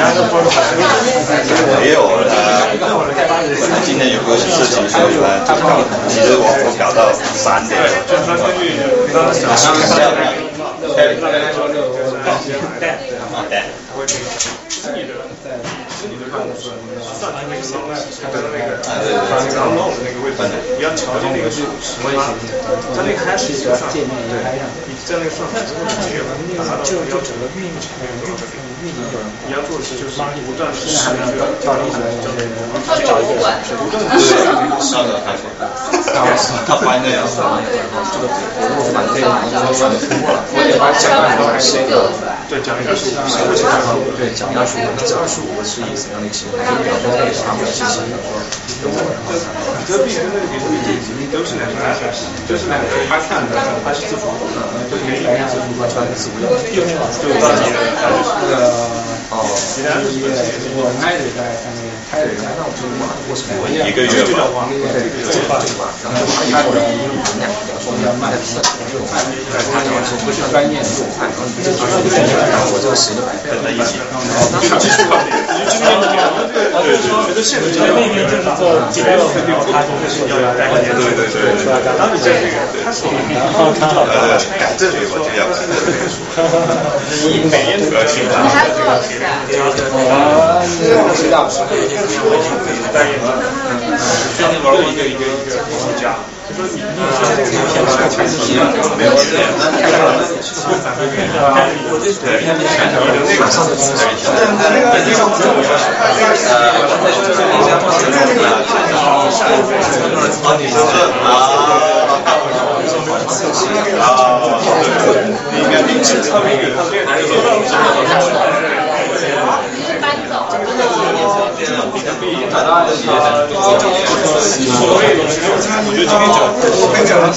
没有他，今天有个事情，所以呢，其实我我搞到三点。 就是说根据刚刚讲的。 对，刚才说这个带带，会自己的在自己的办公室算他那个老外，他的那个反正弄的那个位置，你要调节那个是什么？它那个还是主要界面也开上，你在那个算法之后去了， 就就整个运营运营运营有人， 你要做的是就是不断的试那个调整出来就是找一个不断的对，上个开始，他翻的呀， 这个我把这个我算的通过了，我也把讲的都还是那个对讲一个是，我对，讲二十五，那这二十五个是以什么样的一个形态？就比方说这个啥表信息，比方说用户，然后比特币跟那个比特币这几都是两个，就是两个他看的，他是自主的，就可以来自主专专自主的，就到底那个哦，其他一页我卖的在上面开的，那我就我是我一个月吧，对，这个吧，然后他有人说要卖的便宜，就卖，他要是不是专业的，然后你这个然后我这个时间白费了一起，然后那他基础考虑，基础考虑，对对，觉得现在那边就是做几百万，然后他就是要要带个年，对对对，然后你这个，然后看好的，改正对吧？这样，你每年都要去看，你还多少个钱？啊，知道是。但是，嗯，专门玩过一个一个一个艺术家。就说你你现在这个片子全是没有钱，那太大了，我这对片子全是那个上次是那个那个不是我说是呃，就是那些东西啊，你说啊啊，应该并是特别有特别的，搬走。找到所谓的，我觉得今天讲，我跟你讲，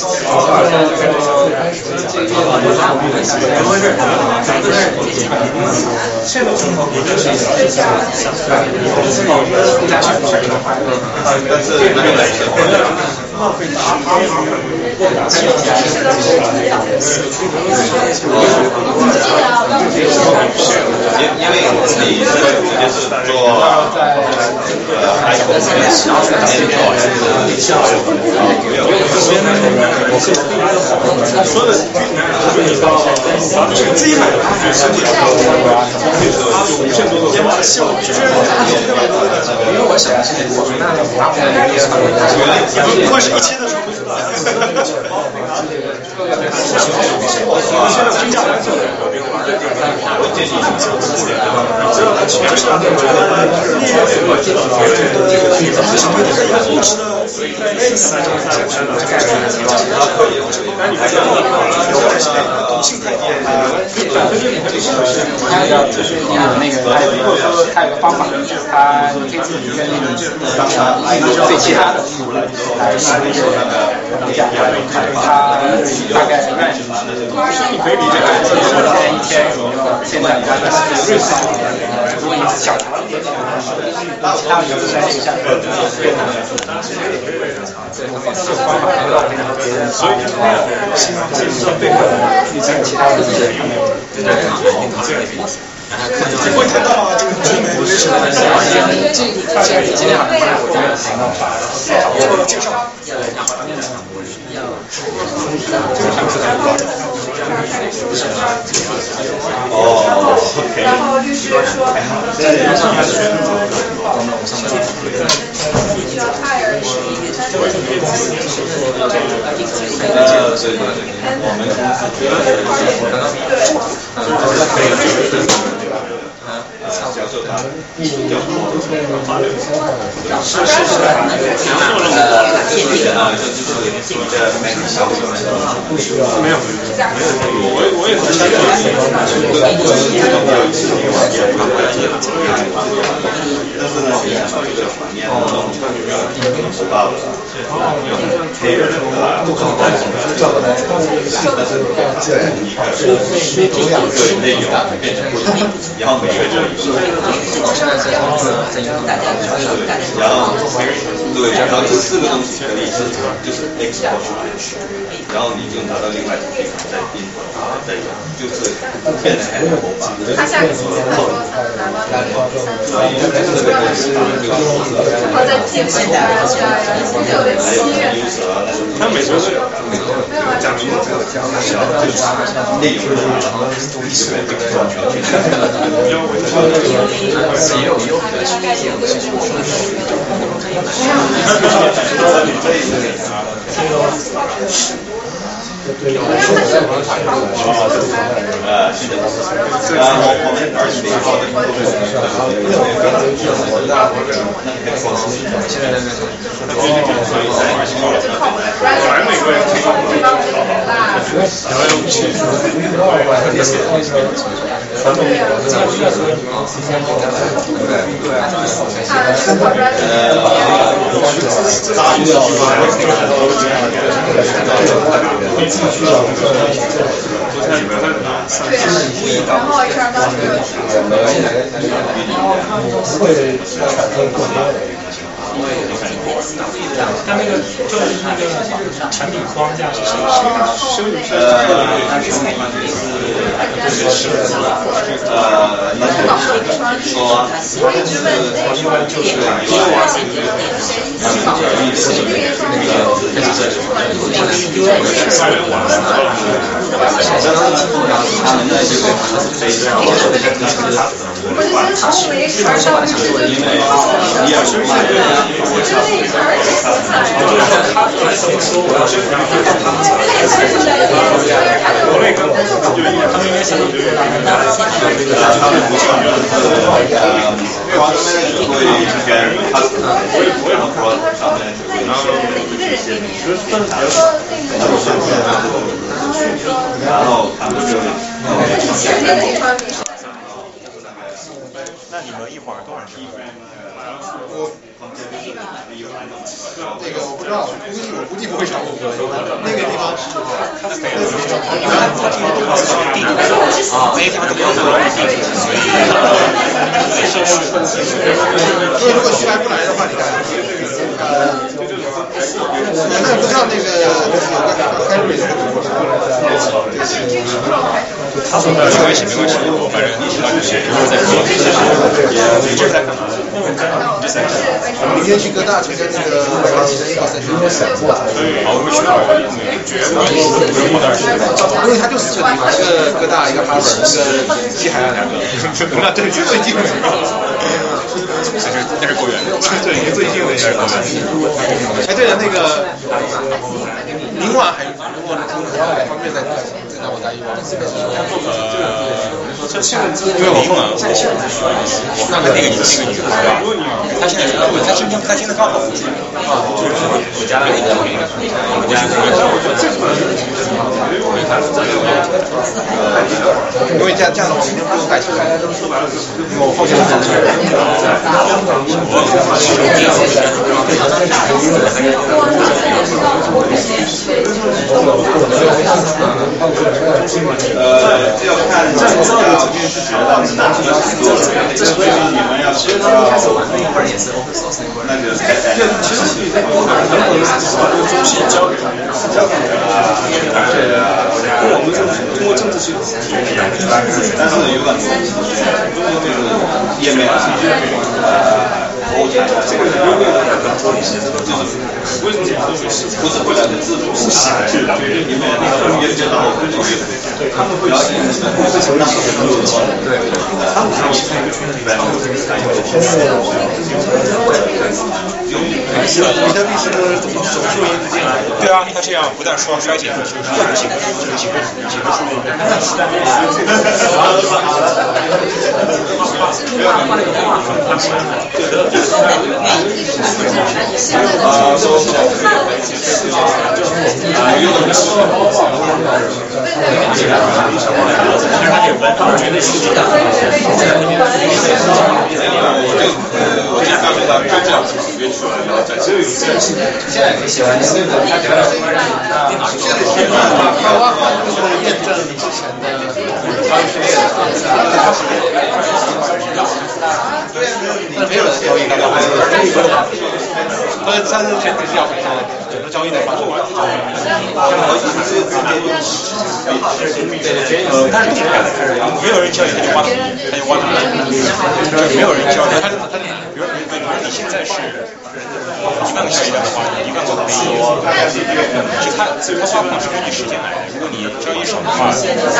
怎么回事？现在正好我就是但是那个来说。浪费大因为你是直接是做呃还有小的面做他说的是你到自己买的实际上就无限多的效果，因为我想的是我们那个打火的也会是一千的时候不知道。现在评价来说，我建议你想互联网，只要它全是那个就是你有那个，还有一个还有一个方法，就是他可以自己跟那个对其他的服务来来拿那个价格，他大概卖什么？你可以理解为现在一天现在大概是瑞士如果你是小茶，其他的就是在那个价格更所以希望这是对你在其他的这些你会看到这个中国是这这今天好像我这边谈到法了，介绍哦， 然后律师说，这个人需要 hire 是一个单位，我们销售他是是是， 呃，建立的啊，就是你的媒体销售没有，我我也是相信但是呢，现在这个场面呢，知道了，可以啊，不可能叫的来，但是对一个对内容变成不同，然后每个就一个，然后对，然后这四个东西可以是就是 export 出来，然后你就拿到另外一个地方再 import 再用，就是变成很模板。 他下个星期他说他能拿到那个三十万，然后再寄回来，对啊，星期六的七月。 他每周是没有啊， 讲明这个讲就是内容的东西这个完全去也有也有的是这样的技术说是对，呃，是的，然后我们而且说的部分是我那我这那个说现在那个所以本来美国也可以传统的这个需要说你们提前给他们对对啊，大需要需要然后 H R 当时就提出会产生更多的。 它那个就是那个产品框架是谁修理是呃，是呃，那就是说， 我一直问那说这个因为我是觉得那个谁洗澡，那边说那个我就先从我们 H R 上去就因为你也是卖的，我觉得那一层儿挺色彩的。就是说他本来怎么说，我要是他们他们国内跟就他们应该想的就是大概大概现在这个他们不像会跟 customer 然后说上面就会一个人给你， 然后他们就那你们一会儿多少人？ 我那个我不知道，估计我估计不会超过那个地方是，一般他这个地方是地图啊，那些地方都不用做。所以如果徐来不来的话，你看，呃，那不知道那个开瑞的他说没关系没关系，我反正一会儿就是一会儿再说。你这是在干嘛？ 明天去哥大去跟那个长期的一个赛事。 好，我们去哪儿？ 因为他就四个地方，一个哥大，一个哈佛，一个西海岸两个。那对，就最近的。 那是那是够远的， 对，最近的是够远。哎，对了，那个明晚还如果方便再再让我带一碗。 呃，因为我明晚我我看看那个那个女的啊，她现在是她今天她今天刚好复出啊，就是我家那个我家因为这样这样的话，明天不用带球，因为我后天上去。 呃，这要看这个要学到是哪些程度，这所以你们要学到那个其实是在过程中中心交给交给我们是通过政治去但是有很多这个页面呃服务台这个优惠的就是为什么不是为了自主是因为那个也知道对他们会了解会承担对他们是一个圈子里面比特币是怎么手术因子进来的？ 对啊，它这样不但说衰减，就是几个几个几个几个数据。 啊，说我这大学到就这样子约出来，然后在这里现在可以写完那个他觉得电脑现在现在开挖矿就是验证之前的交易序列的，但没有人交易大概还有但是但是前提是要回上整个交易的话，呃，但是没有人交易他就挖，他就挖土，就没有人交易他他比如比如你现在是一万个交易量的话，一万个可以，就他他挖矿是根据时间来的，如果你交易少的话，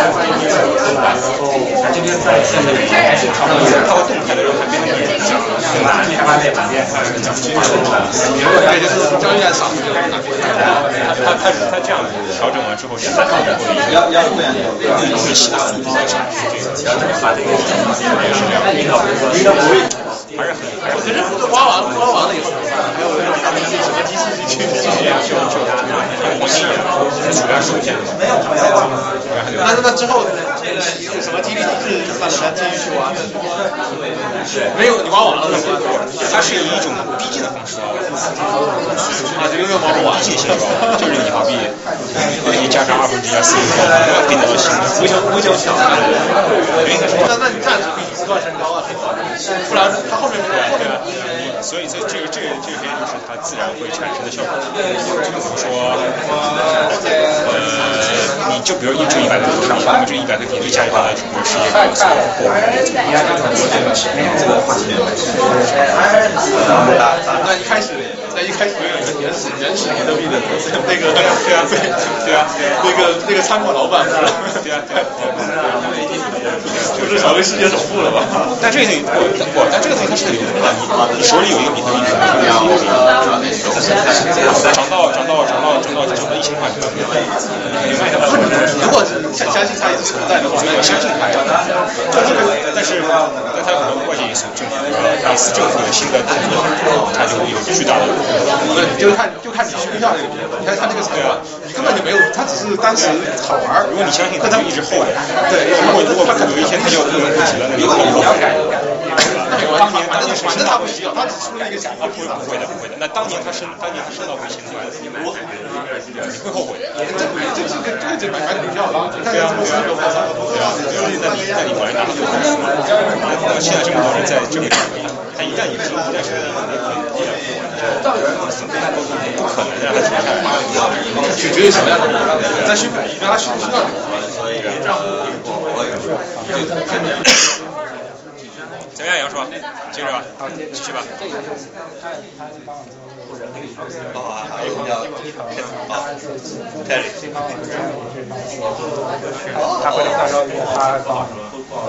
他会动态的让它变成你讲，开发类版面， 对，就是交易量少， 他他他这样调整完之后，现在要要不然有东西其他的在产是这个，发这个也是这样， 应该不会， 还是很， 我觉得挖完挖完了以后，还有什么机器去去去就就。 黄金眼，主要是这样的。 没有没有。那那之后有什么激励机制让大家继续去玩？没有，你玩完了是吧？ 它是以一种逼近的方式玩， 啊，就永远玩不完。 逼近性高，就是你好比你加上二分之一、四分之一，可以得到新的。 无穷无穷小。那那你暂时比不断升高啊，不然它后面没有。 对啊，所以这这个这个这个边就是它自然会产生的效果。比如说，呃，你就比如一这一百个头上，那么这一百个点对加一块来说，是一个高速。 那一开始，那一开始有一个原始原始比特币的那个，对啊对对啊，那个那个餐馆老板是吧？ 对啊对啊， 就是成为世界首富了吧？ 但这个东西不不，但这个东西它是流通的，你你手里有一个比特币，涨到涨到涨到涨到涨到一千块，你卖它。 如果相相信它也是存在的话， 我相信它呀。但是但它有很多外界因素，政府类似政府的新的动作，它就有巨大的。 就是看就看你需不需要这个币，你看它这个财啊，你根本就没有，它只是当时好玩。 如果你相信它，就一直后悔。 对， 如果如果它可能有一天它就不能不及了，那你后悔改。当年当年是反正他不需要，他只出了一个想法。 不会不会的不会的。那当年他升当年他升到五千块，你会后悔的。 这这这跟这个这买买股票了，你看这么四个包三个多， 对啊对啊，那你那你果然拿到最好的。那现在这么多人在这里，他一旦你是一旦是不可能让他停下来。 取决于什么样的人，在需让他需需要你。 怎么样，杨叔？接着吧，继续吧。 好啊，好，要好，开始。 他会到时候他帮好，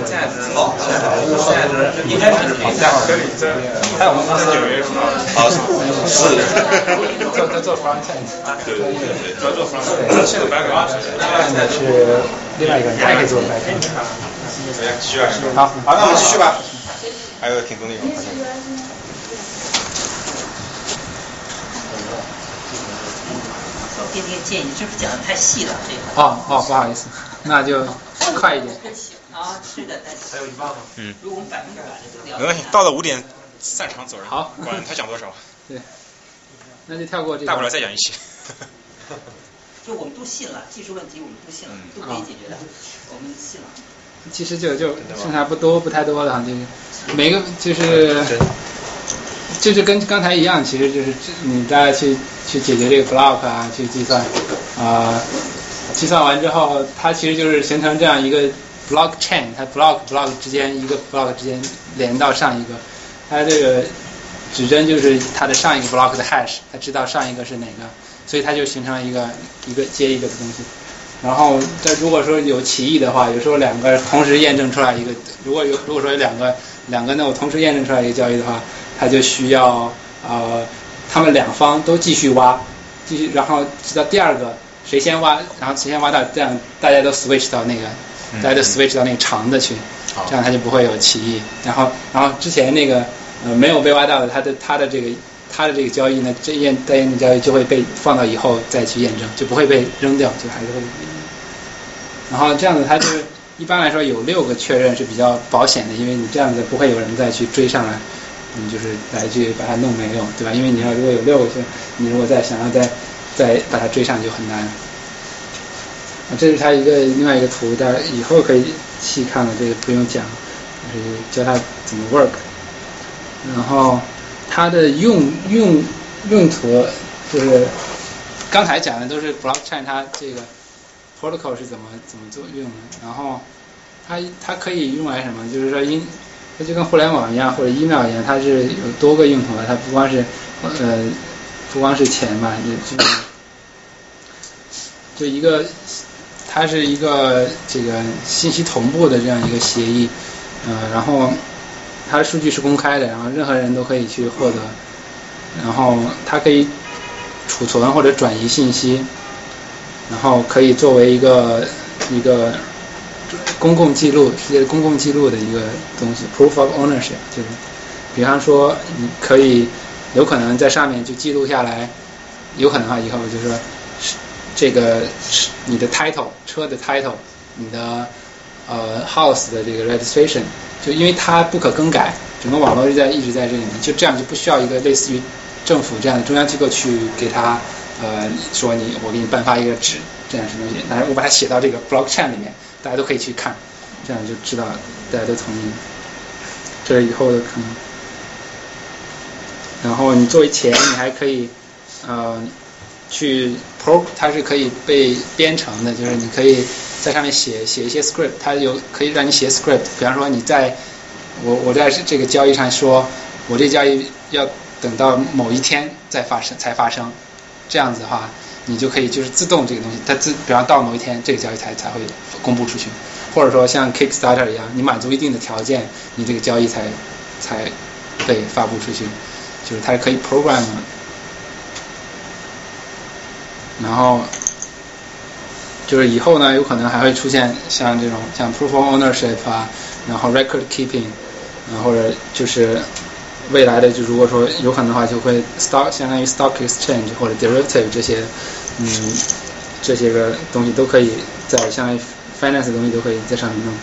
一开始评价还有我们公司九月是吧？ 好，是。 做做做 front end。 对对对，主要做 front end。现在 back end 是另外一个人，他也可以做 back end。 继续啊。 好， 好，那我们继续吧。还有挺多内容，好像。 我给你个建议，是不是讲的太细了？这个。 哦哦，不好意思，那就快一点。 啊，是的， 还有一半吗？ 嗯。 如果我们百分之百的都聊。 没关系，到了五点散场走人。 好， 管他讲多少。 对。那就跳过这个。 大不了再讲一期。 就我们都信了，技术问题我们都信了，都可以解决的，我们信了。 其实就就剩下不多不太多了，就是每个就是就是跟刚才一样，其实就是你大家去去解决这个 block 啊，去计算啊、呃，计算完之后，它其实就是形成这样一个 block chain， 它 block block 之间一个 block 之间连到上一个，它这个指针就是它的上一个 block 的 hash， 它知道上一个是哪个，所以它就形成了一个一个接一个的东西。然后，这如果说有歧义的话，有时候两个同时验证出来一个，如果有如果说有两个两个 node 同时验证出来一个交易的话，它就需要呃，他们两方都继续挖，继续，然后直到第二个谁先挖，然后谁先挖到，这样大家都 switch 到那个，大家都 switch 到那个长的去，这样它就不会有歧义。然后，然后之前那个呃没有被挖到的，它的它的这个。它的这个交易呢，这验待验证交易就会被放到以后再去验证，就不会被扔掉，就还是会。然后这样子，它就是一般来说有六个确认是比较保险的，因为你这样子不会有人再去追上来，你就是来去把它弄没有，对吧？因为你要如果有六个，你如果再想要再再把它追上就很难。啊，这是它一个另外一个图，大家以后可以细看了，这个不用讲，就是教它怎么 work， 然后。它的用用用途就是刚才讲的都是 blockchain 它这个 protocol 是怎么怎么做用的，然后它它可以用来什么？就是说因它就跟互联网一样或者 email 一样，它是有多个用途的，它不光是呃不光是钱嘛，就就就一个它是一个这个信息同步的这样一个协议，呃，然后。它的数据是公开的，然后任何人都可以去获得，然后它可以储存或者转移信息，然后可以作为一个一个公共记录，世界的公共记录的一个东西 ，proof of ownership， 就是，比方说你可以有可能在上面就记录下来，有可能啊以后就是说这个你的 title 车的 title， 你的呃 house 的这个 registration， 就因为它不可更改，整个网络就在一直在这里面，就这样就不需要一个类似于政府这样的中央机构去给他呃说你我给你颁发一个纸这样什么东西，但是我把它写到这个 blockchain 里面，大家都可以去看，这样就知道大家都同意，这是以后的可能。然后你作为钱，你还可以呃去 pro， 它是可以被编程的，就是你可以在上面写写一些 script， 它有可以让你写 script， 比方说你在我我在这个交易上说，我这交易要等到某一天再发生才发生，这样子的话，你就可以就是自动这个东西，它自比方到某一天这个交易才才会公布出去，或者说像 Kickstarter 一样，你满足一定的条件，你这个交易才才被发布出去，就是它是可以 program 的。然后就是以后呢，有可能还会出现像这种像 proof of ownership 啊，然后 record keeping， 啊或者就是未来的就如果说有可能的话，就会 stock 相当于 stock exchange 或者 derivative 这些嗯这些个东西都可以在相当于 finance 的东西都可以在上面弄。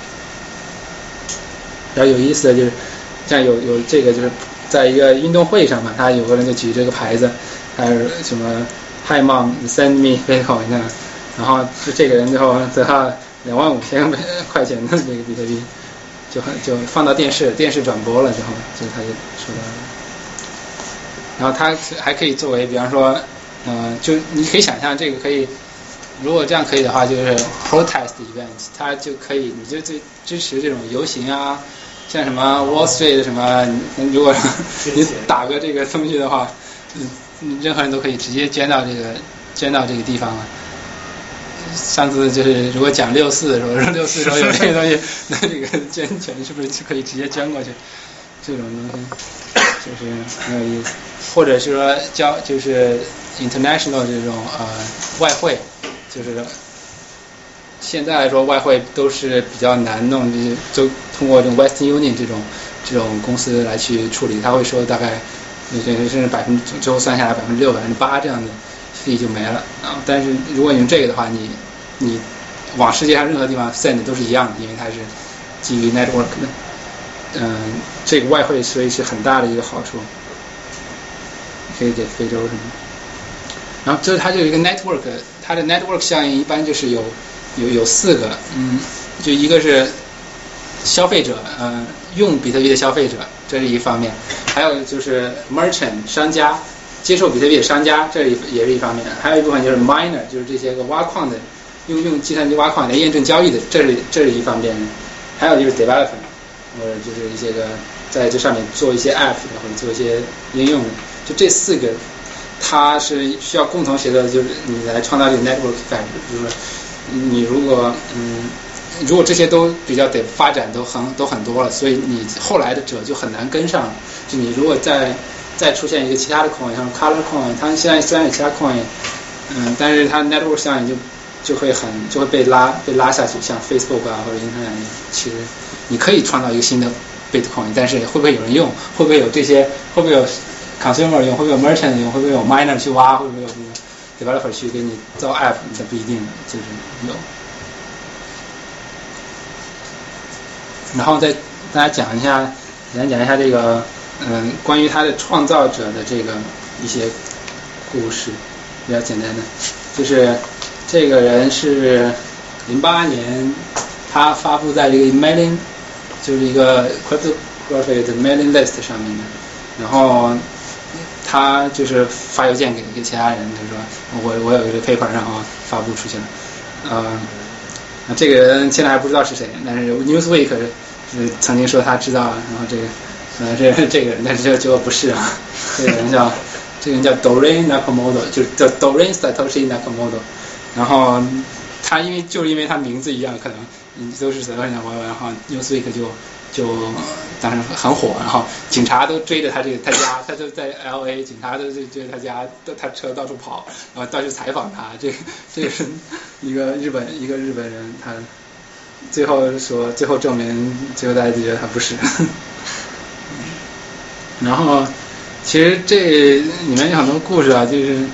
然后有意思的就是像有有这个就是在一个运动会上嘛，他有个人就举这个牌子，还有什么 Hi Mom send me Bitcoin 这样，然后就这个人最后得到两万五千块钱的这个比特币，就就放到电视，电视转播了之后，就他就说到了。然后他还可以作为，比方说，嗯、呃，就你可以想象这个可以，如果这样可以的话，就是 protest event， 它就可以，你就最支持这种游行啊，像什么 Wall Street 什么，如果你打个这个东西的话，嗯。任何人都可以直接捐到这个捐到这个地方了。上次就是如果讲六四的时候，六四的时候有这个东西，那这个捐钱是不是就可以直接捐过去？这种东西就是很有意思。或者是说交就是 international 这种呃外汇，就是现在来说外汇都是比较难弄，就是就通过这种 Western Union 这种这种公司来去处理，他会说大概。甚至百分之最后算下来百分之六、百分之八这样的费就没了啊！但是如果你用这个的话，你你往世界上任何地方 send 都是一样的，因为它是基于 network 的。嗯，这个外汇所以是很大的一个好处，可以给非洲什么。然后就是它就有一个 network， 它的 network 效应一般就是有有有四个，嗯，就一个是消费者，嗯，用比特币的消费者，这是一方面。还有就是 merchant 商家，接受比特币的商家，这也是一方面。还有一部分就是 miner， 就是这些个挖矿的，用用计算机挖矿来验证交易的，这是这是一方面。还有就是 developer， 或者就是一些个在这上面做一些 app 的或者做一些应用的，就这四个，它是需要共同协作的，就是你来创造这个 network effect。就是说，你如果嗯。如果这些都比较得发展都很都很多了，所以你后来的者就很难跟上。就你如果再再出现一个其他的 coin， 像 color coin， 它现在虽然有其他 coin， 嗯，但是它 network 效应就就会很就会被拉被拉下去，像 Facebook 啊或者 Internet， 其实你可以创造一个新的 Bitcoin， 但是会不会有人用？会不会有这些？会不会有 consumer 用？会不会有 merchant 用？会不会有 miner 去挖？会不会有 developer 去给你造 app？ 这不一定的，就是有。然后再大家讲一下，简单讲一下这个，嗯，关于他的创造者的这个一些故事，比较简单的，就是这个人是零八年他发布在这个 mailing， 就是一个 cryptography 的 mailing list 上面的，然后他就是发邮件给给其他人，就是说我我有一个 paper， 然后发布出去了，嗯。这个人现在还不知道是谁，但是 Newsweek 是曾经说他知道了，然后这个呃这这个人，但是结果不是啊，这个人叫这个人叫 Doreen Nakamoto， 就是叫 Doreen Satoshi Nakamoto， 然后他因为就是因为他名字一样，可能都是 Satoshi Nakamoto， 然后 Newsweek 就就当时很火，然后警察都追着他这个他家，他就在 L A， 警察都追着他家，他车到处跑，然后到处采访他。这个这个是一个日本一个日本人，他最后说，最后证明，最后大家就觉得他不是。然后其实这里面有很多故事啊，就是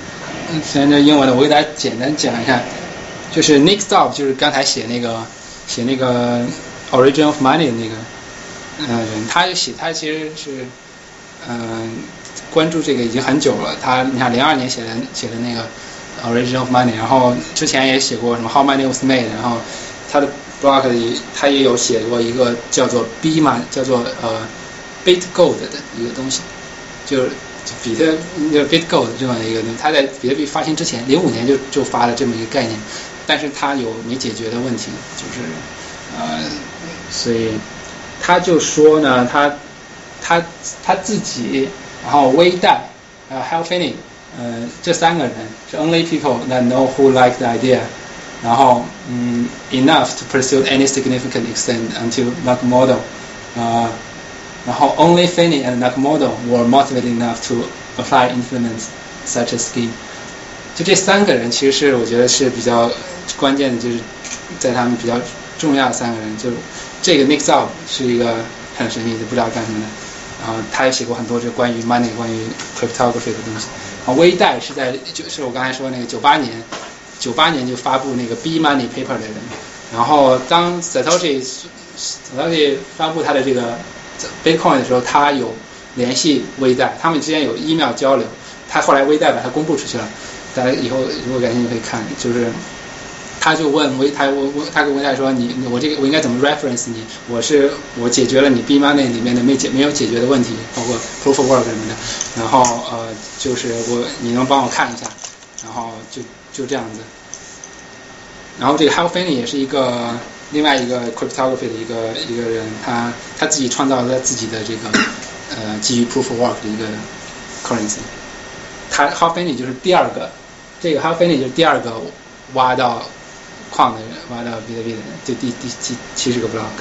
虽然这英文的，我给大家简单讲一下，就是 Nick Stop 就是刚才写那个写那个 Origin of Money 的那个嗯、呃、人，他就写他其实是嗯、呃、关注这个已经很久了，他你看零二年写的写的那个 Origin of Money， 然后之前也写过什么 How Money Was Made， 然后他的 blog 里他也有写过一个叫做 B 嘛，叫做呃 BitGold 的一个东西，就是比特那个 BitGold 这样的一个东西，他在比特币发行之前，零五年就就发了这么一个概念，但是他有没解决的问题，就是呃，所以他就说呢，他他他自己，然后微贷，还有 Hal Finney， 呃，这三个人是 only people that know who like the idea， 然后嗯 enough to pursue any significant extent until Nakamoto， 呃。然后 only Finney and Nakamoto were motivated enough to apply implement such a scheme。就这三个人，其实是我觉得是比较关键的，就是在他们比较重要的三个人。就这个 Nick Zop 是一个很神秘的，不知道干什么的。然后他也写过很多这关于 money、关于 cryptography 的东西。然后微贷是在就是我刚才说那个九八年，九八年就发布那个 B Money paper 的人。然后当 Satoshi Satoshi 发布他的这个Bitcoin 的时候，他有联系微贷，他们之间有 email 交流，他后来微贷把它公布出去了，大家以后如果感兴趣可以看，就是他就问微他我我他跟微贷说你我这个我应该怎么 reference 你，我是我解决了你 B Money 里面的没解没有解决的问题，包括 proof of work 什么的，然后呃就是我你能帮我看一下，然后就就这样子，然后这个 Hal Finney 也是一个另外一个 cryptography 的一个一个人，他他自己创造了自己的这个呃基于 proof of work 的一个 currency。他 Hal Finney 就是第二个，这个 Hal Finney 就是第二个挖到矿的人，挖到比特币的人，就第第七七十个 block。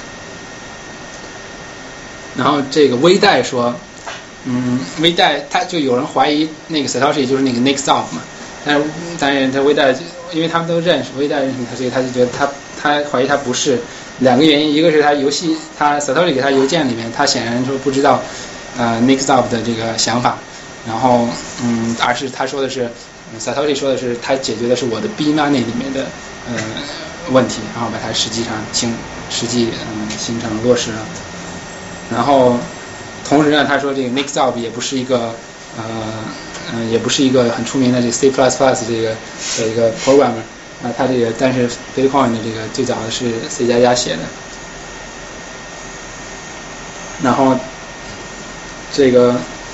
然后这个微贷说，嗯，微贷他就有人怀疑那个 Satoshi 就是那个 Nick Zop 嘛，但是当然他微贷因为他们都认识，微贷认识他，所以他就觉得他。他怀疑他不是两个原因，一个是他游戏，他 Satoshi 给他邮件里面，他显然说不知道呃 Nick Zop 的这个想法，然后嗯，而是他说的是、嗯、Satoshi 说的是他解决的是我的 B Money 里面的呃问题，然后把它实际上形实际嗯形成落实了，然后同时呢，他说这个 Nick Zop 也不是一个呃嗯、呃、也不是一个很出名的这个 C plus plus 这个的一个 programmer。啊，他这个但是 Bitcoin 的这个最早的是 C 加加写的，然后这个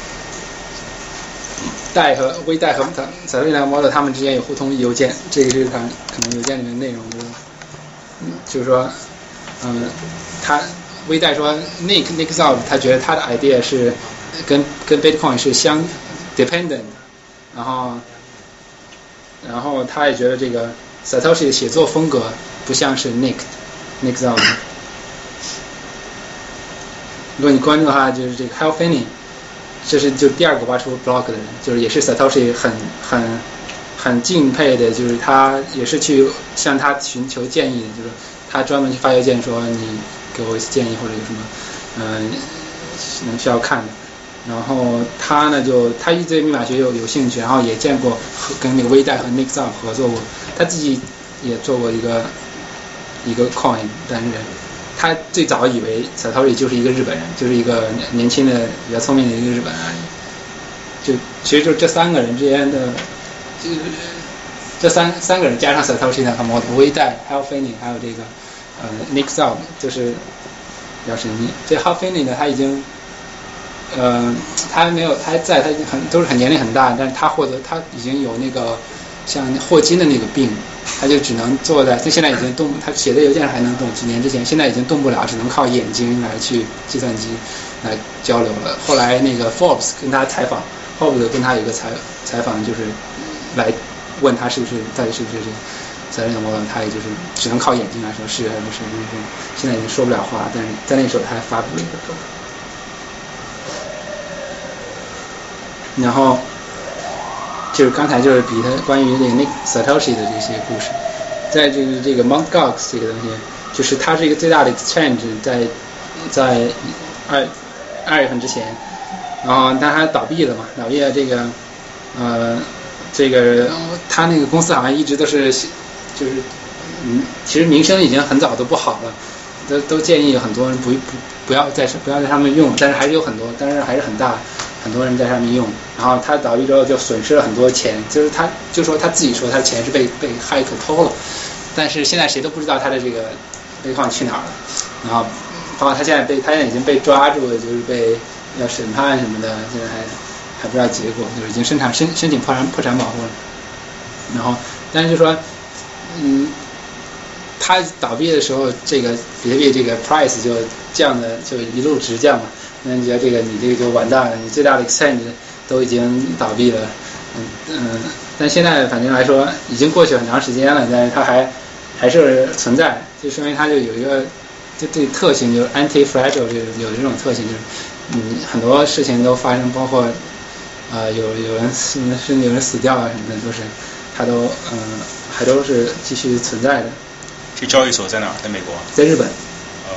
贷和微贷和 Satoshi Nakamoto 他们之间有互通邮件，这个是可能可能邮件里面内容就是嗯就是说嗯他微贷说 Nick Nick Zop 他觉得他的 idea 是跟跟 Bitcoin 是相 dependent， 然后然后他也觉得这个Satoshi 的写作风格不像是 Nick Nick Zop。如果你关注的话，就是这个 Hal Finney， 这是就第二个挖出 block 的人，就是也是 Satoshi 很很很敬佩的，就是他也是去向他寻求建议的，就是他专门去发邮件说你给我建议或者有什么嗯、呃、能需要看的。然后他呢就他一直对密码学有有兴趣，然后也见过和跟那个微贷和 Nick Zop 合作过，他自己也做过一个一个 coin， 但是他最早以为 Satoshi 就是一个日本人，就是一个年轻的比较聪明的一个日本人而已。就其实就这三个人之间的，就是这三三个人加上 Satoshi Nakamoto、微贷、Hal Finney 还有这个呃 Nick Zop 就是比较神秘。这 Hal Finney 呢，他已经。呃，他还没有，他还在，他已经很都是很年龄很大，但是他获得他已经有那个像霍金的那个病，他就只能坐在，他现在已经动，他写的邮件还能动，几年之前，现在已经动不了，只能靠眼睛来去计算机来交流了。后来那个 Forbes 跟他采访 ，Forbes 跟他有个采采访，就是来问他是不是到底是不是这个责任的模特，他也就是只能靠眼睛来说是还是不是，就是现在已经说不了话，但是在那时候他还发布了一个 book。然后就是刚才就是比他关于这个 Nick Satoshi 的这些故事，在这个这个 Mt. Gox 这个东西，就是它是一个最大的 exchange， 在在二二月份之前，然后但它倒闭了嘛，倒闭了这个呃这个他那个公司好像一直都是就是嗯，其实名声已经很早都不好了，都都建议很多人不不不要在不要在上面用，但是还是有很多，但是还是很大很多人在上面用。然后他倒闭之后就损失了很多钱，就是他就说他自己说他的钱是被被骇客偷了，但是现在谁都不知道他的这个备矿去哪儿了。然后包括他现在被他现在已经被抓住了，就是被要审判什么的，现在还还不知道结果，就是已经申请申申请破产破产保护了。然后但是就说嗯。它倒闭的时候，这个比特币这个 price 就降的就一路直降嘛，那你觉得这个你这个就完蛋了，你最大的 exchange 都已经倒闭了，嗯嗯，但现在反正来说已经过去很长时间了，但是它还还是存在，就说明它就有一个就这特性，就是 anti-fragile 就有这种特性，就是嗯很多事情都发生，包括呃有有人死甚至有人死掉啊什么的，都是它都嗯、呃、还都是继续存在的。 这交易所在哪儿？在美国？ 在日本。 哦。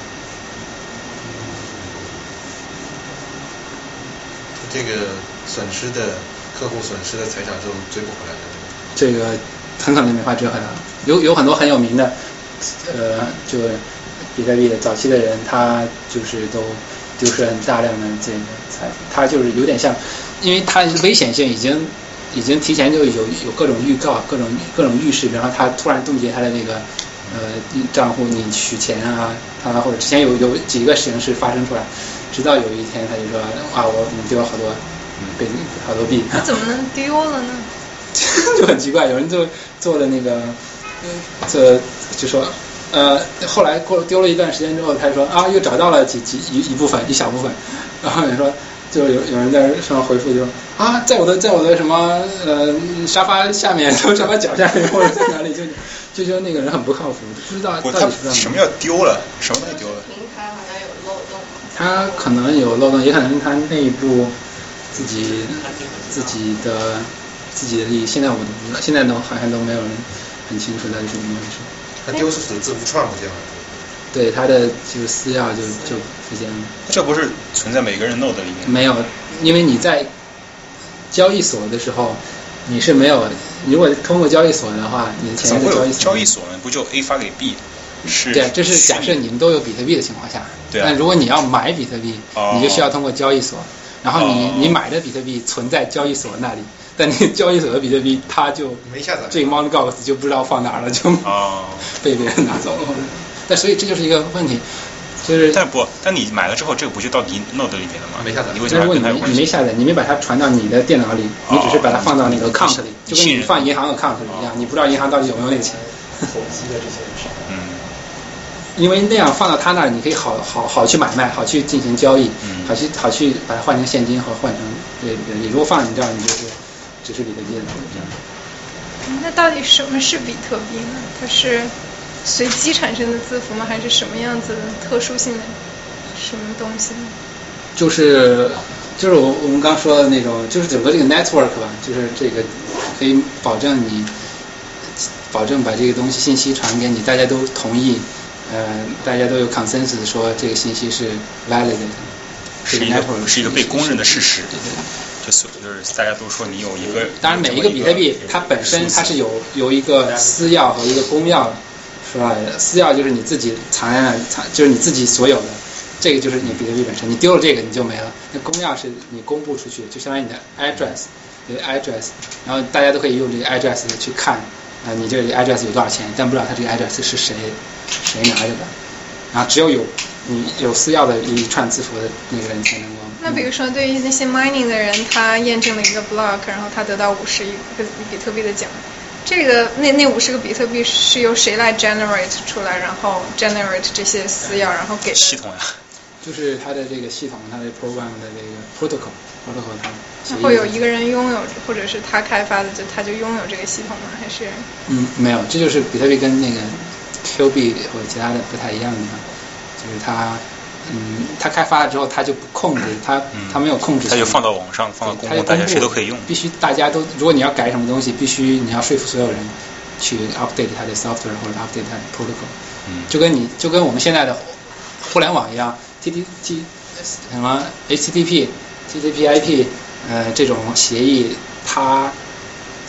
这个损失的客户损失的财产就追不回来了。 这个很可能没法追回来了。有有很多很有名的，呃，就比特币的早期的人，他就是都丢失很大量的这个财富。他就是有点像，因为他危险性已经已经提前就有有各种预告、各种各种预示，然后他突然冻结他的那个。呃，账户你取钱啊，他或者之前有有几个形式发生出来，直到有一天他就说啊，我你丢了好多，被好多币。 那怎么能丢了呢？ 就很奇怪，有人就做了那个，这就说呃，后来过丢了一段时间之后，他说啊，又找到了几几一一部分一小部分，然后你说就有有人在上面回复就说啊，在我的在我的什么呃沙发下面，沙发脚下面或者在哪里就。就觉得那个人很不靠谱，不知道到底是什么叫丢了，什么东西丢了？ 平台好像有漏洞。 他可能有漏洞，也可能他内部自己自己的自己的利益，现在我都不知道，现在都好像都没有人很清楚到底是怎么回事。 他丢是指字符串不见了。 对，他的就是私钥就就不见了。 这不是存在每个人 node 里面？ 没有，因为你在交易所的时候。你是没有，如果通过交易所的话，你的钱在交易所。 交易所呢，不就 A 发给 B？是。 对，这是假设你们都有比特币的情况下。 对、啊。 但如果你要买比特币， 哦、 你就需要通过交易所，然后你、哦、你买的比特币存在交易所那里，但那交易所的比特币它就没下载， 这个 Mt. Gox 就不知道放哪儿了，就、 哦、 被别人拿走了。但所以这就是一个问题。就是， 但不，但你买了之后，这个不就到你 node 里面了吗？ 没下载。 你为什么跟它有关系？你没下载，你没把它传到你的电脑里，你只是把它放到那个 account 里，就跟你放银行 account 里一样，你不知道银行到底有没有那个钱。 投机的这些人。 嗯。 因为那样放到他那儿，你可以好好好去买卖，好去进行交易， 嗯、 好去好去把它换成现金和换成对比特币。如果放你这儿，你就是只是比特币了。 那到底什么是比特币呢？它是随机产生的字符吗？还是什么样子的特殊性的？什么东西呢？ 就是就是我我们刚说的那种，就是整个这个 network 吧，就是这个可以保证你保证把这个东西信息传给你，大家都同意，呃，大家都有 consensus 说这个信息是 valid 的， 是一个是一个被公认的事实。对对。就是就是大家都说你有一个。 当然，每一个比特币它本身它是有有一个私钥和一个公钥出来的，私钥就是你自己藏在那，藏就是你自己所有的。这个就是你比特币本身，你丢了这个你就没了。那公钥是你公布出去，就相当于你的 address， 你的 address， 然后大家都可以用这个 address 去看啊、呃，你这个 address 有多少钱，但不知道它这个 address 是谁谁拿着的。然后只有有你有私钥的一串字符的那个人才能够。 那比如说对于那些 mining 的人，他验证了一个 block， 然后他得到五十一个比特币的奖。这个那那五十个比特币是由谁来 generate 出来，然后 generate 这些私钥，然后给系统呀？ 就是它的这个系统，它的 program 的这个 protocol protocol 它。 会有一个人拥有，或者是他开发的，就他就拥有这个系统吗？还是？ 嗯，没有，这就是比特币跟那个 Q 币或者其他的不太一样的地方，就是它，嗯，它开发了之后，它就不控制，它它没有控制， 它就放到网上，放到公共，大家谁都可以用。 必须大家都，如果你要改什么东西，必须你要说服所有人去 update 它的 software 或者 update 它的 protocol。 嗯， 就跟你就跟我们现在的互联网一样。T T T 什么 H T T P、T T P I P 呃这种协议，它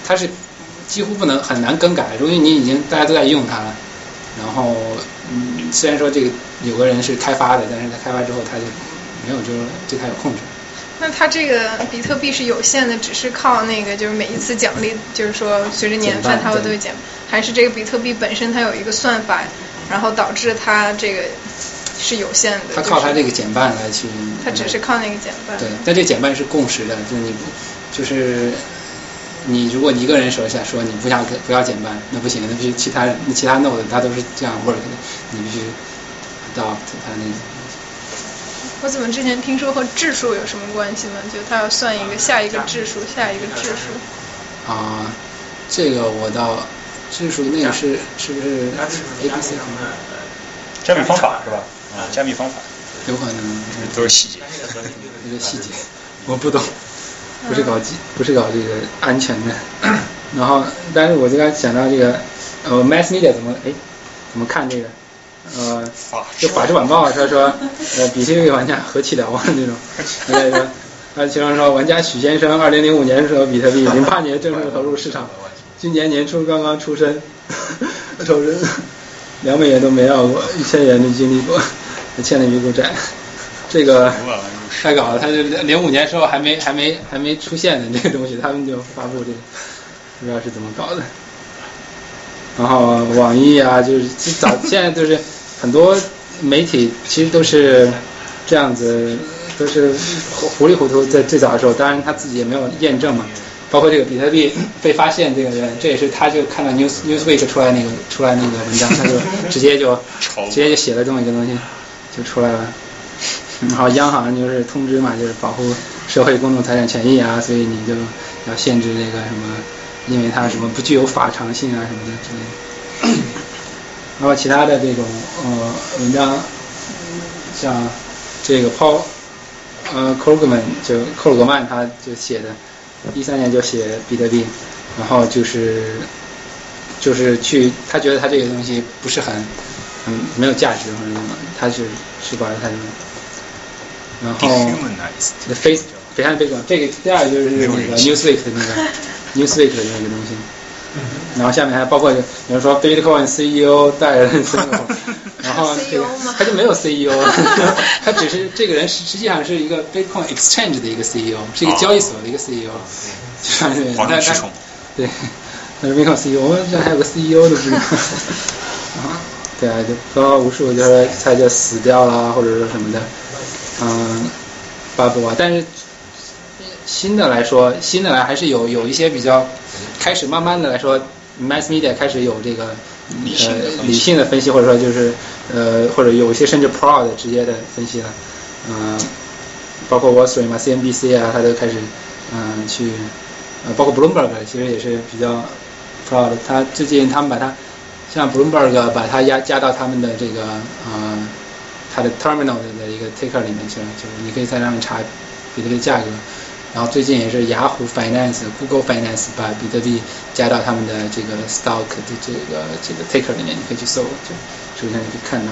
它是几乎不能很难更改，因为你已经大家都在用它了。然后嗯，虽然说这个有个人是开发的，但是他开发之后他就没有就是对他有控制。 那它这个比特币是有限的，只是靠那个就是每一次奖励，就是说随着年份它会都会减，还是这个比特币本身它有一个算法，然后导致它这个是有限的？ 它靠它这个减半来去。 它只是靠那个减半。 对，但这减半是共识的，就是你就是你如果一个人手下说你不要不要减半，那不行，那必须其他人其他 node 它都是这样 work 的，你必须 adopt 它那个。 我怎么之前听说和质数有什么关系呢？就他要算一个下一个质数，下一个质数。 啊，这个我倒质数那个是是不是 A B C 加密方法是吧？啊，加密方法有可能都是细节， 这个细节我不懂，不是搞基不是搞这个安全的。然后，但是我就刚想到这个呃 mass media 怎么哎怎么看这个？呃，就法制晚报他说，呃，比特币玩家何其了啊那种，他说，他其中说，玩家许先生二零零五年的时候比特币，零八年正式投入市场，今年年初刚刚出生，投身两美元都没要过，一千元都经历过，欠了一股债，这个太搞了，他就零五年时候还没还没还没出现的这个东西，他们就发布这个，不知道是怎么搞的。然后网易啊，就是早现在就是很多媒体其实都是这样子，都是糊里糊涂在最早的时候，当然他自己也没有验证嘛。包括这个比特币被发现这个人，这也是他就看到 News Newsweek 出来那个出来那个文章，他就直接就直接就写了这么一个东西就出来了。然后央行就是通知嘛，就是保护社会公众财产权益啊，所以你就要限制这个什么。因为它什么不具有法偿性啊什么的之类的，然后其他的这种呃文章，像这个 Paul 呃 Krugman 就克鲁格曼他就写的，一三年就写比特币，然后就是就是去他觉得他这个东西不是很嗯没有价值或者什么，他是是保留他这种，然后 The Face 北汉贝广这个第二个就是那个 Newsweek 的那个。Newsweek 的那个东西，然后下面还包括有人说 Bitcoin C E O 带人 C E O， 然后这个他就没有 C E O， 他只是这个人实际上是一个 Bitcoin Exchange 的一个 C E O， 是一个交易所的一个 C E O， 就是黄金驱虫， 对，但是 Bitcoin C E O 这还有个 C E O 的不知道，啊，对啊，就包无数就是他就死掉了或者说什么的，嗯，巴布啊，但是。新的来说，新的来还是有有一些比较开始慢慢的来说 ，mass media 开始有这个呃理性的分析，或者说就是呃或者有一些甚至 pro 的直接的分析了，嗯、呃，包括 Wall Street 嘛 ，C N B C 啊，他都开始嗯、呃、去呃包括 Bloomberg 其实也是比较 pro 的，他最近他们把它像 Bloomberg 把它压加到他们的这个呃它的 terminal 的一个 ticker 里面去了，就是你可以在上面查比特币价格。然后最近也是雅虎 Finance、Google Finance 把比特币加到他们的这个 stock 的这个这个 ticker 里面，你可以去搜，就首先你可以看到。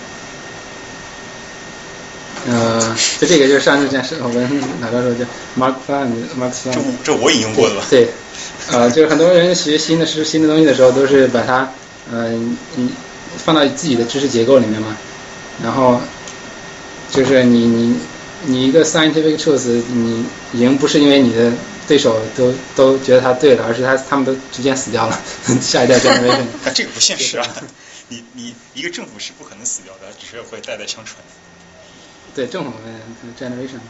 呃，就这个就是上次讲是我们哪个时候叫 Mark Flang，Mark Flang， 这这我引用过的吧？ 对，呃，就是很多人学新的是新的东西的时候，都是把它呃你放到自己的知识结构里面嘛，然后就是你你。你一个 scientific truth， 你赢不是因为你的对手都都觉得他对了，而是他他们都逐渐死掉了，下一代 generation。 但这个不现实啊！你你一个政府是不可能死掉的，只是会代代相传。 对，政府的 generation。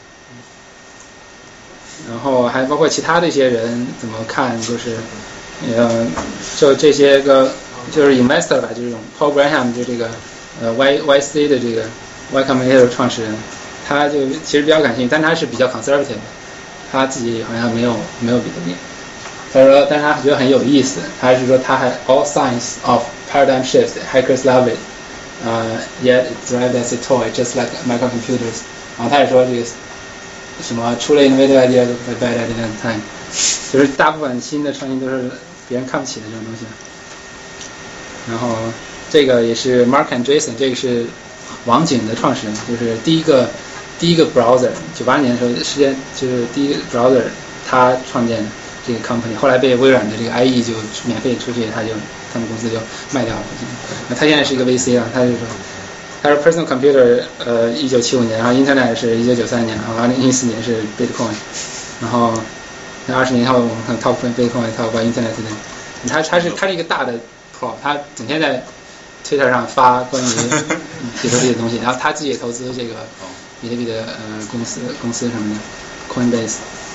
然后还包括其他的一些人怎么看，就是呃，就这些个就是 investor 吧，就这种 Paul Graham 就这个呃 Y Y C 的这个 Y Combinator 创始人。他就其实比较感兴趣，但他是比较 conservative， 他自己好像没有没有比特币。他说，但是他觉得很有意思，他是说他还 all signs of paradigm shifts, hackers love it, uh, yet it's derived as a toy, just like microcomputers。然后他也说这个什么出了 innovative idea 都会 bad at the time， 就是大部分新的创新都是别人看不起的这种东西。然后这个也是 Mark Andreessen， 这个是网景的创始人，就是第一个。第一个 browser， 九八年的时候，世界就是第一个 browser， 他创建的， 这个 company， 后来被微软的这个 I E 就免费出去，他就他们公司就卖掉了。那他现在是一个 V C 啊，他就说，他说 personal computer 呃一九七五年，然后 internet 是一九九三年，然后二零一四年是 Bitcoin， 然后那二十年后我们看 talk about Bitcoin talk about internet 的，他他是他是一个大的 pro， 他整天在 Twitter 上发关于比特币的东西，然后他自己也投资这个比特币的呃公司公司什么的 Coinbase。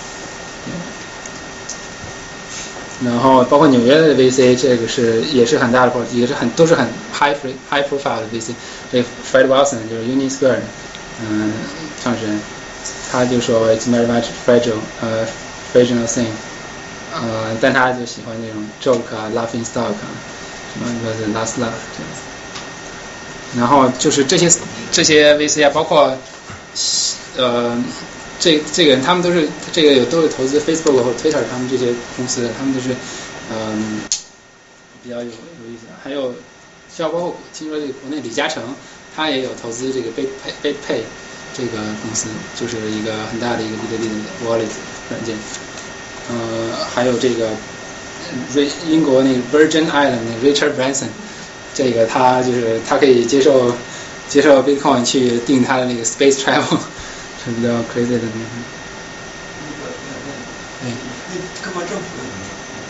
然后包括纽约的 V C， 这个是也是很大的 pro， 也是很都是很 high high profile 的 V C。这 Fred Wilson 就是 Unisquare 嗯创始人，他就说 it's very much fragile 呃 fragile thing， 呃但他就喜欢这种 joke 啊 laughing stock 啊什么说是 last laugh 这样子。然后就是这些这些 V C 啊，包括呃。这这个人他们都是这个有都是投资 Facebook 或者 Twitter 他们这些公司的，他们都是嗯比较有有意思的。还有像包括听说这个国内李嘉诚他也有投资这个 BitPay BitPay 这个公司，就是一个很大的一个比特币的 wallet 软件。呃，还有这个英国那个 Virgin Island 那 Richard Branson， 这个他就是他可以接受接受 Bitcoin 去订他的那个 Space Travel。是比较 crazy 的那种。 对，那各国政府有什么？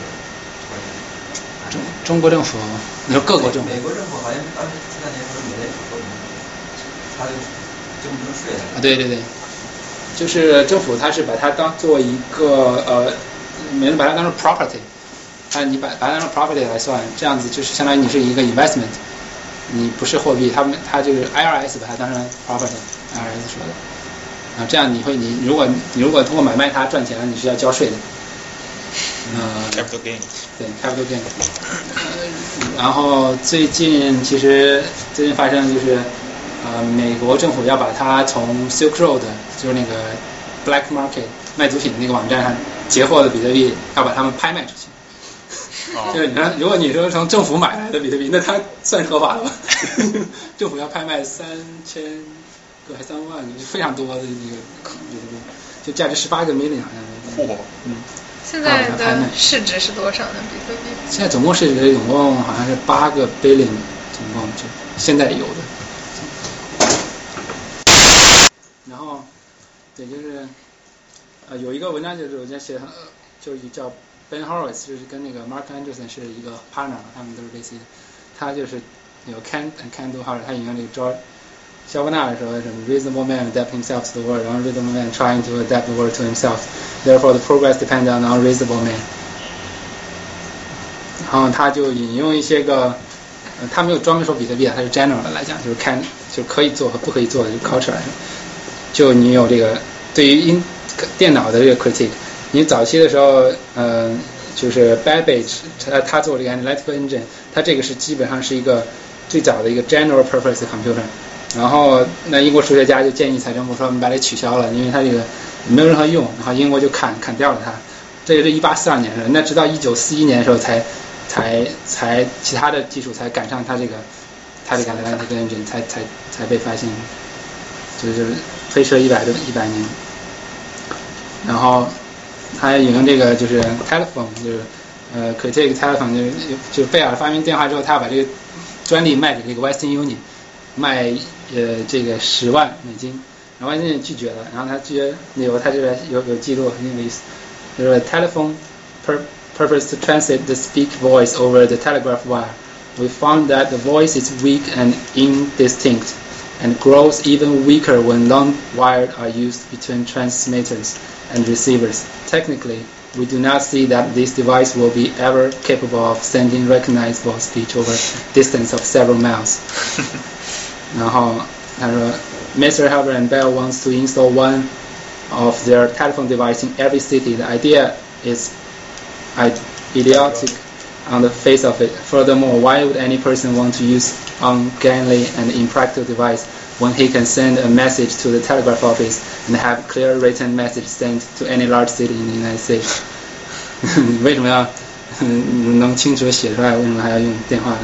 中中国政府，你说各国政府？ 美国政府好像当时前两年说美联储说什么，他就征不征税的。 啊，对对对，就是政府它是把它当做一个呃，没人把它当成 property， 它你把把它当成 property 来算，这样子就是相当于你是一个 investment， 你不是货币，他们它就是 I R S 把它当成 property，I R S 说的。啊，这样你会你如果你如果通过买卖它赚钱了，你是要交税的。呃 ，capital gain。 对 ，capital gain。然后最近其实最近发生就是，呃，美国政府要把它从 Silk Road， 就是那个 black market 卖毒品的那个网站上截获的比特币，要把它们拍卖出去。哦、就是你看，如果你说从政府买来的比特币，那它算是合法的吗？政府要拍卖三千。个还三万个，就非常多的那个，就价值十八个 million 好像。嚯！嗯。 现在的市值是多少呢？比特币？ 现在总共市值总共好像是八个 billion， 总共就现在有的。然后，对，就是呃有一个文章就是我在写，就是叫 Ben Horowitz， 就是跟那个 Mark Anderson 是一个 partner， 他们都是类似的。他就是有 can and can do hard， 他引用这个 George。肖伯纳说什么 reasonable man adapt himself to the world, unreasonable man trying to adapt the world to himself. Therefore, the progress depends on the unreasonable man. 然后他就引用一些个，呃、他没有专门说比特币啊，他是 general 的来讲，就是 can 就可以做和不可以做的，就 culture 来说，就你有这个对于因电脑的这个 critique， 你早期的时候，呃，就是 Babbage 他他做这个 analytical engine， 他这个是基本上是一个最早的一个 general purpose computer。然后那英国数学家就建议财政部说我们把它取消了，因为它这个没有任何用，然后英国就砍砍掉了它。这也是一八四二年的，那直到一九四一年的时候才才才其他的技术才赶上它这个它这个 analytical engine 才才才被发现，就是推迟了一百多一百年。然后他引用这个就是 telephone， 就是呃 critique telephone， 就是就贝尔发明电话之后，他要把这个专利卖给这个 Western Union。卖呃这个十万美金，然后人家拒绝了，然后他拒绝理由他这边有有记录很有意思，就是 telephone pur purpose to translate the speak voice over the telegraph wire. We found that the voice is weak and indistinct, and grows even weaker when long wires are used between transmitters and receivers. Technically, we do not see that this device will be ever capable of sending recognizable speech over distance of several miles. 然后他说 Mister Halber and Bell wants to install one of their telephone device in every city. The idea is idiotic on the face of it. Furthermore, why would any person want to use ungainly and impractical device when he can send a message to the telegraph office and have clear written message sent to any large city in the United States? 为什么要能清楚写出来？为什么还要用电话呢？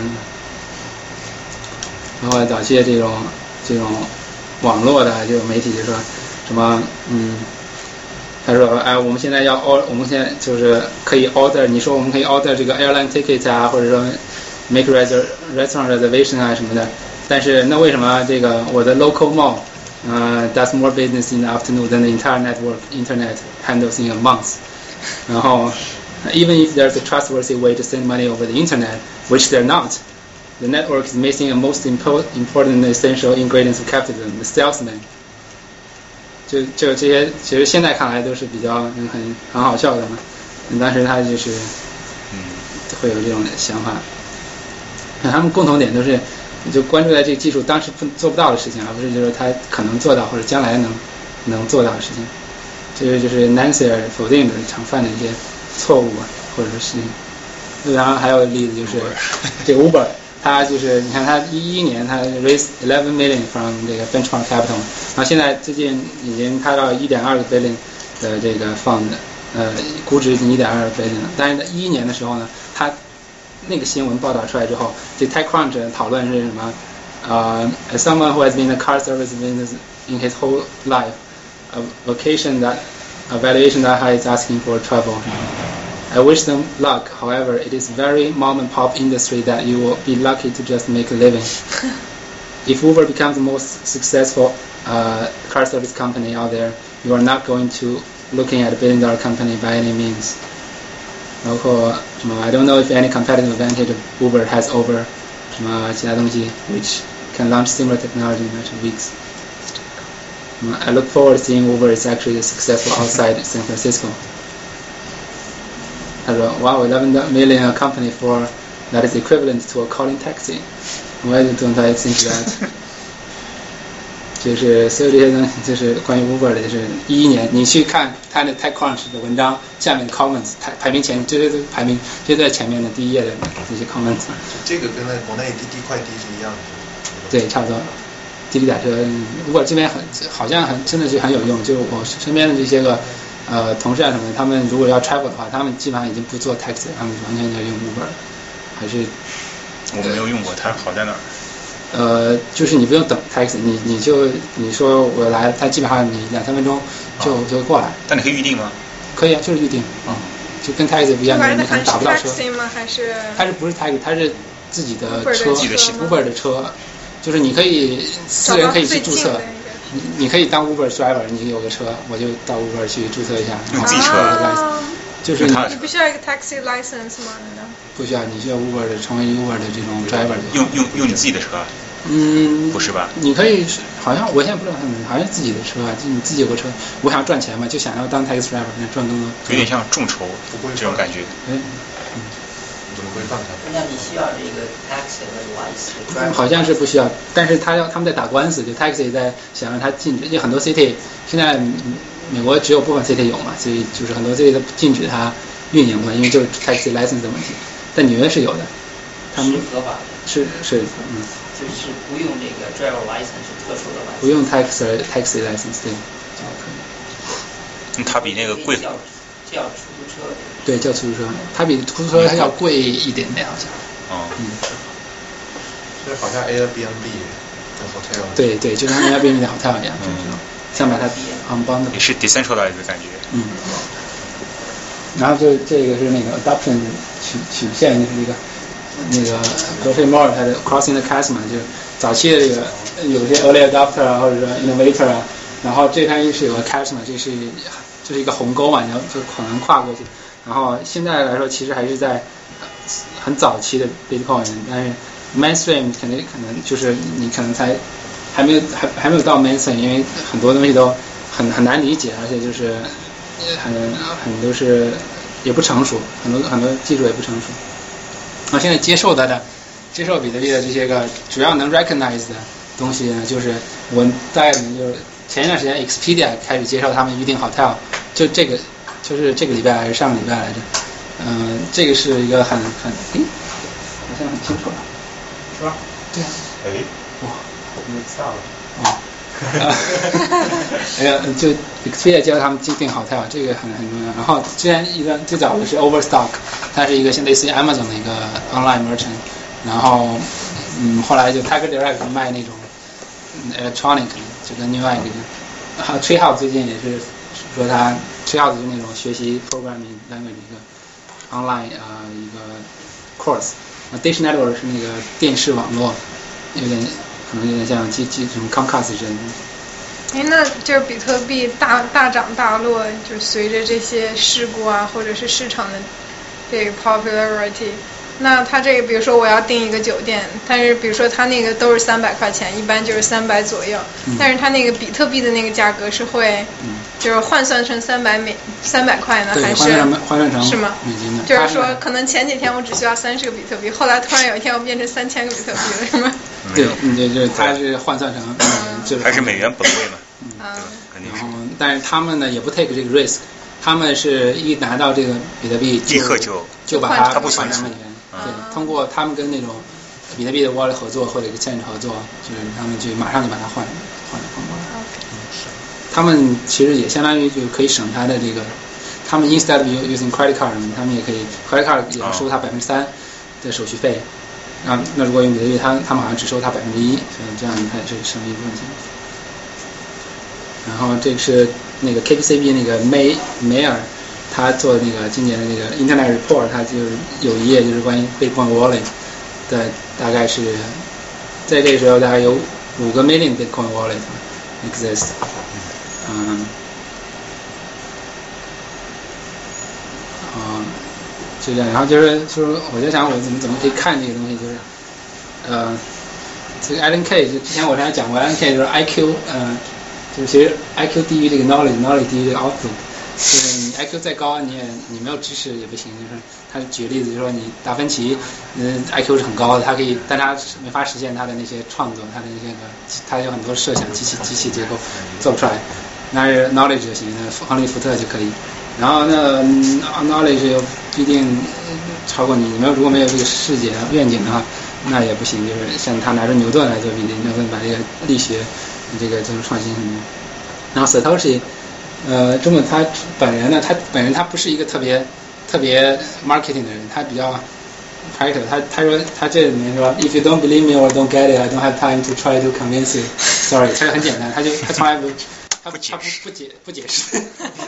然后早期的这种这种网络的这种媒体就说什么嗯他说，哎，我们现在要 order， 我们现在就是可以 order， 你说我们可以 order 这个 airline ticket 啊，或者说 make reser restaurant reservation 啊什么的，但是那为什么这个我的 local mall 呃、uh, does more business in the afternoon than the entire network internet handles in a month？ 然后 even if there's a trustworthy way to send money over the internet, which they're not, the network is missing a most impo important and essential ingredients of capitalism, the salesman。就就这些，其实现在看来都是比较很很好笑的嘛。当时他就是会有这种想法。他们共同点都是就关注在这个技术当时不做不到的事情，而不是就是他可能做到或者将来能能做到的事情。这个就是 Nancy 否定的常犯的一些错误啊，或者说事情。然后还有例子就是这个 Uber， 它就是你看它一一年它 raise eleven million from 这个 benchmark capital， 然后现在最近已经开到一点二个 billion 的这个 fund， 呃，估值已经一点二 billion 了。但是一一年的时候呢，它那个新闻报道出来之后，这 TechCrunch 讨论是什么？呃、uh, as someone who has been in the car service business in his whole life, a vacation that a valuation that high is asking for travel. I wish them luck. However, it is very mom and pop industry that you will be lucky to just make a living. If Uber becomes the most successful uh, car service company out there, you are not going to looking at a billion dollar company by any means. 包括什么 I don't know if any competitive advantage Uber has over 什么其他东西 which can launch similar technology in matter of weeks. I look forward to seeing Uber is actually successful outside San Francisco. 他说 Wow, eleven million a company for that is equivalent to a calling taxi. Why don't I think that? 就是所有这些东西，就是关于 Uber 的，就是一一年，你去看他的 TechCrunch 的文章下面的 comments， 排排名前，这些都排名，这些在前面的第一页的这些 comments。 这个跟那国内滴滴快滴是一样的。 对，差不多。滴滴打车 ，Uber 这边很好像很真的是很有用，就我身边的这些个呃同事啊什么的，他们如果要 travel 的话，他们基本上已经不做 taxi， 他们完全要用 Uber， 还是。 我没有用过，它好在哪儿？ 呃，就是你不用等 taxi， 你你就你说我来，它基本上你两三分钟就、哦、就过来。 但你可以预定吗？ 可以啊，就是预定。嗯，就跟 taxi 不一样，你可能打不到车。 taxi 吗？还是？ 它是不是 taxi？ 它是自己的车， 自己的系统 Uber 的车，就是你可以私人可以去注册。你你可以当 Uber driver， 你有个车，我就到 Uber 去注册一下。 用自己车。 啊、就是你不需要一个 taxi license 吗？ 不需要，你需要 Uber 的成为 Uber 的这种 driver 的。 用用用你自己的车？ 嗯， 不是吧？ 你可以，好像我现在不知道他们，好像自己的车啊，就你自己有个车，我想要赚钱嘛，就想要当 taxi driver， 想赚更多。 有点像众筹这种感觉。 嗯。 怎么规范它？ 那你需要这个 taxi 的 license？ 好像是不需要，但是他要他们在打官司，就 taxi 在想让他禁止，因为很多 city 现在美国只有部分 city 有嘛，所以就是很多 city 都禁止它运营嘛，因为就是 taxi license 的问题。但纽约是有的，他们是合法的。 是是嗯。 就是不用这个 driver license 是特殊的 license。 不用 taxi taxi license 对。 嗯，它比那个贵。 叫叫出租车。 对，叫出租车，它比出租车还要贵一点点好像。 哦。 嗯。 所以好像 Airbnb 跟 hotel。 对对，就像 Airbnb 的 hotel 一样，就是这种，想把它 unbundle。 也是 decentralized 的感觉。 嗯。然后就这个是那个 adoption 曲曲线，就是一个。那个 Geoffrey Moore 他的 Crossing the Chasm 就早期的这个有些 early adopter 啊，或者说 innovator 啊，然后这边是有个 chasm， 这是这是一个鸿沟嘛，然后就可能跨过去。然后现在来说，其实还是在很早期的 Bitcoin， 但是 mainstream 肯定可能就是你可能才还没有还还没有到 mainstream， 因为很多东西都很很难理解，而且就是很很都是也不成熟，很多很多技术也不成熟。啊，现在接受它的，接受比特币的这些个主要能 recognize 的东西呢，就是我大概可能就是前一段时间 Expedia 开始接受他们预订 hotel， 就这个就是这个礼拜还是上个礼拜来着，嗯、呃，这个是一个很很，诶，好像很清楚了，是吧？对啊。 哎， 哇， 你知道了。 哦。哎呀，就 Expedia 接受他们预订 hotel， 这个很很重要。然后之前一个最早的是 Overstock， 它是一个像类似于 Amazon 的一个 online merchant， 然后嗯后来就 Tiger Direct 卖那种 electronic， 就跟另外一个，还有 Treehouse 最近也是说他 Treehouse 就是那种学习 programming language 一个 online 啊、呃、一个 course， 那 Dish Network 是那个电视网络，有点可能有点像基基什么 Comcast 之类的。 哎，那就是比特币大大涨大落，就随着这些事故啊，或者是市场的这个 popularity。那它这个，比如说我要订一个酒店，但是比如说它那个都是三百块钱，一般就是三百左右，嗯、但是它那个比特币的那个价格是会，嗯、就是换算成三百美三百块呢，还是换算成是吗？ 美金的。 就是说，可能前几天我只需要三十个比特币，后来突然有一天我变成三千个比特币了，是吗？ 对，对，就是它是换算成，嗯、就是还是美元本位嘛， 嗯， 对吧？肯定是。 然后，但是他们呢也不 take 这个 risk， 他们是一拿到这个比特币立刻就就把它不换成美元。对，通过他们跟那种比特币的 wallet 合作或者 exchange 合作，就是他们就马上就把它换换换过来。嗯，是。他们其实也相当于就可以省他的这个，他们 instead of using credit card， 他们也可以 credit card 也要收他百分之三的手续费。啊，那如果用比特币，他他们好像只收他百分之一，所以这样他也是省一部分钱。然后这个是那个 K P C B 那个梅梅尔。他做那个今年的那个 Internet Report， 他就是有一页就是关于 Bitcoin Wallet 的，大概是在这个时候大概有五个 million Bitcoin Wallet exist， 嗯，啊，就这样。然后就是就是我在想我怎么怎么可以看这个东西，就是呃，这个 Alan Kay 就之前我之前讲过 ，Alan Kay 就是 I Q， 呃，就是其实 I Q 低于这个 knowledge，knowledge 低于这个 output。就是你 I Q 再高，你也你没有知识也不行。就是他举个例子，就是说你达芬奇，嗯 ，I Q 是很高的，他可以，但他没法实现他的那些创作，他的那些个，他有很多设想，机器机器结构做不出来。那是 knowledge 就行，那亨利福特就可以。然后那 knowledge 又不一定超过你，你没有如果没有这个世界愿景的话，那也不行。就是像他拿着牛顿来做比例，牛顿把这个力学这个做出创新什么的。然后 Satoshi。呃，中本他本人呢，他本人他不是一个特别特别 marketing 的人，他比较 practical。他他说他这里面说 ，If you don't believe me or don't get it, I don't have time to try to convince you. Sorry， 他就很简单，他就他从来不他不他不不解不解释。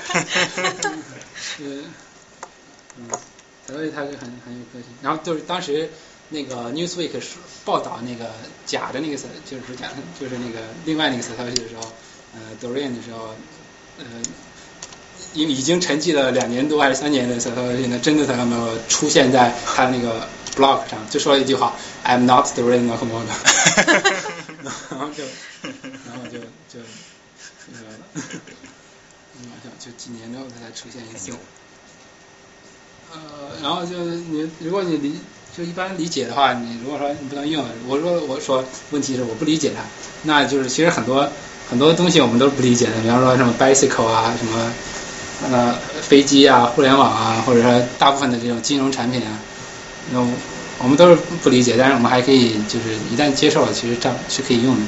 嗯嗯，所以他是很很有个性。然后就是当时那个 Newsweek 报道那个假的那个就是假就是那个另外那个 Satoshi 的时候，呃 Dorian 的时候。呃，已已经沉寂了两年多还是三年的 Satoshi 呢，真的他没有出现在他那个 blog 上，就说了一句话 ，I'm not the Dorian Nakamoto 然后就，然后就就那个，嗯，就几年之后他才出现一次。呃，然后就你如果你理就一般理解的话，你如果说你不能用，我说我说问题是我不理解它，那就是其实很多。很多东西我们都是不理解的，比方说什么 bicycle 啊，什么呃飞机啊，互联网啊，或者说大部分的这种金融产品啊，那我们都是不理解，但是我们还可以就是一旦接受了，其实这样是可以用的。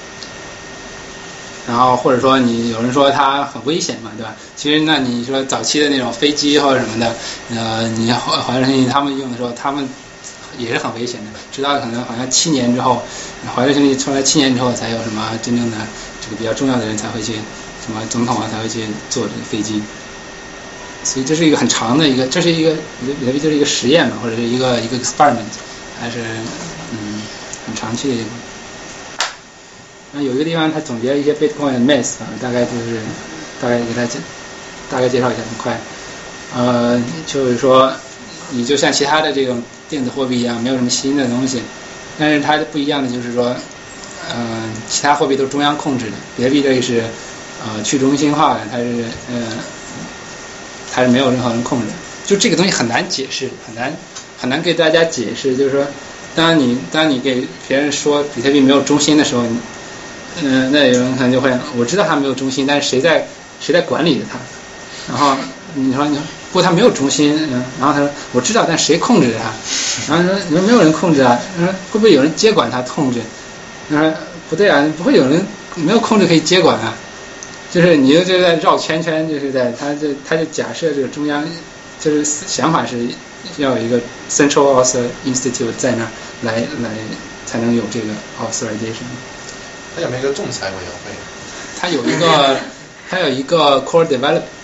然后或者说你有人说它很危险嘛，对吧？其实那你说早期的那种飞机或者什么的，呃，你华为信息他们用的时候，他们也是很危险的，直到可能好像七年之后，华为信息出来七年之后才有什么真正的。这个比较重要的人才会去，什么总统啊才会去坐这个飞机，所以这是一个很长的一个，这是一个比特币就是一个实验嘛，或者是一个一个 experiment， 还是嗯很长期的一个。那有一个地方他总结一些 Bitcoin 的 myth 啊，大概就是大概给他介大概介绍一下，很快。呃，就是说你就像其他的这种电子货币一样，没有什么新的东西，但是它不一样的就是说。呃，其他货币都是中央控制的，比特币这个是呃去中心化的，它是呃它是没有任何人控制的，就这个东西很难解释，很难很难给大家解释。就是说，当你当你给别人说比特币没有中心的时候，嗯、呃，那有人可能就会，我知道它没有中心，但是谁在谁在管理着它？然后你说你说不过它没有中心，嗯，然后他说我知道，但谁控制着它？然后说你说没有人控制啊，说会不会有人接管它控制？他说不对啊，不会有人没有控制可以接管啊，就是你就就在绕圈圈，就是在他就他就假设这个中央，就是想法是要有一个 central author institute 在那儿来来才能有这个 authorization。 他有没有一个仲裁委员会？ 他有一个他有一个 core developer，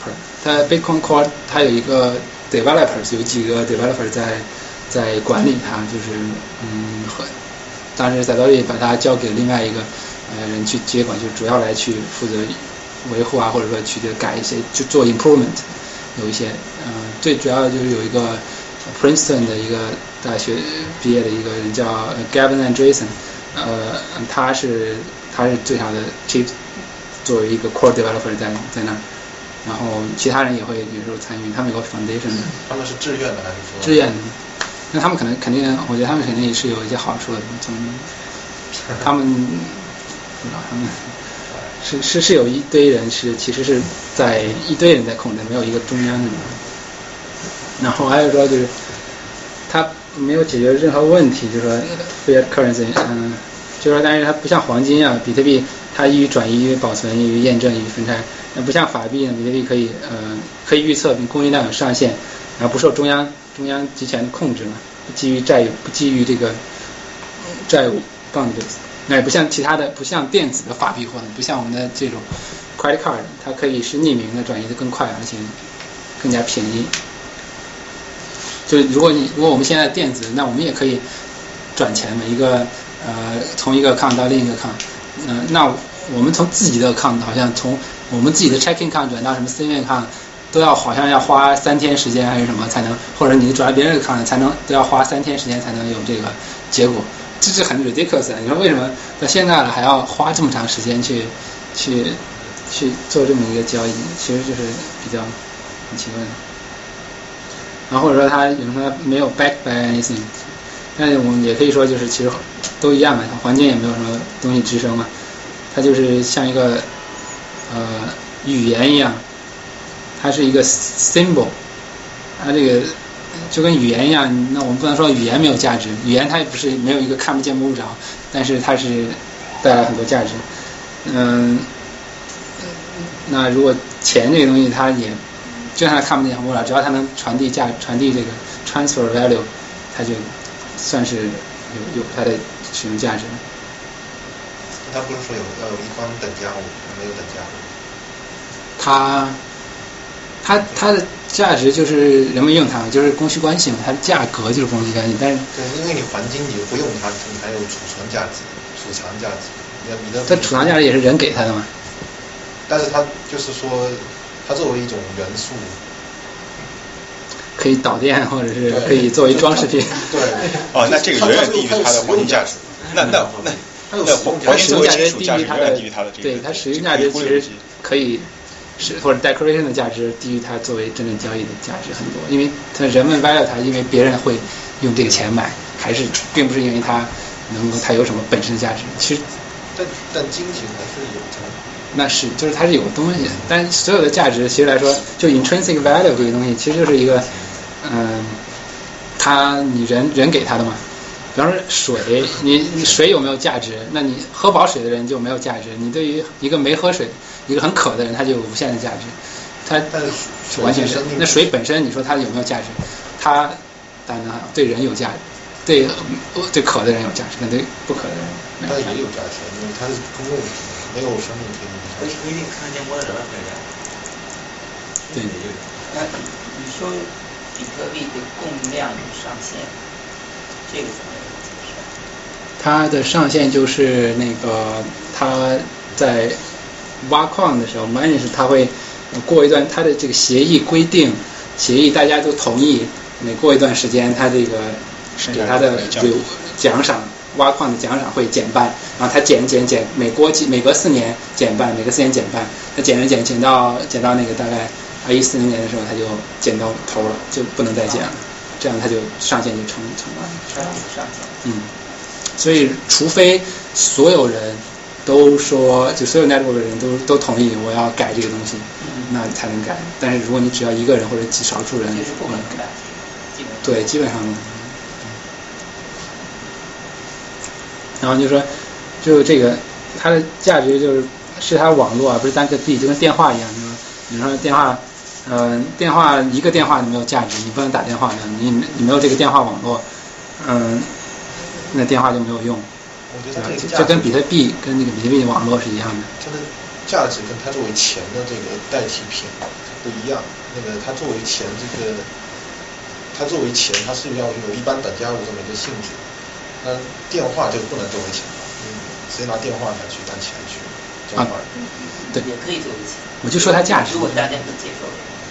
它 Bitcoin Core 它有一个 developers， 有几个 developer 在在管理它，就是嗯和当时 Satoshi 把它交给另外一个呃人去接管，就主要来去负责维护啊，或者说去改一些，就做 improvement， 有一些嗯、呃、最主要就是有一个 Princeton 的一个大学毕业的一个人叫 Gavin Andresen， 呃他是他是最好的 chief， 作为一个 core developer 在在那儿。然后其他人也会有时候参与，他们有个 foundation 的。 他们是志愿的还是说？ 志愿的，那他们可能肯定，我觉得他们肯定也是有一些好处的。从他们不知道他们是是是有一堆人是其实是在一堆人在控制，没有一个中央的。然后还有说就是他没有解决任何问题，就是说 fiat currency， 嗯，就是说但是它不像黄金啊，比特币它易于转移、易于保存、易于验证、易于分拆。不像法币呢，比特币可以呃可以预测，并供应量有上限，然后不受中央中央集权的控制嘛，不基于债务，不基于这个债务 bonds， 那也不像其他的，不像电子的法币或者不像我们的这种 credit card， 它可以是匿名的，转移的更快，而且更加便宜。就如果你如果我们现在电子，那我们也可以转钱嘛，一个呃从一个 account 到另一个 account， 嗯、呃，那我们从自己的 account 好像从我们自己的 checking account 转到什么私人 account 都要好像要花三天时间还是什么才能，或者你转到别人的 account 才能都要花三天时间才能有这个结果，这是很 ridiculous 的。你说为什么到现在了还要花这么长时间去去去做这么一个交易？其实就是比较很奇怪的。然后或者说他有人说他没有 back by anything， 但是我们也可以说就是其实都一样嘛，环境也没有什么东西支撑嘛，它就是像一个。呃，语言一样，它是一个 symbol， 它这个就跟语言一样，那我们不能说语言没有价值，语言它也不是没有一个看不见摸不着，但是它是带来很多价值。嗯，那如果钱这个东西，它也就算它看不见摸不着，只要它能传递价，传递这个 transfer value， 它就算是有有它的使用价值。 他不是说有要有一关等价物，没有等价物。 它，它它的价值就是人们用它，就是供需关系嘛，它的价格就是供需关系。但是对，因为你黄金你不用它，你还有储存价值、储藏价值。你的它储藏价值也是人给它的嘛。 但是它就是说，它作为一种元素， 可以导电，或者是可以作为装饰品。 对。 哦，那这个远远低于它的黄金价值。那那那。 它使用价值低于它的，对它使用价值其实可以是或者 decoration 的价值低于它作为真正交易的价值很多，因为它人们 value 它，因为别人会用这个钱买，还是并不是因为它能够它有什么本身的价值。其实， 但但金钱还是有的。 那是就是它是有个东西，但所有的价值其实来说，就 intrinsic value 这个东西其实就是一个，嗯，它你人人给它的嘛。比方说水，你你水有没有价值？那你喝饱水的人就没有价值。你对于一个没喝水、一个很渴的人，他就有无限的价值。它完全是那水本身，你说它有没有价值？它当然对人有价值，对对渴的人有价值，但对不渴的人没有价值。 它也有价值，因为它是公共，没有生命可以。 不一定看见摸得着的价值。 对。 那你说比特币的供量有上限，这个怎么？ 它的上限就是那个它在挖矿的时候 ，mining 是它会过一段它的这个协议规定，协议大家都同意，每过一段时间，它这个给它的有奖赏，挖矿的奖赏会减半，然后它减减减，每过几每隔四年减半，每隔四年减半，它减着减减到减到那个大概二一四零年的时候，它就减到头了，就不能再减了，这样它就上限就成成了。 上限。 嗯。所以，除非所有人都说，就所有 network 的人都都同意我要改这个东西，嗯、那才能改。但是如果你只要一个人或者极少数人， 就是不可能改。 对，基本上。然后就说，就这个它的价值就是是它网络啊，不是单个币，就跟电话一样，就是你说电话，呃，电话一个电话你没有价值，你不能打电话的，你你没有这个电话网络，嗯、呃。那电话就没有用， 对吧？ 这跟比特币跟那个比特币网络是一样的。 它的价值跟它作为钱的这个代替品不一样。 那个它作为钱这个，它作为钱，它是要有一般等价物这么一个性质。那电话就不能作为钱了，嗯，直接拿电话来去当钱去交换。 嗯， 对， 也可以作为钱。 我就说它价值。 如果大家可以接受。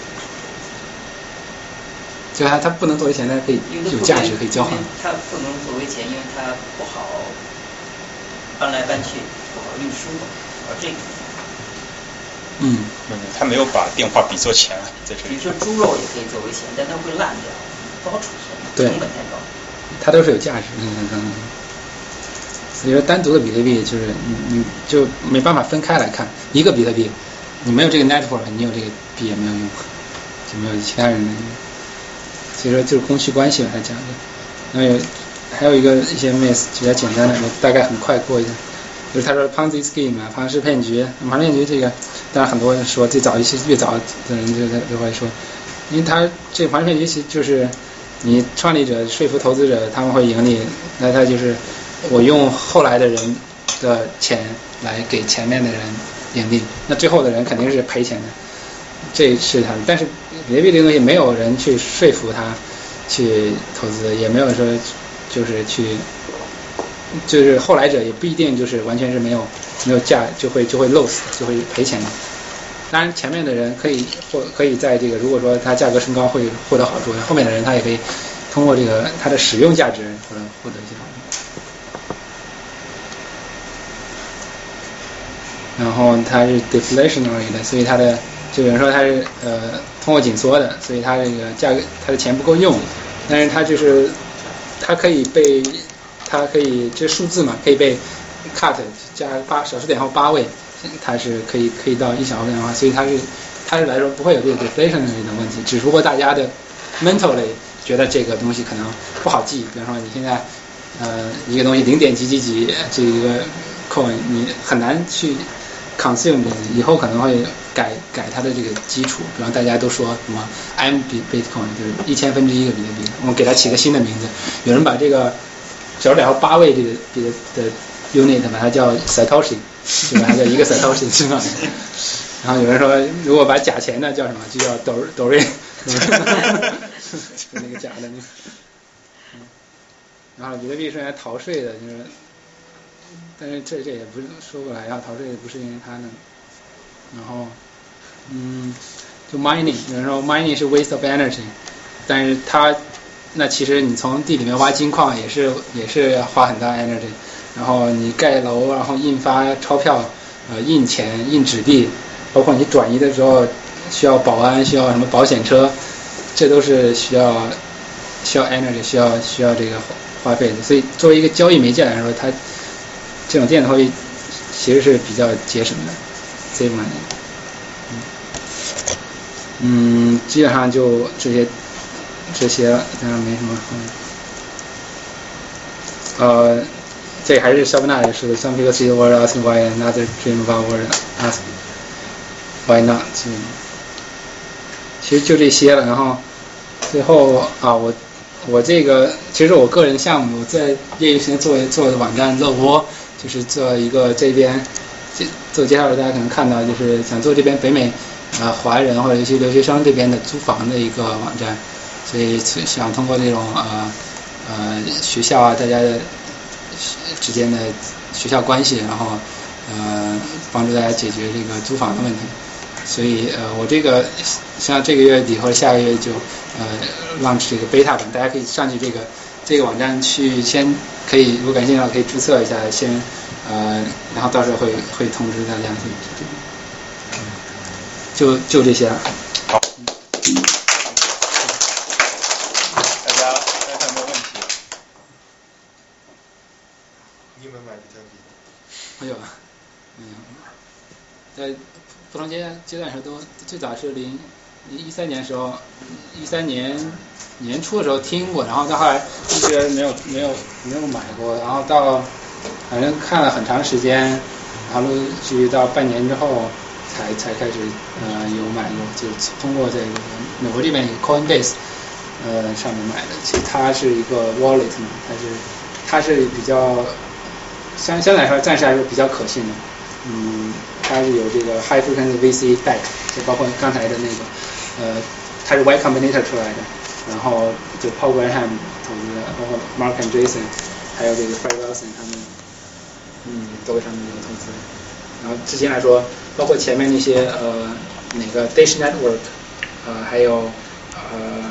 就它它不能作为钱，但是可以有价值可以交换。 它不能作为钱，因为它不好搬来搬去，不好运输，而这个。 嗯， 他没有把电话比作钱在这里。 比如说猪肉也可以作为钱，但它会烂掉，不好储存，成本太高。 它都是有价值，嗯嗯嗯。所以说单独的比特币就是你你就没办法分开来看，一个比特币你没有这个 network， 你有这个币也没有用，就没有其他人的用。所以说就是供需关系吧，他讲的。然后有还有一个一些 myth 比较简单的，我大概很快过一下。就是他说 Ponzi scheme 啊，庞氏骗局，庞氏骗局这个，当然很多人说最早一些越早的人就就会说，因为他这个庞氏骗局其实就是你创立者说服投资者他们会盈利，那他就是我用后来的人的钱来给前面的人盈利，那最后的人肯定是赔钱的，这是他的。但是比特币这个东西没有人去说服他去投资，也没有说就是去。就是后来者也不一定就是完全是没有没有价就会就会 lose 就会赔钱的。当然前面的人可以或可以在这个如果说它价格升高会获得好处，后面的人他也可以通过这个它的使用价值或者获得一些好处。然后它是 deflationary 的，所以它的就有人说它是呃通货紧缩的，所以它这个价格它的钱不够用，但是它就是它可以被它可以这数字嘛，可以被 cut 加八小数点后八位，它是可以可以到一小数点的话，所以它是它是来说不会有这个 deflationary 的问题，只不过大家的 mentally 觉得这个东西可能不好记，比方说你现在呃一个东西零点几几几这一个 coin 你很难去 consume 这个，以后可能会改改它的这个基础，比方大家都说什么 M Bitcoin 就是一千分之一个比特币，我们给它起个新的名字，有人把这个小数点后八位这个这个的 unit 把它叫 Satoshi， 对吧？它叫一个 Satoshi 是吧？然后有人说，如果把假钱呢叫什么？就叫斗斗瑞，就那个假的那个。然后比特币是用来逃税的，就是，但是这这也不是说过来要逃税，不是因为它呢。然后，嗯，就 mining， 有人说 mining 是 waste of energy， 但是它。那其实你从地里面挖金矿也是也是要花很大 energy， 然后你盖楼，然后印发钞票，呃，印钱、印纸币，包括你转移的时候需要保安，需要什么保险车，这都是需要需要 energy， 需要需要这个花费的。所以作为一个交易媒介来说，它这种电子货币其实是比较节省的 ，save money。嗯，基本上就这些。这些当然没什么，嗯，呃，这还是肖伯纳也是的。Some people see the world asking why another dream about world asking why not。其实就这些了。然后最后啊，我我这个其实我个人项目，我在业余时间做做的网站乐窝，就是做一个这边做介绍的，大家可能看到，就是想做这边北美呃华人或者尤其留学生这边的租房的一个网站。所以想通过这种呃呃学校啊，大家的之间的学校关系，然后呃帮助大家解决这个租房的问题。所以呃我这个像这个月底或者下个月就呃 launch 这个 beta 版，大家可以上去这个这个网站去先可以，如果感兴趣的话可以注册一下，先呃然后到时候会会通知大家。就就这些了。 好。 没有，嗯，在不同阶阶段时候都最早是零一三年的时候，一三年年初的时候听过，然后到后来一直没有没有没有买过，然后到反正看了很长时间，然后陆续到半年之后才才开始呃有买过，就通过这个美国这边一个 Coinbase 呃上面买的，其实它是一个 wallet 嘛，它是它是比较。相相对来说，暂时来说比较可信的，嗯，它是有这个 high frequency V C back， 就包括刚才的那个呃，它是 Y Combinator 出来的，然后就 Paul Graham 投资的，包括 Mark Andreessen， 还有这个 Fred Wilson 他们，嗯，都为他们有投资。然后之前来说，包括前面那些呃那个 Dish Network， 呃还有呃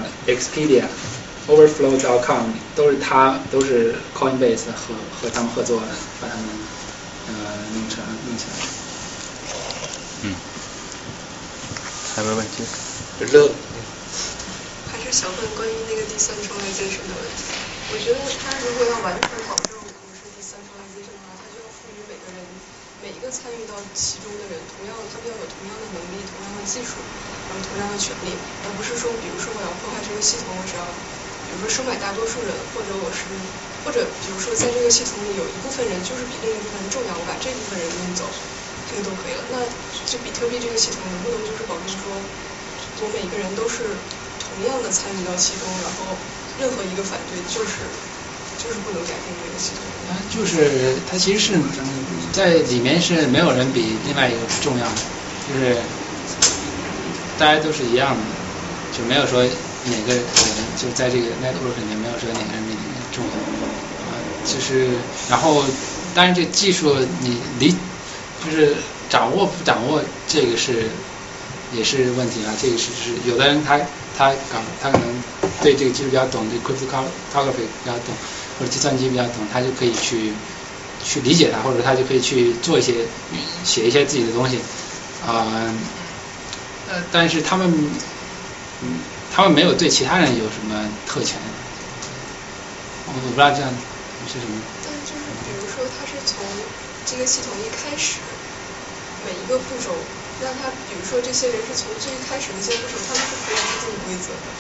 Expedia。Overflow dot com 都是他都是 Coinbase 和和他们合作的，把他们呃弄成弄起来。 嗯，还有没有问题？ 热。 还是想问关于那个 decentralization 的问题。我觉得他如果要完全保证我们是 decentralization 的话，他就要赋予每个人每一个参与到其中的人，同样他们要有同样的能力、同样的技术，然后同样的权利，而不是说，比如说我要破坏这个系统，我只要。比如说收买大多数人，或者我是，或者比如说在这个系统里有一部分人就是比另一部分人重要，我把这部分人弄走，这个都可以了。那就比特币这个系统能不能就是保证说，我每个人都是同样的参与到其中，然后任何一个反对就是就是不能改变这个系统。 啊，就是它其实是在里面是没有人比另外一个重要的，就是大家都是一样的，就没有说。哪个人就在这个 network 里面没有说哪个人比哪个人重要啊、呃，就是然后当然这技术你理就是掌握不掌握这个是也是问题啊，这个是是有的人他他搞他可能对这个技术比较懂，对 cryptography 比较懂，或者计算机比较懂，他就可以去去理解它，或者他就可以去做一些写一些自己的东西啊、呃，呃，但是他们嗯。他们没有对其他人有什么特权，我我不知道这样是什么。 但就是比如说，他是从这个系统一开始，每一个步骤，让他比如说这些人是从最开始的一些步骤，他们是可以制定规则的。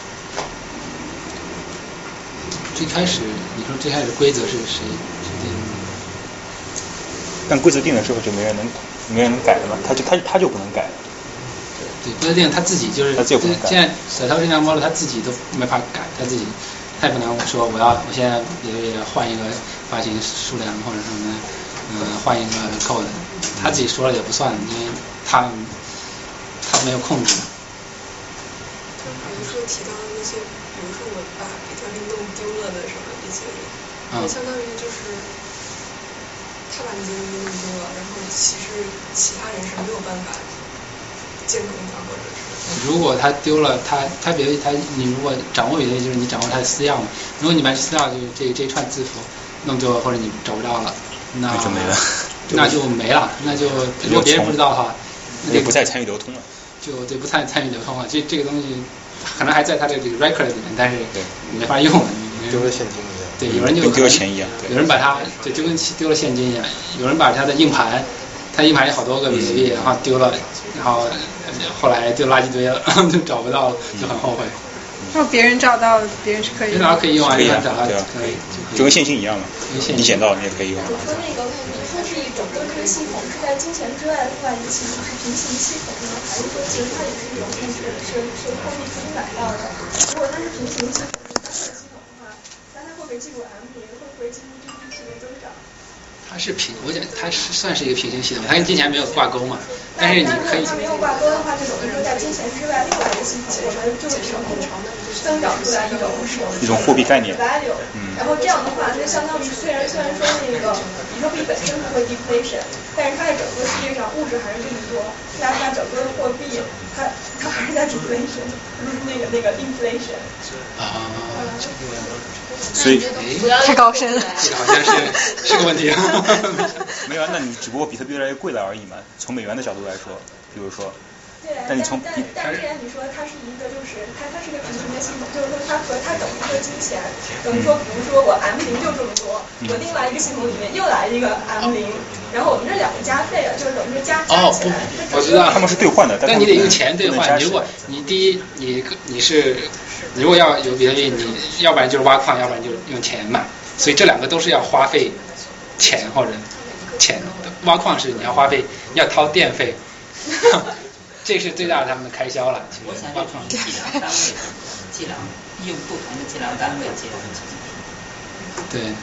最开始，你说最开始规则是谁谁定的？ 但规则定的时候就没人能没人能改了嘛，他就他他就不能改了。 对，规则定他自己就是，现在手头这项 model 他自己都没法改，他自己他也不能说我要我现在也也换一个发行数量或者什么，嗯、呃，换一个 code， 他自己说了也不算，因为他他没有控制。 就比如说提到的那些，比如说我把比特币弄丢了的什么这些人，嗯、相当于就是他把那些东西弄丢了，然后其实其他人是没有办法。监控它，或者是如果他丢了，他他比如他你如果掌握比特币，就是你掌握他的私钥嘛。如果你把私钥就这这一串字符弄丢了，或者你找不到了，那那就没了， 那就没了，那就如果别人不知道的话， 那就不再参与流通了。 就对，不参参与流通了。这这个东西可能还在他的这个 record 里面，但是没法用了。 丢了现金一样。 对，有人就丢了钱一样。 有人把它就就跟丢了现金一样，有人把他的硬盘。他硬盘有好多个比特币，然后丢了，然后后来丢垃圾堆了，就找不到了，就很后悔。 如果别人找到了，别人是可以。 别人可以用啊，别人找到对啊， 可以， 就跟现金一样嘛。你捡到你也可以用。 我说那个，你说是整个这个系统是在金钱之外的话，一个系统是平行系统呢，还是说其实它也是一种控制，是是货币可以买到的？如果它是平行系统，是单个系统的话，那它会不会进入 M 零？会不会进入 G D P 的增长？ 它是平，我讲它是算是一个平行系统，它跟金钱没有挂钩嘛。但是你可以。 它没有挂钩的话，就等于说在金钱之外另外一个系统，我们就是凭空增长出来一种一种货币概念。 value。嗯。然后这样的话，就相当于虽然虽然说那个比特币本身不会 deflation， 但是它在整个世界上物质还是这么多，那它整个的货币它它还是在 deflation， 不是那个那个 inflation。 啊。 所以太高深了， 这个好像是是个问题。 没有啊，那你只不过比特币越来越贵了而已嘛。从美元的角度来说，比如说， 对， 但你从但但既然你说它是一个，就是它它是一个平行的系统，就是说它和它等于说金钱，等于说比如说我 M 零就这么多， 嗯、 我另外一个系统里面又来一个 M 零，然后我们这两个加费了，就是等于说加加起来。 哦，我知道他们是兑换的， 但你得用钱兑换。如果你第一你你是。如果要有比特币，你要不然就是挖矿，要不然就是用钱买，所以这两个都是要花费钱或者钱的。挖矿是你要花费，要掏电费，这是最大的他们的开销了。 我想这种计量单位，计量用不同的计量单位计量的。 对。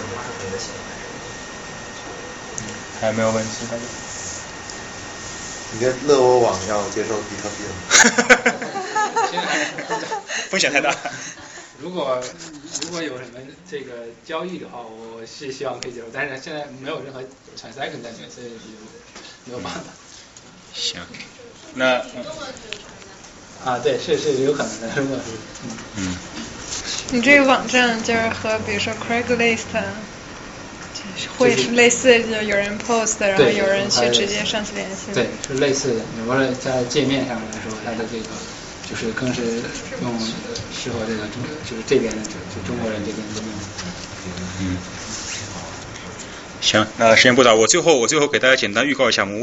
还有没有问题？大家？ 你跟乐窝网要接受比特币了？ 风险太大。 如果如果有什么这个交易的话，我是希望可以接受，但是现在没有任何 transaction 在里面，所以没有办法。 行，那、嗯、 啊，对，是是有可能的，如果是嗯。 嗯。 你这个网站就是和比如说 Craigslist 会是类似，就有人 post， 然后有人去直接上去联系。 对，是类似的。比如说在界面上来说，它的这个就是更是用适合这个中，就是这边的就就中国人这边的用。 嗯。行，那时间不早，我最后我最后给大家简单预告一下我们。